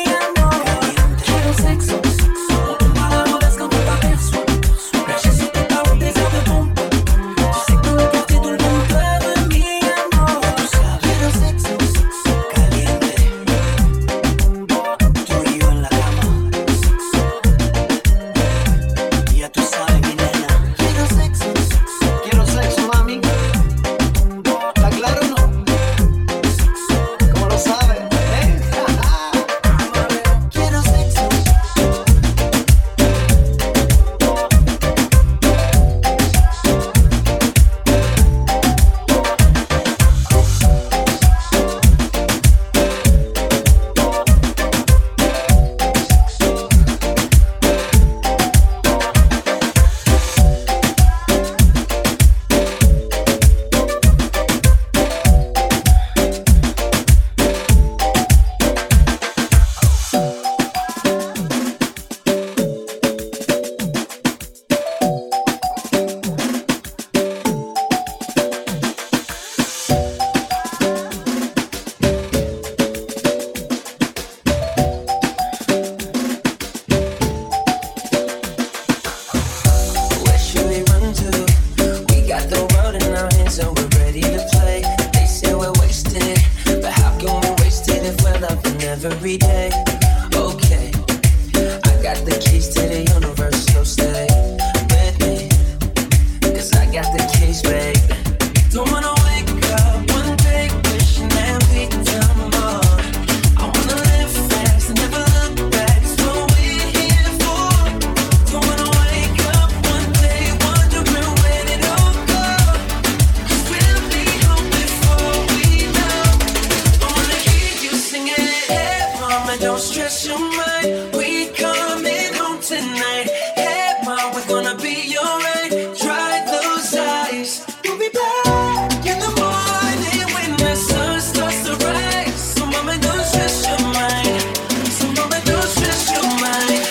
Speaker 6: got the keys to the universe, so stay with me. 'Cause I got the keys, baby. Don't wanna wake up one day wishing that we'd done more. I wanna live fast and never look back. It's what we're here for. Don't wanna wake up one day wondering where it all go. 'Cause we'll be home before we know. I wanna hear you singing, hey mama, don't stress your mind. We coming home tonight. Hey mama, we're gonna be alright. Dry those eyes. We'll be back in the morning when the sun starts to rise. So mama, don't stress your mind. So mama, don't stress your mind.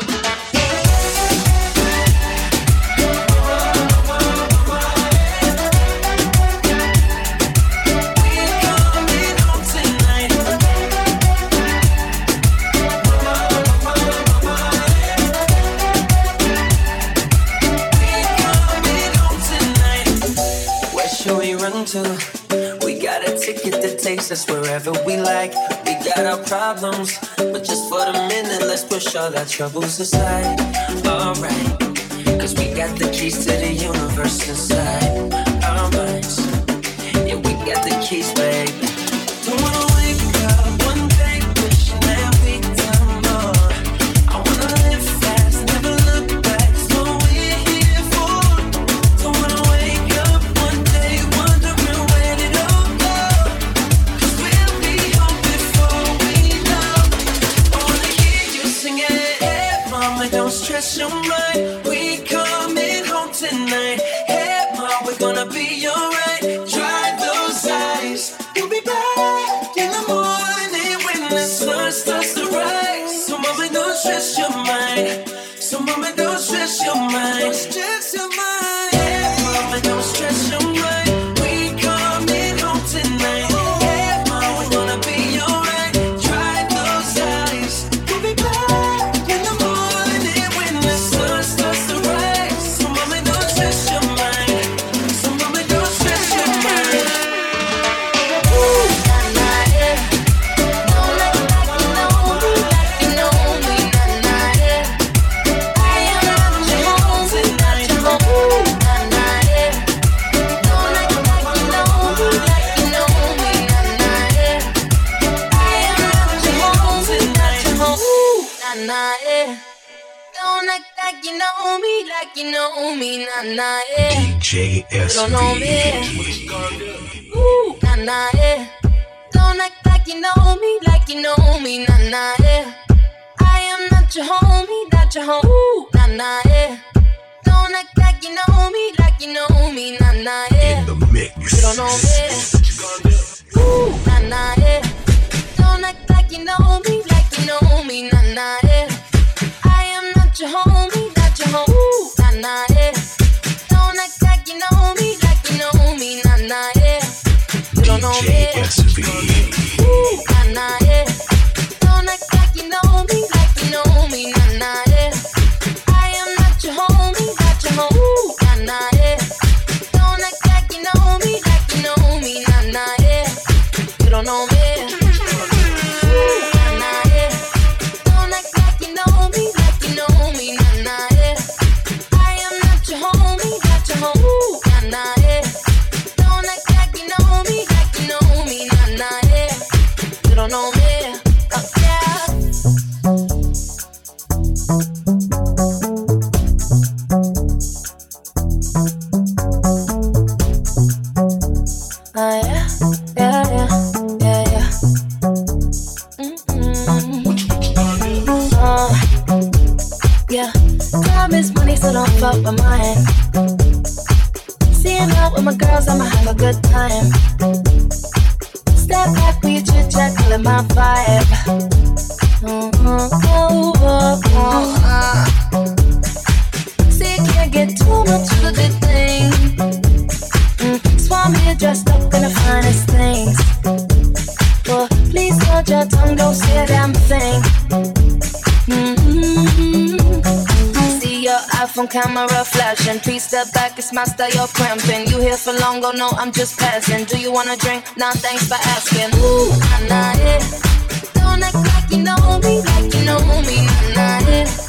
Speaker 6: We're coming home tonight. Where should we run to? We got a ticket that takes us wherever we like. We got our problems, but just for the minute, let's push all our troubles aside. Alright, 'cause we got the keys to the universe inside our minds. Yeah, we got the keys, baby. Don't wanna wake up one day wishing that we'd done more. I wanna live fast and never look back. It's what we're here for. Don't wanna wake up one day wondering where it all go. 'Cause we'll be home before we know. I wanna hear you singing, hey mama, don't stress your mind. We coming home tonight. Hey mama, we're gonna be alright. Dry those eyes. We'll be back in the morning when the sun starts to rise. So mama, don't stress your mind. So mama, don't stress your mind. Stress your mind. Hey mama, don't stress your mind. We coming home tonight. Hey mama, we're gonna be alright. Dry those eyes. We'll be back in the morning when the sun starts to rise. So mama, don't stress your mind. So mama, don't stress your mind.
Speaker 3: Don't act like you know me, like you know me, nah nah yeah.
Speaker 17: DJ
Speaker 3: Don't know
Speaker 17: SV.
Speaker 3: me, ooh nah nah yeah. Don't act like you know me, like you know me, nah nah yeah. I am not your homie, not your home, ooh nah nah yeah. Don't act like you know me, like you know me, nah nah yeah. You don't know me, ooh nah nah yeah. Don't act like you know me, like you know me, nah nah yeah. I am not your homie, not your home, ooh nah nah yeah. Don't act like you know me, like you know me, nah nah yeah. You don't know me, ooh nah nah yeah. Don't act like you know me, like you know me, nah nah yeah. I am not your homie, not your home, ooh nah nah yeah. Don't act like you know me, like you know me, nah nah yeah. You don't know me, ooh nah nah yeah. Don't act like you know me, like you know me, nah nah yeah. I am not your homie, not your home, ooh nah nah yeah. Don't act like you know me, like you know me, nah nah yeah. You don't know me, oh yeah. Oh yeah, yeah, yeah, yeah, yeah. Yeah, time is money, so don't fuck with mine. Seeing out with my girls, I'ma have a good time. Step back when you chit chat, call it my vibe. See, you can't get too much of a good thing. So I'm here dressed up in the finest things. Well, please hold your tongue, don't say a damn thing. I see your iPhone camera flashing. Please step back, it's my style, you're cramping. You here for long, oh no, I'm just passing. Do you wanna drink? Nah, thanks for asking. Ooh, nah, nah, yeah. Don't act like you know me, like you know me, nah, nah, yeah.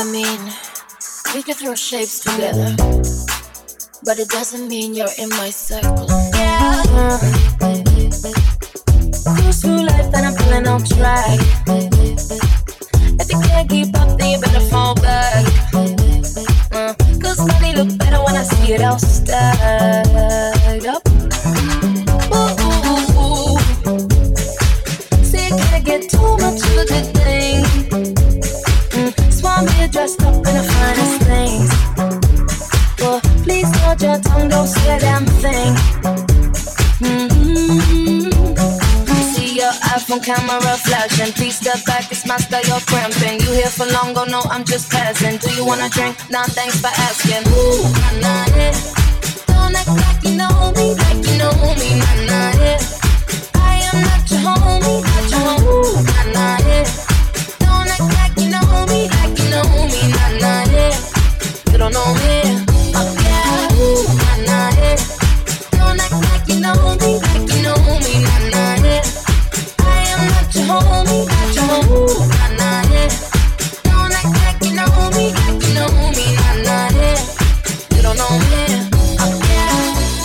Speaker 3: mean, we could throw shapes together, but it doesn't mean you're in my circle. Yeah. Cruise through life and I'm feeling on track. If you can't keep up, then you better fall back. Cause money look better when I see it all stacked up. Ooh, ooh, ooh. See, you can't get too much of a good thing. Swan here dressed up in the finest things. Well, please hold your tongue, don't say a damn thing. See your iPhone camera flashing. Please step back, it's my style, you're cramping. You here for long, go no, I'm just passing. Do you wanna drink? Nah, thanks for asking. Ooh, nah, nah, yeah. Don't act like you know me, like you know me, nah, nah, yeah. I am not your homie, not your homie, ooh, nah, nah, yeah. Don't act like you know me, like you know me, nah, nah, yeah. You don't know me, oh yeah, ooh, nah, nah, yeah. Don't act like you know me, like you know me, nah, nah, yeah. I am not your homie, not your homie, ooh, nah, nah, yeah. Don't act like you know me, like you know me, nah, nah, yeah. You don't know me, oh yeah.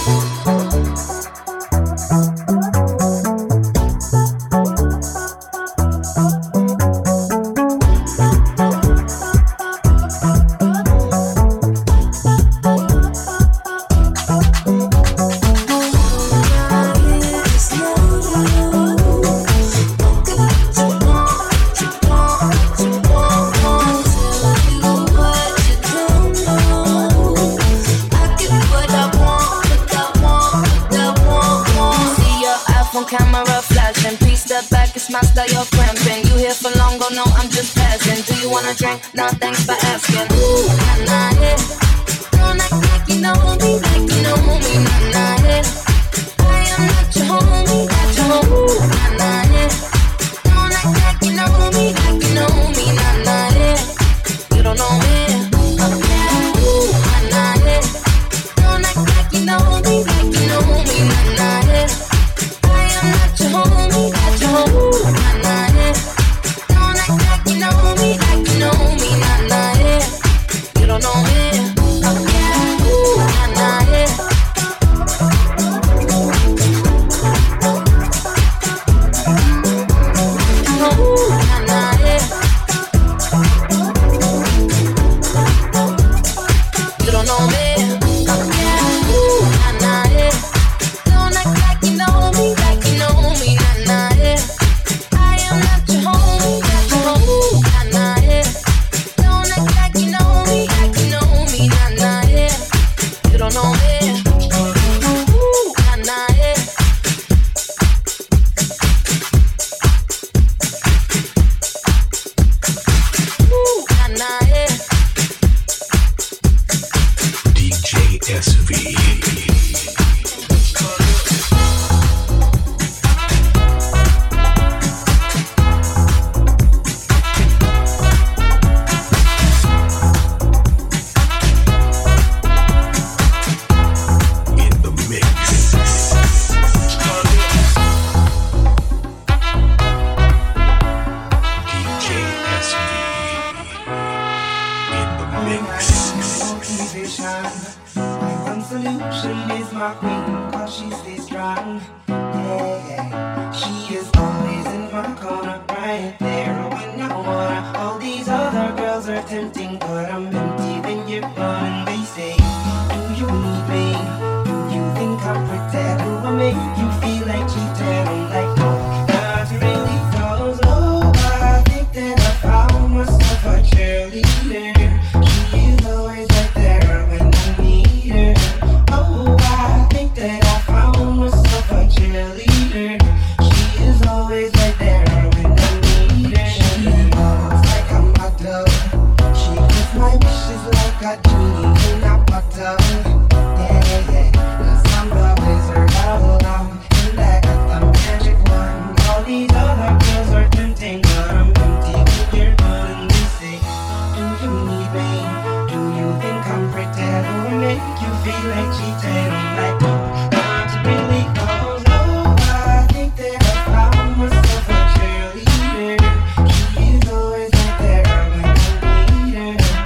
Speaker 3: Camera flashing, please step back, it's my style, you're cramping. You here for long, go no, I'm just passing. Do you wanna drink? Nah, thanks for asking. Ooh, nah, nah, yeah. Don't act like you know me, like you know me, nah, nah, yeah. I am not your homie, not your homie, ooh, nah, nah, yeah. Don't act like you know me, like you know me, nah, nah, yeah. You don't know me, oh yeah, ooh, nah, nah, yeah. Don't act like you know me, like you know me, nah, nah, yeah. Not your homie, not your homie, ooh, nah, nah, yeah. Don't act like you know me, like you know me, nah, nah, yeah. You don't know me, oh yeah, ooh, nah, nah, yeah. Ooh, nah, nah, yeah. You don't know me, oh yeah, ooh, nah, nah, yeah. Don't act like you know me, like you know me, nah, nah, yeah. I am not your homie, not your homie, ooh, nah, nah, yeah. Don't act like you know me, like you know me, nah, nah, yeah. You don't know me, ooh, nah, nah, yeah. Ooh, nah, nah, yeah.
Speaker 17: DJ SV.
Speaker 12: Solution is my queen, cause she stays strong. Yeah, yeah. She is always in my corner, right there when I wanna. All these other girls are tempting, but I'm empty when you're gone. And they say, do you need me? Do you think I'm pretty? Do I make you feel like cheating? I'm like, no, not really, cause oh, I think that I found myself a cheerleader. She is always right there when I need her. Oh, I think that I found myself a cheerleader. She is always right there when I need her. She looks like a model. She gives my wishes like a genie in a bottle. Yeah, yeah, cause I'm the wizard all along, and I got the magic wand. All these other girls are tempting, but I'm empty when you're gone. And they say, do you need me? Do you think I'm pretty? Do I make you feel like cheating? I'm like, no, not really, cause oh, I think that I found myself a cheerleader. She is always right there when I need her.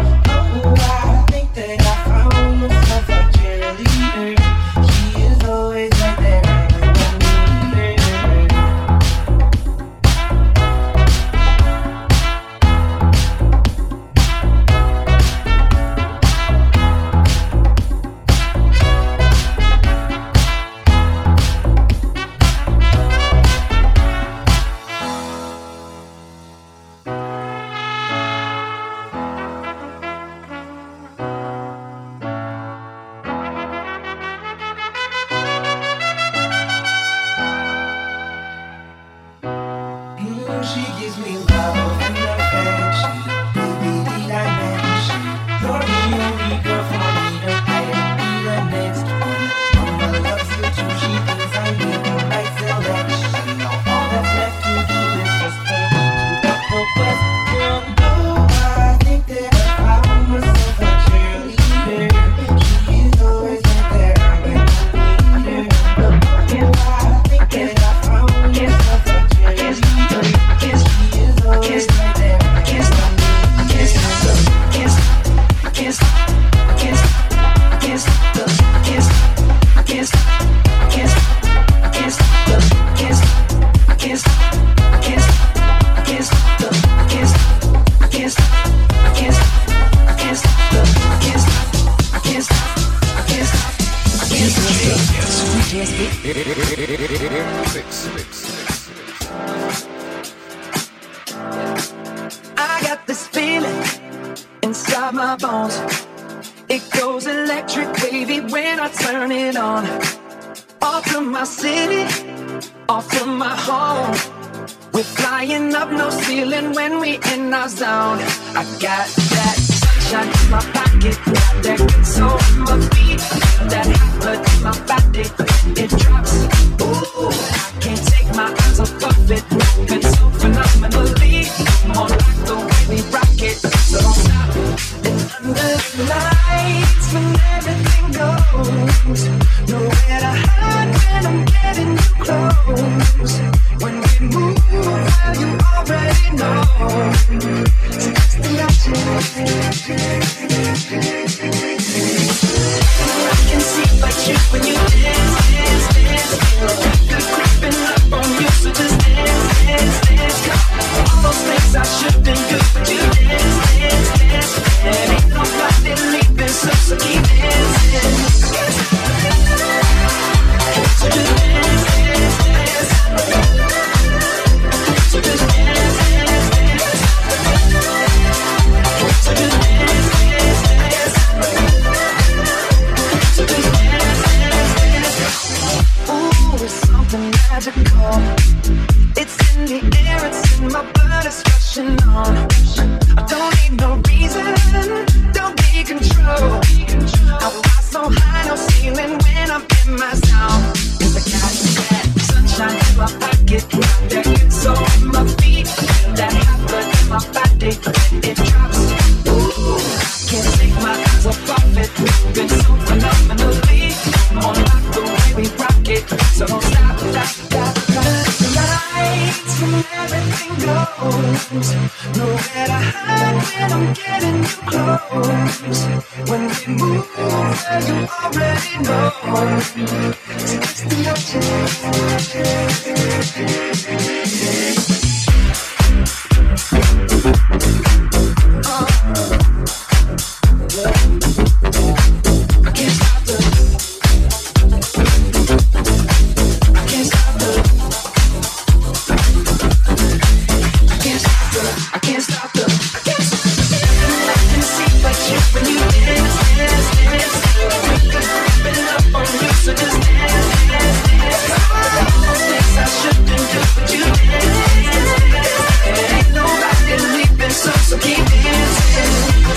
Speaker 8: DJSV.
Speaker 16: I got this feeling inside my bones. It goes electric wavy when I turn it on. Off from my city, off from my home. We're flying up no ceiling when we in our zone. I got that sunshine in my pocket, got that good soul in my feet, that hot blood in my body. It drops, ooh, I can't take my eyes off of it. Moving so phenomenally, more like the way we rock it. So don't stop. And under the lights, when everything goes, nowhere to hide when I'm getting too close. When we move, well, you already know. So just imagine. I can see but you when you dance, dance, dance. Feel good creeping up on you, so just dance, dance, dance. All those things I shouldn't do, but you dance, dance, dance. And ain't nobody leaving, so keep dancing. So just dance, dance, dance. So just dance, dance, dance. So just dance, dance, dance. So just dance, dance, dance. Ooh, it's something magical. It's in the air, it's in my blood, it's rushing on. I don't need no reason, don't be control. I fly so high, no ceiling when I'm in my zone. 'Cause I got that sunshine in my pocket, got that good soul in my feet, that hot blood in my body. It drops, ooh, I can't take my eyes off of it. Moving so phenomenally, more like the way we rock it. So don't stop, stop, stop, stop. The lights when everything goes, nowhere to hide when I'm getting too close. When we move, well, you already know. So just I can't stop the I can see but you when you dance, dance, dance. Creeping up on you, so just dance, dance, dance. All those things I shouldn't do, but you dance, dance, dance. Ain't nobody leaving, so keep dancing.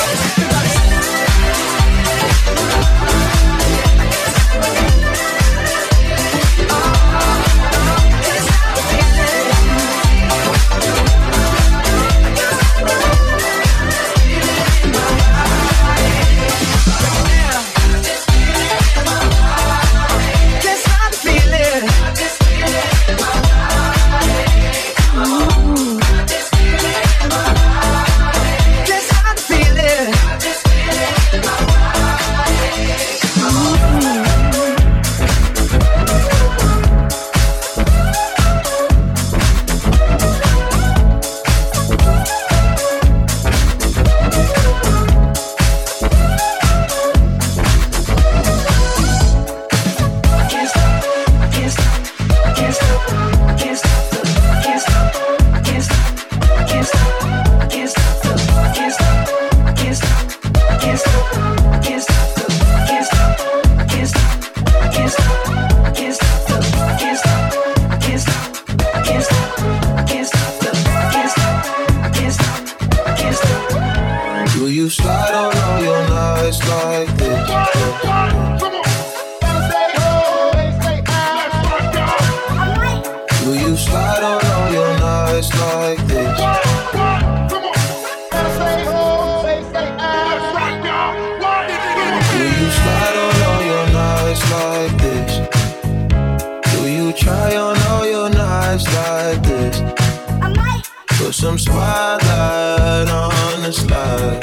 Speaker 6: Some spotlight on the slide.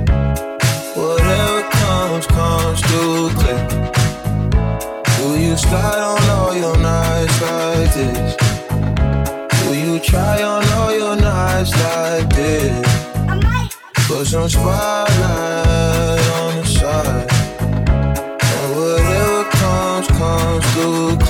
Speaker 6: Whatever comes through clear. Do you slide on all your nights like this? Do you try on all your nights like this? Put some spotlight on the side. And whatever comes through clear.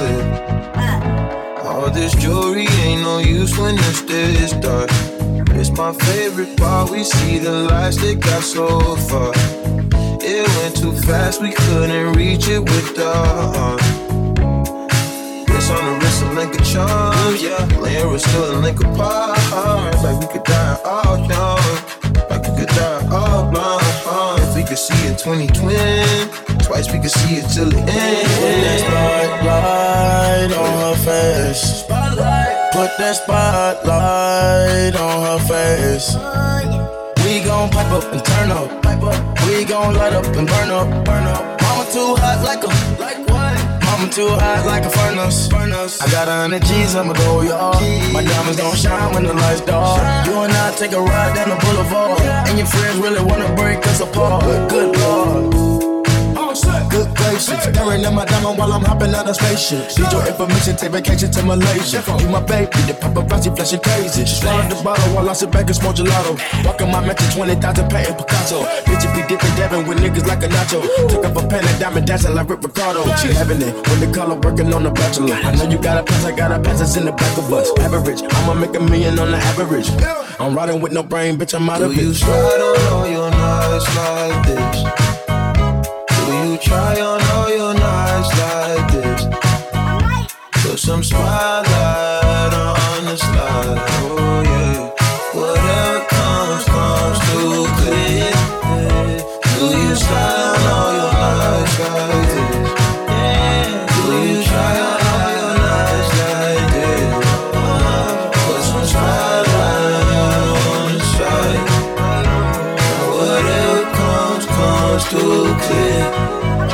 Speaker 8: this jewelry ain't no use when it's this dark. It's my favorite part, we see the lights that got so far. It went too fast, we couldn't reach it with the heart. It's on the wrist, a link of charms, yeah. Laying we're still a link apart. Like we could die all young, like we could die all blind. If we could see it 2020, twice we could see it till the end. Put that spotlight on her face. Put that spotlight on her face. We gon' pipe up and turn up. We gon' light up and burn up. Mama too hot like a, like what? Mama too hot like a furnace. I got 100 G's, I'ma go yard. My diamonds gon' shine when the lights dark. You and I take a ride down the boulevard, and your friends really wanna break us apart. Good Lord. Good gracious, staring at my diamond while I'm hopping out of spaceship. Need your information, take vacation to Malaysia. You my baby, the paparazzi flashing crazy. She swallowed the bottle while I sit back and smoke gelato. Walking my mansion, 20,000 painting Picasso. Bitch, be dipping, dabbing with niggas like a nacho. Took up a pen and diamond dancing like Rick Ricardo. She having it when the color working on the bachelor. I know you got a pass, I got a pass, it's in the back of us. Average, I'ma make $1 million on the average. I'm riding with no brain, bitch, I'm out of it. Do you slide on all your nights like this? Do you try on all your nights like this? Put some spotlight on the slide, oh yeah. Whatever comes too clear. Do you slide on all your nights like this? Do you try on all your nights like this? Put some spotlight on the slide. Whatever comes too clear.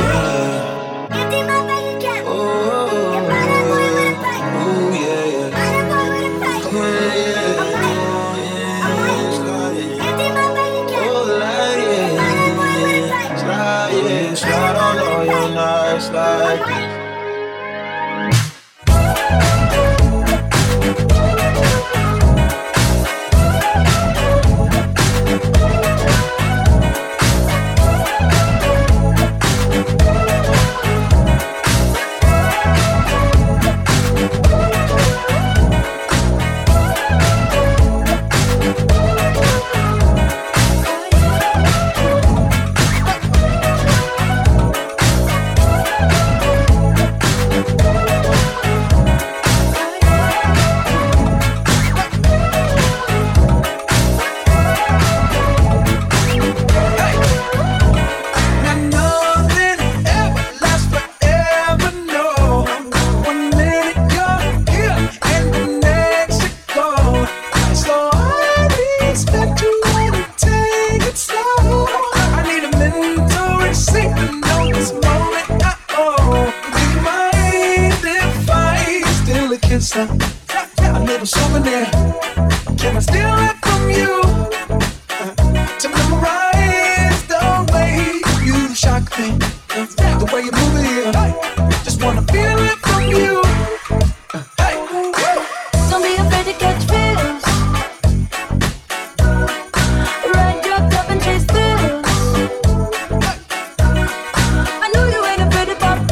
Speaker 8: A little souvenir. Can I steal it from you? To memorize the way you shock me, the way you move it here. Just wanna feel it from you.
Speaker 3: Don't be afraid to catch feels. Ride your cup and chase thrills. I know you ain't afraid to pop.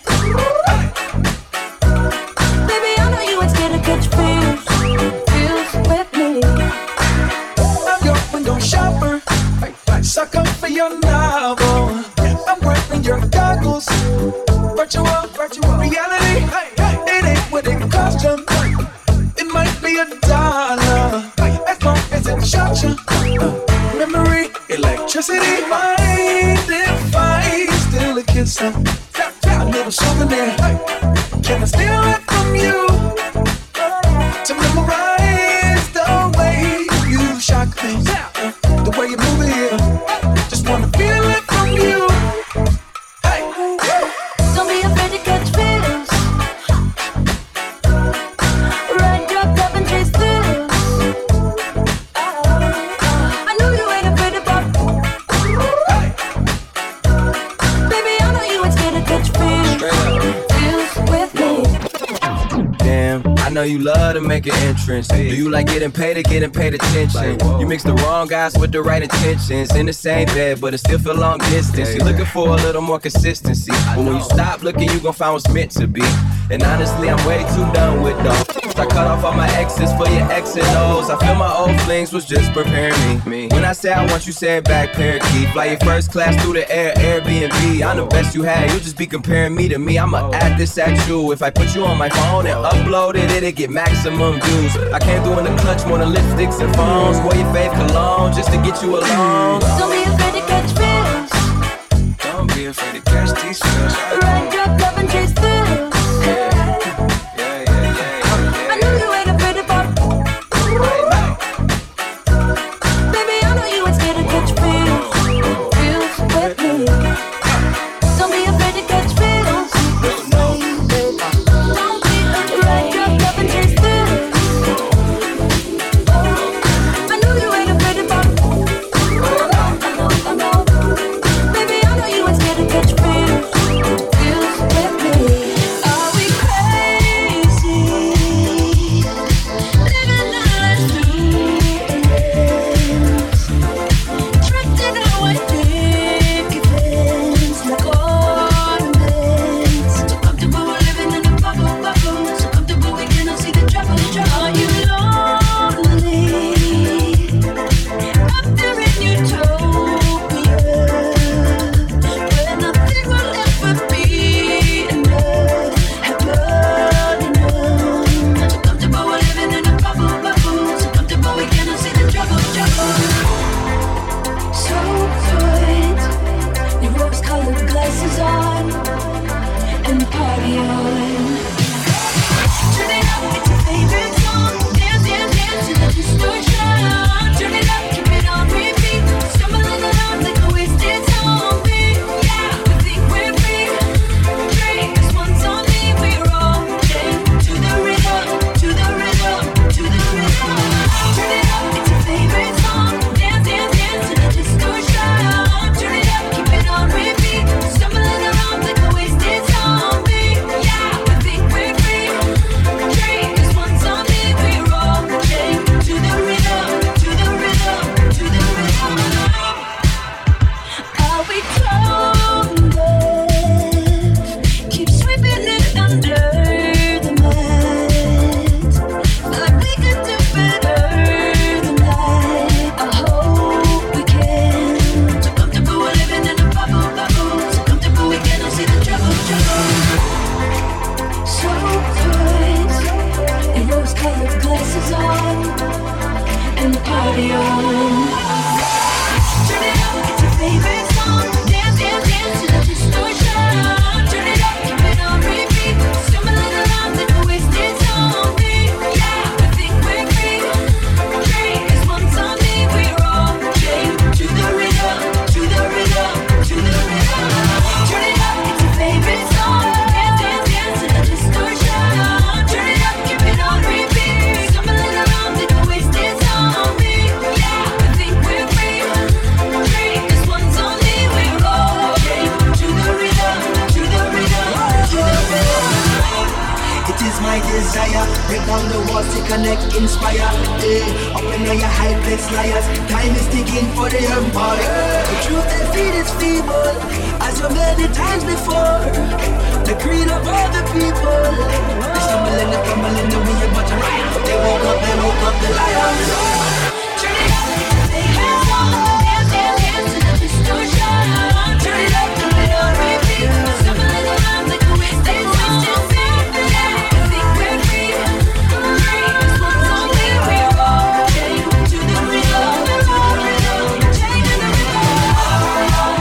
Speaker 3: Baby, I know you ain't scared to catch feels. Feels with me.
Speaker 13: I'm your window shopper. Sucker for your novel. I'm wearing your goggles. Virtual reality. It ain't what it cost you. It might be $1 as long as it shocks you. Memory, electricity, mind if I steal a kiss? A little souvenir. Can I steal it from you? To memorize the way you shock me, the way you move it here. Just wanna feel it from you.
Speaker 3: Don't be afraid to catch feels. Ride your cup and chase thrills. I know you ain't afraid to pop. Baby, I know you ain't scared to catch feels. Feels with me.
Speaker 19: Damn, I know you love to make an entrance. Do you like getting paid or getting paid attention? You mix the wrong guys with the right intentions. In the same bed, but it still feel long distance. You're looking for a little more consistency. But when you stop looking, you gon' find what's meant to be. And honestly, I'm way too done with the I cut off all my exes for your X and O's. I feel my old flings was just preparing me. When I say I want you, say it back, parakeet. Fly your first class through the air, Airbnb. I'm the best you had, you just be comparing me to me. I'ma add this at you. If I put you on my phone and upload it, it'll get maximum views. I came through in the clutch more than lipsticks and phones. Wore your fave cologne just to get you alone.
Speaker 3: Don't be afraid to catch feels.
Speaker 19: Don't be afraid to catch these feels.
Speaker 3: Ride, drop, love, and chase thrills. I know you ain't afraid to fall. Baby, I know you ain't scared to catch feels. Feels with me. Don't be afraid to catch feels. Don't be ride, drop, love, and chase thrills. I know you ain't afraid to fall. I know. Baby, I know you ain't scared to catch feels. Feels with me. Are we crazy? Living our lives through trapped in our thick events like ornaments. So comfortable we're living in a bubble. So comfortable we cannot see the trouble. Are you lonely? Up there in utopia, where nothing will ever be enough. Heaven enough. So comfortable we're living in a bubble. So comfortable we cannot see the trouble. So put your rose-colored glasses on and party on. Turn it up, it's your favorite song. Dance, dance, dance to the distortion. Turn it up, keep it on repeat. Stumbling around like a wasted zombie. Yeah, we think we're free. Drink, this one's on me. We're all chained to the rhythm, to the rhythm, to the rhythm. Turn it up, it's your favorite song. Dance, dance, dance to the distortion. Turn it up, keep it on repeat. Stumbling around like a wasted zombie. Yeah, we think we're free. Drink, this one's on me. We're all chained to the rhythm, to the rhythm, to the rhythm. Are we tone deaf? Keep sweeping it under the mat. Like we could do better than that. I hope we can. So comfortable we're living in a bubble. So comfortable we cannot see the trouble. So put your rose-colored glasses on and party on. Turn it up, it's your favorite song. Dance, dance, dance to the distortion. Turn it up, keep it on repeat. Stumbling around like a wasted zombie. Yeah, we think we're free. Drink, this one's on me. We're all chained to the rhythm, to the rhythm, to the rhythm. Turn it up, it's your favorite song. Dance, dance, dance to the distortion. Turn it up, keep it on repeat. Stumbling around like a wasted zombie. Yeah, we think we're free. Drink, this one's on me. We're all chained to the rhythm, to the rhythm, to the rhythm.
Speaker 11: It is my desire, break down the walls to connect, inspire. Open all your high place liars. Time is ticking for the empire. The truth they feed is feeble, as so many times before. The creed of all the people. They stumble and they fumble in the way, but you're right. They woke up the lions.
Speaker 3: Turn it up, it's your favorite song. Dance, dance, dance to the distortion. Turn it up, keep it on repeat. Stumbling around like a wasted zombie. Yeah, we think we're free. Drink, this one's on me. We're all chained to the rhythm, to the rhythm, chained to the rhythm.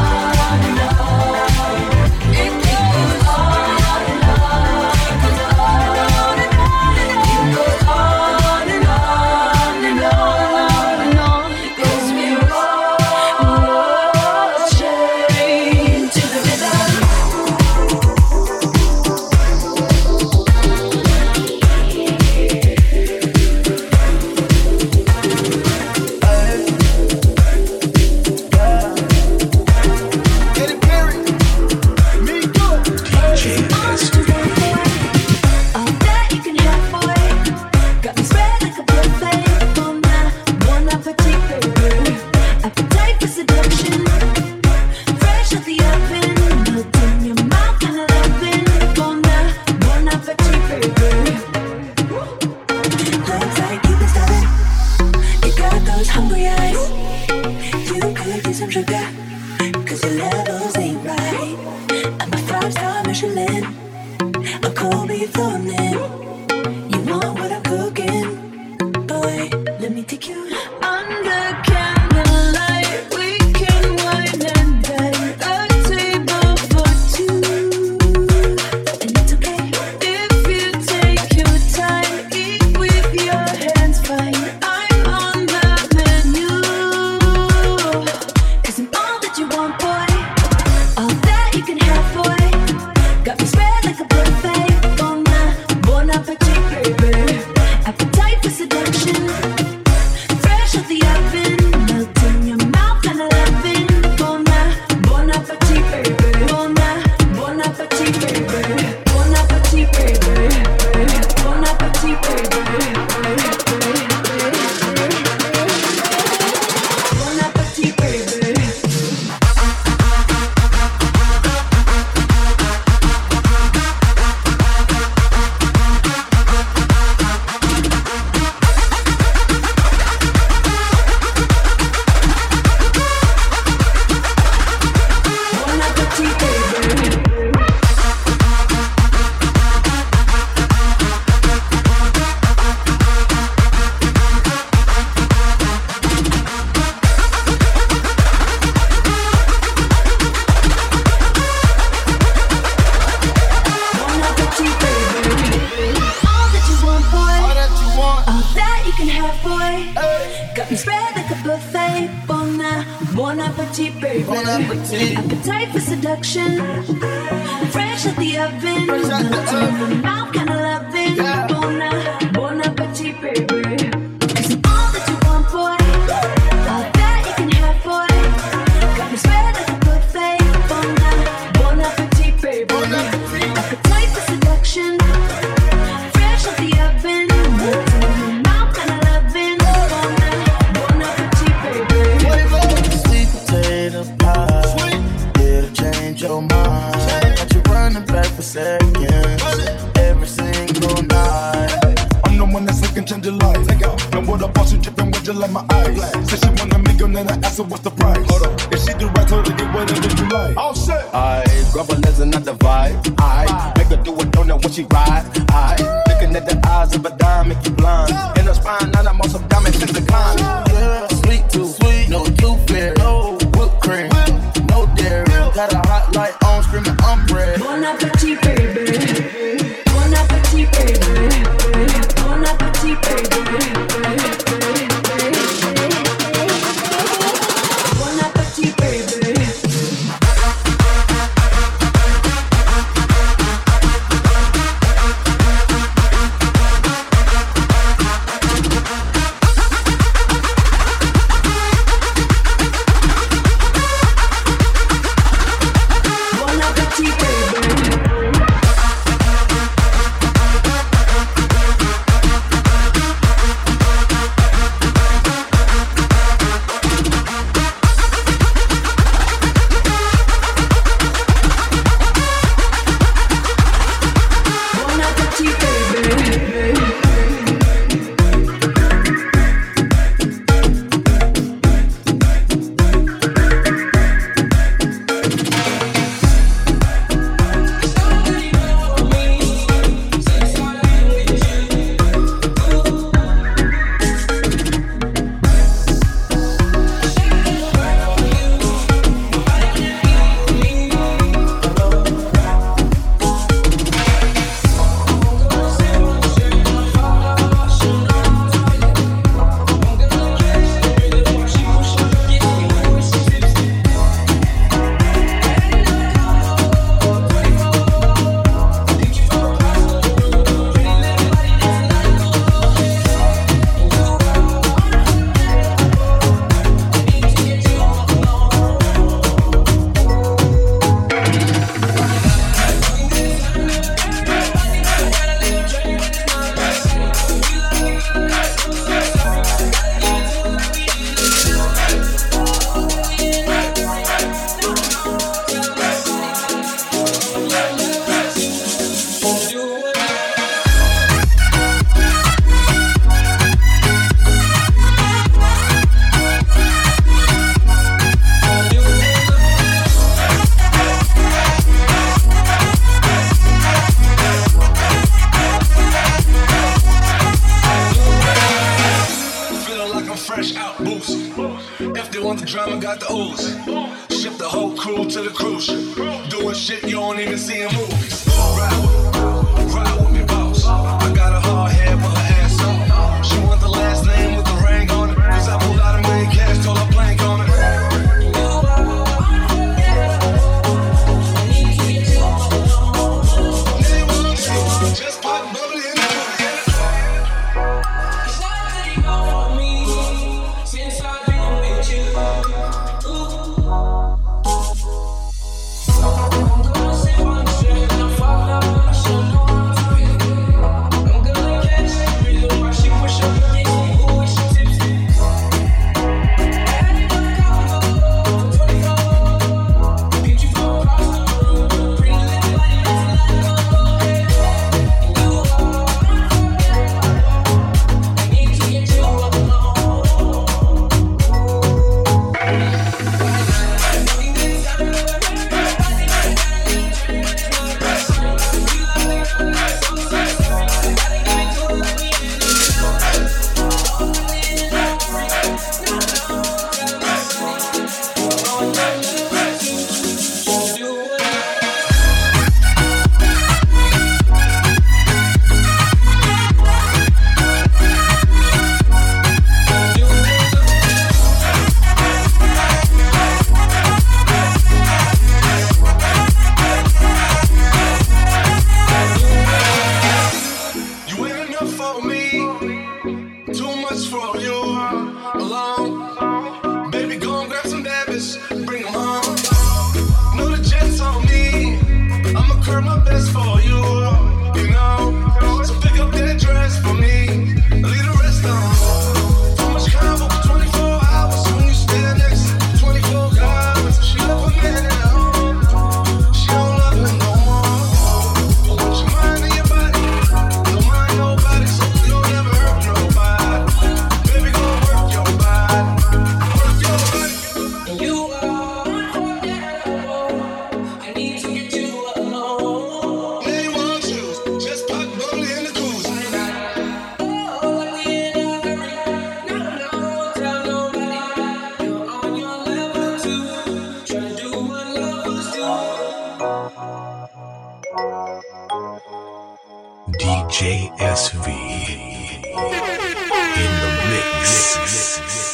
Speaker 3: It goes on and on. It goes on and on and on and on.
Speaker 14: 'cause your levels ain't right. I'm a 5-star Michelin, a cold beef thornin'. You want what I'm cooking? Boy, let me take you under candlelight. We can wine and dine, a table for two. And it's okay if you take your time. Eat with your hands, fine. I'm on the menu, 'cause I'm all that you want, boy. All that you can have, boy. Got me spread like a buffet. Bon appetit, baby. Appetite for seduction. Fresh out the oven, melt in your mouth and loving. Bon appetit, baby. Bon appetit, baby. Bon appetit, baby. Bon appetit, baby. Bon appetit, baby. Bon appetit, baby. Bon appetit, baby. All that you want, boy. All that you can have, boy. Got me spread like a buffet. Bon appetit, baby. Appetite for seduction. Fresh out the oven. Melt in your mouth, kinda loving. Bon appetit, baby. 'Cause I'm all that you want, boy. All that you can have, boy. Got me spread like a buffet. Bon appetit, baby. Appetite for seduction. Fresh out the oven. Melt in your mouth, kinda loving. Bon appetit, baby.
Speaker 21: Sweet potato pie, it'll change your mind. Got you running back for seconds every single night.
Speaker 10: I'm the one that's looking change your life. Know what a boss, you dripping with you like my eyes. Said she want a million and I asked her what's the price. If she do right, told her to get whatever you like. Oh shit!
Speaker 21: I grab a lens and not the vibe. I make her do a donut when she ride. I looking at the eyes of a dime, make you blind. In her spine, now I'm on some diamond, take the climb. Yeah, sweet too sweet, no too fair, no whipped cream, no dairy. Got a hot light on, screaming I'm bread.
Speaker 14: Bon appetit, baby. Bon appetit, baby. Bon appetit, baby. Bon appetit, baby.
Speaker 10: drama, got the ooze. Ship the whole crew to the cruise ship. Doing shit you don't even see in movies. Ride with me, boss. I got a hard head with her ass up. She want the last name with the ring on it. Cause I pulled out a million cash, told her blank on it. Just pop bubbly in the
Speaker 17: DJ SV in the mix.